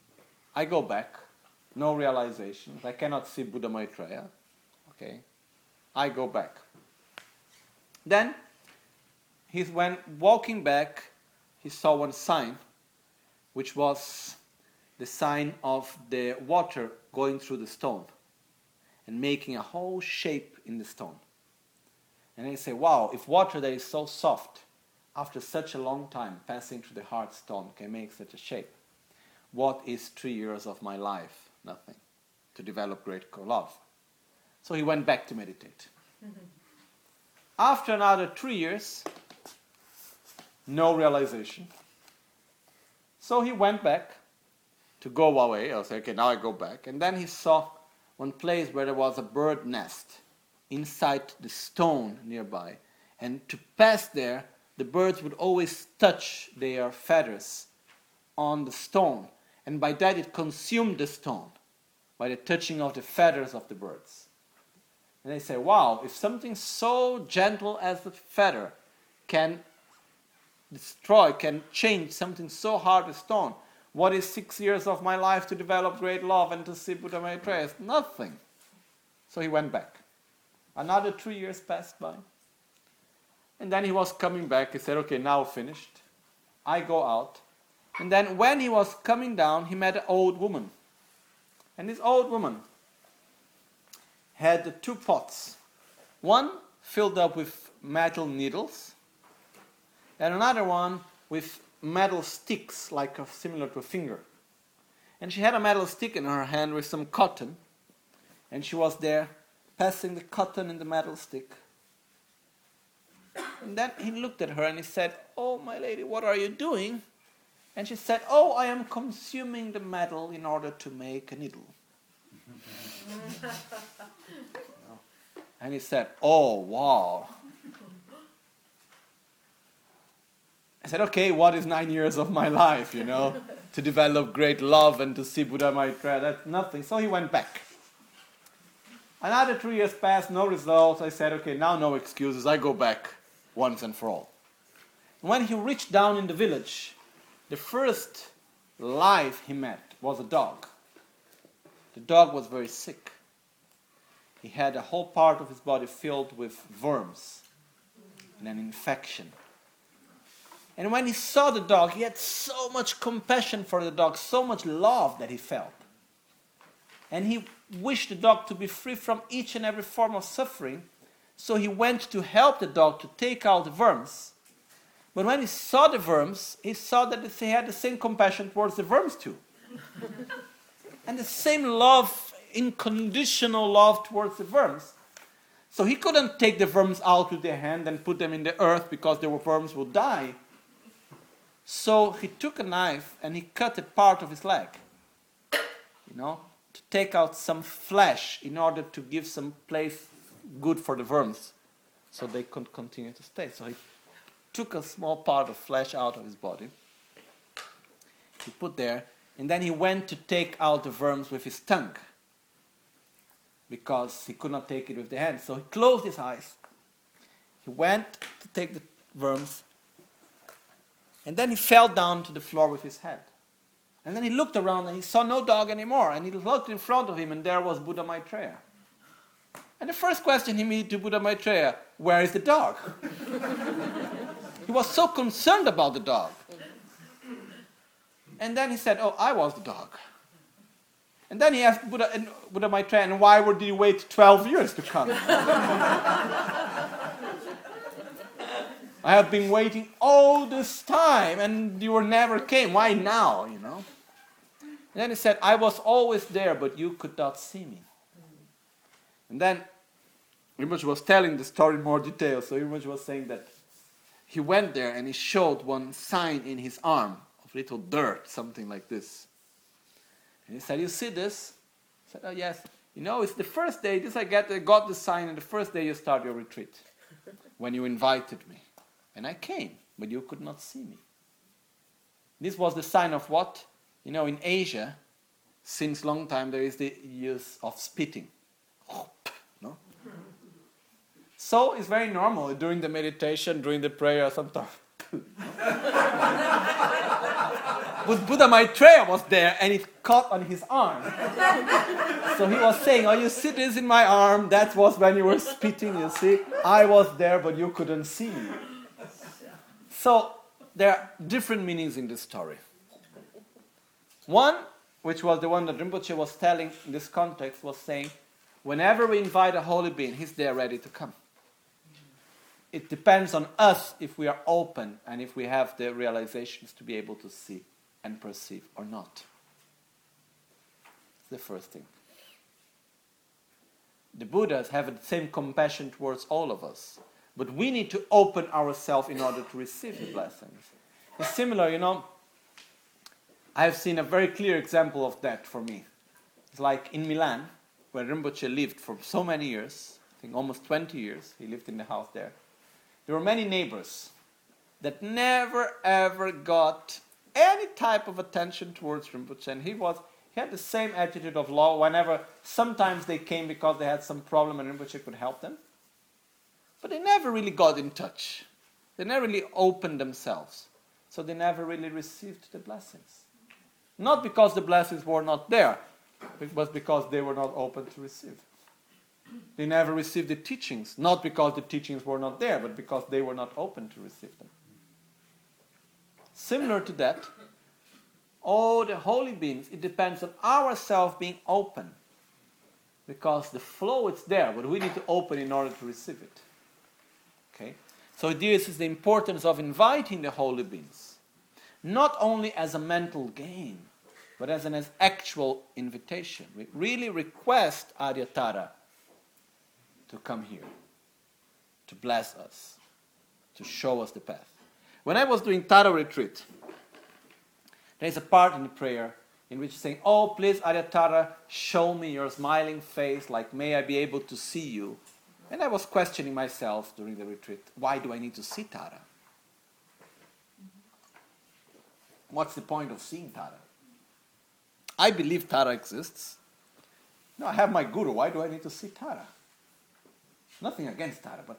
I go back. No realizations. I cannot see Buddha Maitreya. Okay. I go back. Then, when walking back, he saw one sign, which was the sign of the water going through the stone and making a whole shape in the stone. And he said, wow, if water that is so soft, after such a long time passing through the hard stone, can make such a shape, what is 3 years of my life? Nothing. To develop great love. So he went back to meditate. After another 3 years, no realization. So he went back to go away. I said, okay, now I go back. And then he saw one place where there was a bird nest inside the stone nearby. And to pass there, the birds would always touch their feathers on the stone. And by that it consumed the stone, by the touching of the feathers of the birds. And they say, wow, if something so gentle as the feather can destroy, can change something so hard as stone, what is 6 years of my life to develop great love and to see Buddha Maitreya? It's nothing. So he went back. Another 3 years passed by. And then he was coming back. He said, okay, now finished. I go out. And then when he was coming down, he met an old woman. And this old woman had 2 pots. One filled up with metal needles, and another one with metal sticks, like similar to a finger. And she had a metal stick in her hand with some cotton, and she was there passing the cotton in the metal stick. And then he looked at her and he said, oh, my lady, what are you doing? And she said, oh, I am consuming the metal in order to make a needle. And he said, oh, wow. I said, okay, what is 9 years of my life, to develop great love and to see Buddha Maitreya? That's nothing. So he went back. Another 3 years passed, no results. I said, okay, now no excuses. I go back once and for all. When he reached down in the village, the first life he met was a dog. The dog was very sick. He had a whole part of his body filled with worms and an infection. And when he saw the dog, he had so much compassion for the dog, so much love that he felt. And he wished the dog to be free from each and every form of suffering. So he went to help the dog to take out the worms. But when he saw the worms, he saw that he had the same compassion towards the worms too. And the same love, unconditional love towards the worms. So he couldn't take the worms out with their hand and put them in the earth because the worms would die. So he took a knife and he cut a part of his leg, to take out some flesh in order to give some place good for the worms so they could continue to stay. So he took a small part of flesh out of his body. He put there, and then he went to take out the worms with his tongue because he could not take it with the hand. So he closed his eyes. He went to take the worms, and then he fell down to the floor with his head. And then he looked around and he saw no dog anymore. And he looked in front of him and there was Buddha Maitreya. And the first question he made to Buddha Maitreya, where is the dog? He was so concerned about the dog. And then he said, oh, I was the dog. And then he asked Buddha Maitreya, and why did you wait 12 years to come? I have been waiting all this time and you never came. Why now, And then he said, I was always there, but you could not see me. And then Rinpoche was telling the story in more detail. So Rinpoche was saying that he went there and he showed one sign in his arm of little dirt, something like this. And he said, you see this? I said, oh yes. It's the first day, I got the sign, and the first day you start your retreat, when you invited me. And I came, but you could not see me. This was the sign of what? In Asia, since long time, there is the use of spitting. No? So it's very normal during the meditation, during the prayer, sometimes. But Buddha Maitreya was there and it caught on his arm. So he was saying, oh, you see this in my arm? That was when you were spitting, you see? I was there, but you couldn't see me. So there are different meanings in this story. One, which was the one that Rinpoche was telling in this context, was saying, whenever we invite a holy being, he's there ready to come. It depends on us if we are open and if we have the realizations to be able to see and perceive or not. That's the first thing. The Buddhas have the same compassion towards all of us, but we need to open ourselves in order to receive the blessings. It's similar, I have seen a very clear example of that for me. It's like in Milan, where Rinpoche lived for so many years, I think almost 20 years, he lived in the house there. There were many neighbors that never ever got any type of attention towards Rinpoche, and he had the same attitude of law whenever sometimes they came because they had some problem and Rinpoche could help them. But they never really got in touch. They never really opened themselves. So they never really received the blessings. Not because the blessings were not there, but because they were not open to receive. They never received the teachings, not because the teachings were not there, but because they were not open to receive them. Similar to that, all the holy beings, it depends on ourselves being open. Because the flow is there, but we need to open in order to receive it. Okay? So this is the importance of inviting the holy beings. Not only as a mental game, but as an actual invitation. We really request Aryatara to come here, to bless us, to show us the path. When I was doing Tara retreat, there's a part in the prayer in which saying, oh, please, Aryatara, show me your smiling face, like may I be able to see you. And I was questioning myself during the retreat, why do I need to see Tara? What's the point of seeing Tara? I believe Tara exists. No, I have my guru, why do I need to see Tara? Nothing against Tara, but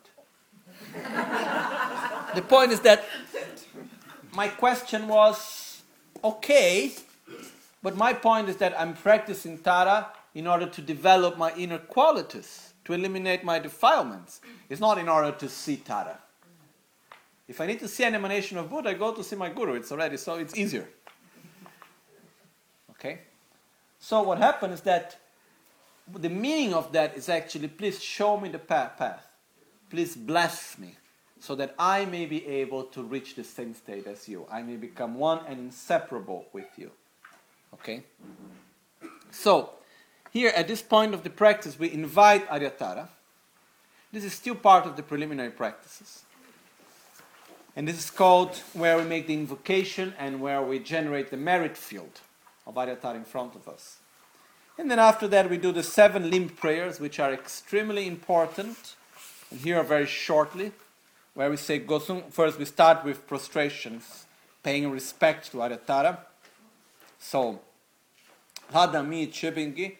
the point is that my question was, okay, but my point is that I'm practicing Tara in order to develop my inner qualities, to eliminate my defilements. It's not in order to see Tara. If I need to see an emanation of Buddha, I go to see my guru. It's easier. Okay? So what happened is that the meaning of that is actually, please show me the path. Please bless me, so that I may be able to reach the same state as you. I may become one and inseparable with you. Okay? So, here at this point of the practice, we invite Aryatara. This is still part of the preliminary practices. And this is called where we make the invocation and where we generate the merit field of Aryatara in front of us. And then after that we do the 7 limb prayers, which are extremely important. And here are very shortly, where we say Gosung. First we start with prostrations, paying respect to Aryatara. So, Hadami Chebingi,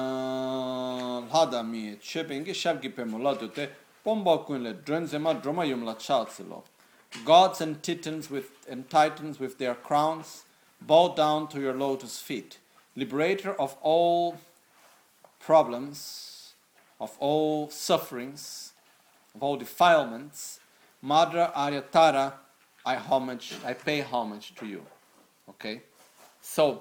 Shabgi Pemuladute, Pomba Kunle, Drenzema, Dromayum La Chatsilo. Gods and titans and titans with their crowns, bow down to your lotus feet. Liberator of all problems, of all sufferings, of all defilements, Mother Aryatara, I pay homage to you. Okay? So,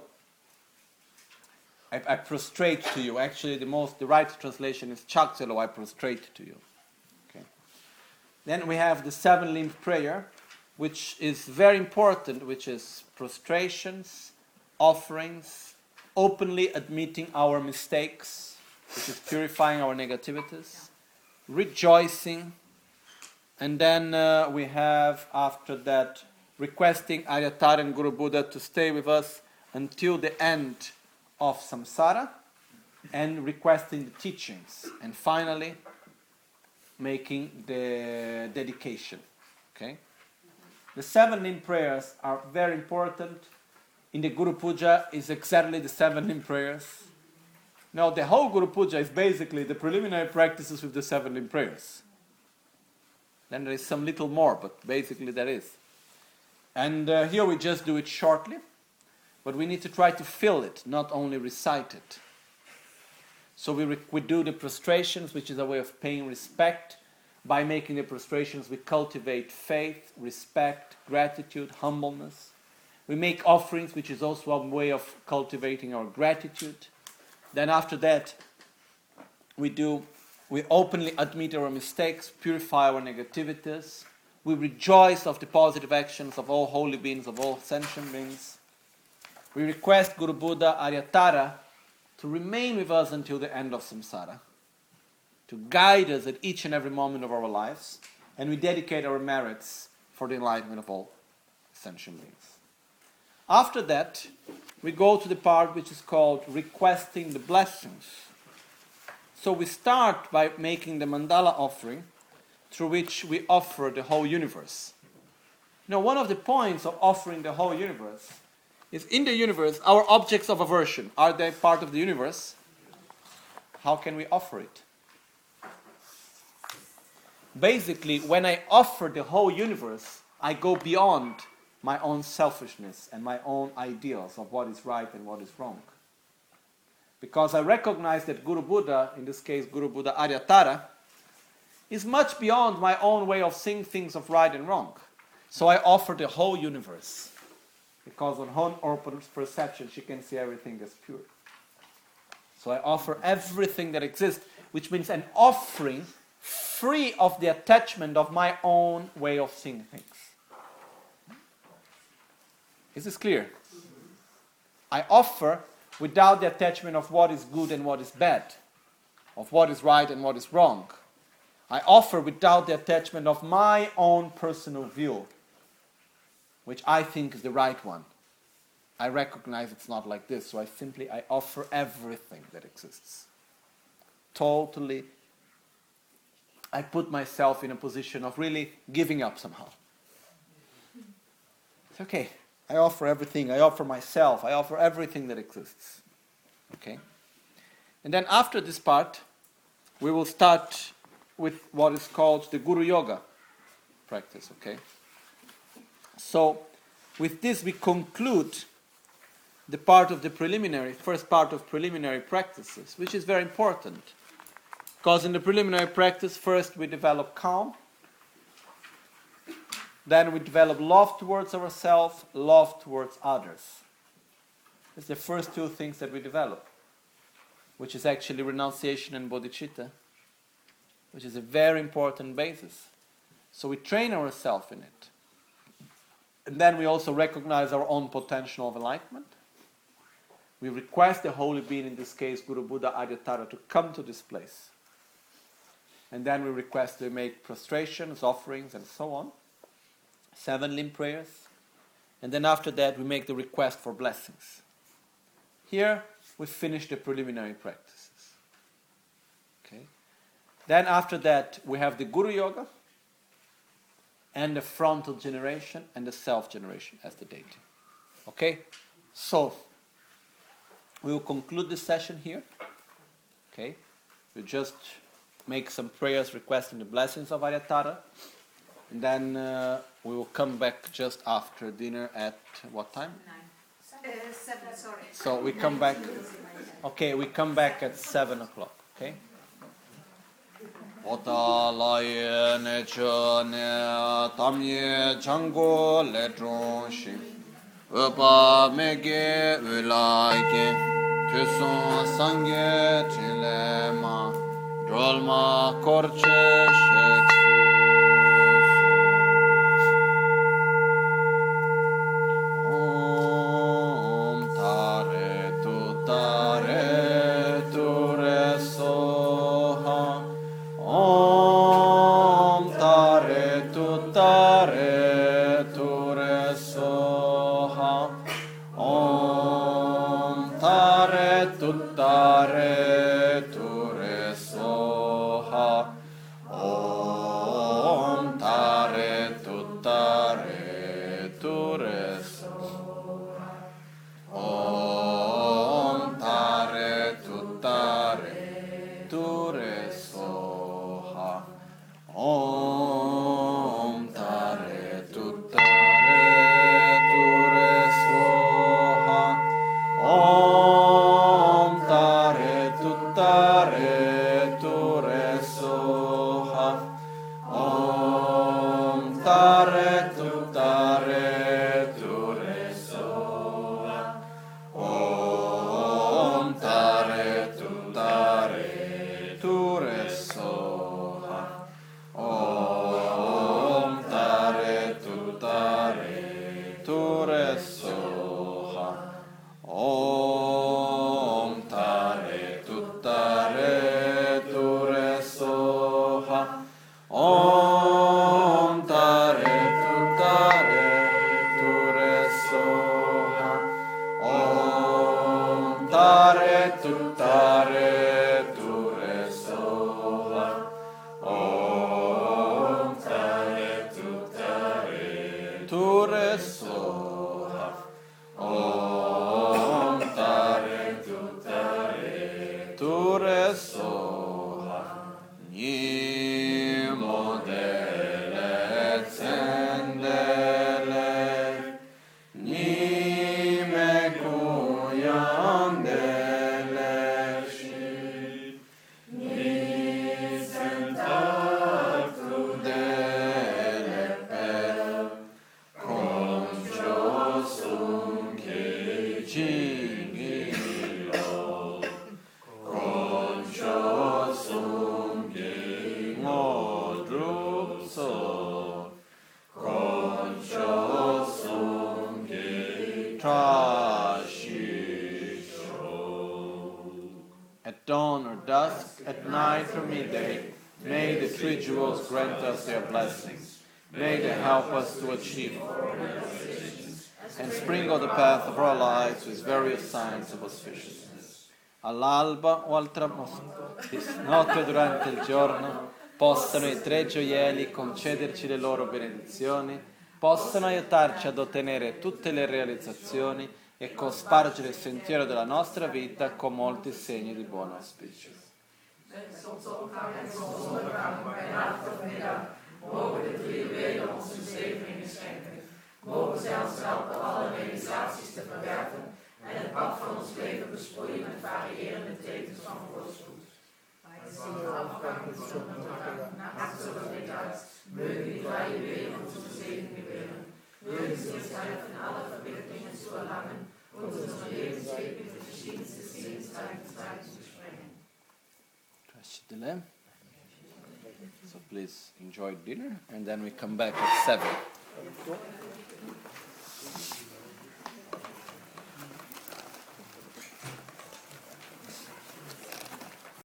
I prostrate to you. Actually, the right translation is Chakselo, I prostrate to you. Okay? Then we have the 7 limb prayer, which is very important, which is prostrations, offerings, openly admitting our mistakes, which is purifying our negativities, rejoicing, and then we have, after that, requesting Aryatara and Guru Buddha to stay with us until the end of samsara, and requesting the teachings, and finally, making the dedication. Okay? The 7 limb prayers are very important. In the Guru Puja is exactly the 7 limb prayers. Now, the whole Guru Puja is basically the preliminary practices with the 7 limb prayers. Then there is some little more, but basically that is. And here we just do it shortly. but we need to try to feel it, not only recite it. So we do the prostrations, which is a way of paying respect. By making the prostrations, we cultivate faith, respect, gratitude, humbleness. We make offerings, which is also a way of cultivating our gratitude. Then after that, we openly admit our mistakes, purify our negativities. We rejoice of the positive actions of all holy beings, of all sentient beings. We request Guru Buddha Aryatara to remain with us until the end of samsara, to guide us at each and every moment of our lives, and we dedicate our merits for the enlightenment of all sentient beings. After that, we go to the part which is called requesting the blessings. So we start by making the mandala offering, through which we offer the whole universe. Now, one of the points of offering the whole universe is, in the universe, our objects of aversion, are they part of the universe? How can we offer it? Basically, when I offer the whole universe, I go beyond my own selfishness and my own ideals of what is right and what is wrong. Because I recognize that Guru Buddha, in this case Guru Buddha Aryatara, is much beyond my own way of seeing things of right and wrong. So I offer the whole universe. Because on her open perception, she can see everything as pure. So I offer everything that exists, which means an offering free of the attachment of my own way of seeing things. Is this clear? I offer without the attachment of what is good and what is bad, of what is right and what is wrong. I offer without the attachment of my own personal view, which I think is the right one. I recognize it's not like this, so I offer everything that exists. Totally, I put myself in a position of really giving up somehow. It's okay. I offer everything. I offer myself. I offer everything that exists. Okay? And then after this part, we will start with what is called the Guru Yoga practice. Okay? So, with this we conclude the part of the first part of preliminary practices, which is very important. Because in the preliminary practice, first we develop calm, then we develop love towards ourselves, love towards others. It's the first two things that we develop, which is actually renunciation and bodhicitta, which is a very important basis. So we train ourselves in it. And then we also recognize our own potential of enlightenment. We request the holy being, in this case Guru Buddha Aryatara, to come to this place. And then we request to make prostrations, offerings, and so on. 7 limb prayers. And then after that we make the request for blessings. Here we finish the preliminary practices. Okay. Then after that we have the Guru Yoga and the frontal generation and the self-generation as the deity. Okay? So, we will conclude this session here. Okay? We'll just make some prayers requesting the blessings of Aryatara. And then we will come back just after dinner at what time? 7, sorry. So we come back. Okay, we come back at 7 o'clock. Okay? Ota laye ne che ne tamye chango le tronshi Upa mege ulaike Tuson sangye chilema Drolma korche sheksu Om tare tu re soha Om tare tu re soha Om tare tu re soha Om tare tu re soha Om tare tu re soha Om tare tu re soha Tare Ture Soha. Om Tare Ture Soha. Om Tare Ture Soha. Om Tare Ture Soha. Om Tare Ture Soha. Om Tare Ture Soha. Om Tare Ture Soha. Om Tare Ture Soha. Om Tare Ture Soha. Nimo dele zendele. Nime kuyam dele shi. Nisentatu dele pel. Concho sum ki jingilo. Concho sum ki modrupso. Concho sum ki trashisho. At dawn or dusk, at night or midday, may the three jewels grant us their blessings. May they help us to achieve and sprinkle the path of our lives with various signs of auspiciousness. All'alba o al tramonto, di notte o durante il giorno, possano i tre gioielli concederci le loro benedizioni, possano aiutarci ad ottenere tutte le realizzazioni e cospargere il sentiero della nostra vita con molti segni di buon auspicio. Mogen de drie juwelen ons een zegeningen schenken. Mogen zij ons helpen alle realisaties te verwerven en het pad van ons leven besproeien met variërende tekens van voorspoed. Nach Absolutiteit, mögen die drei Juwelen uns den Segen gewähren. Mögen sie uns helfen, alle Verwicklungen zu erlangen und unseren Lebensweg mit den verschiedensten Segenszeiten zu sprengen. So please enjoy dinner and then we come back at 7.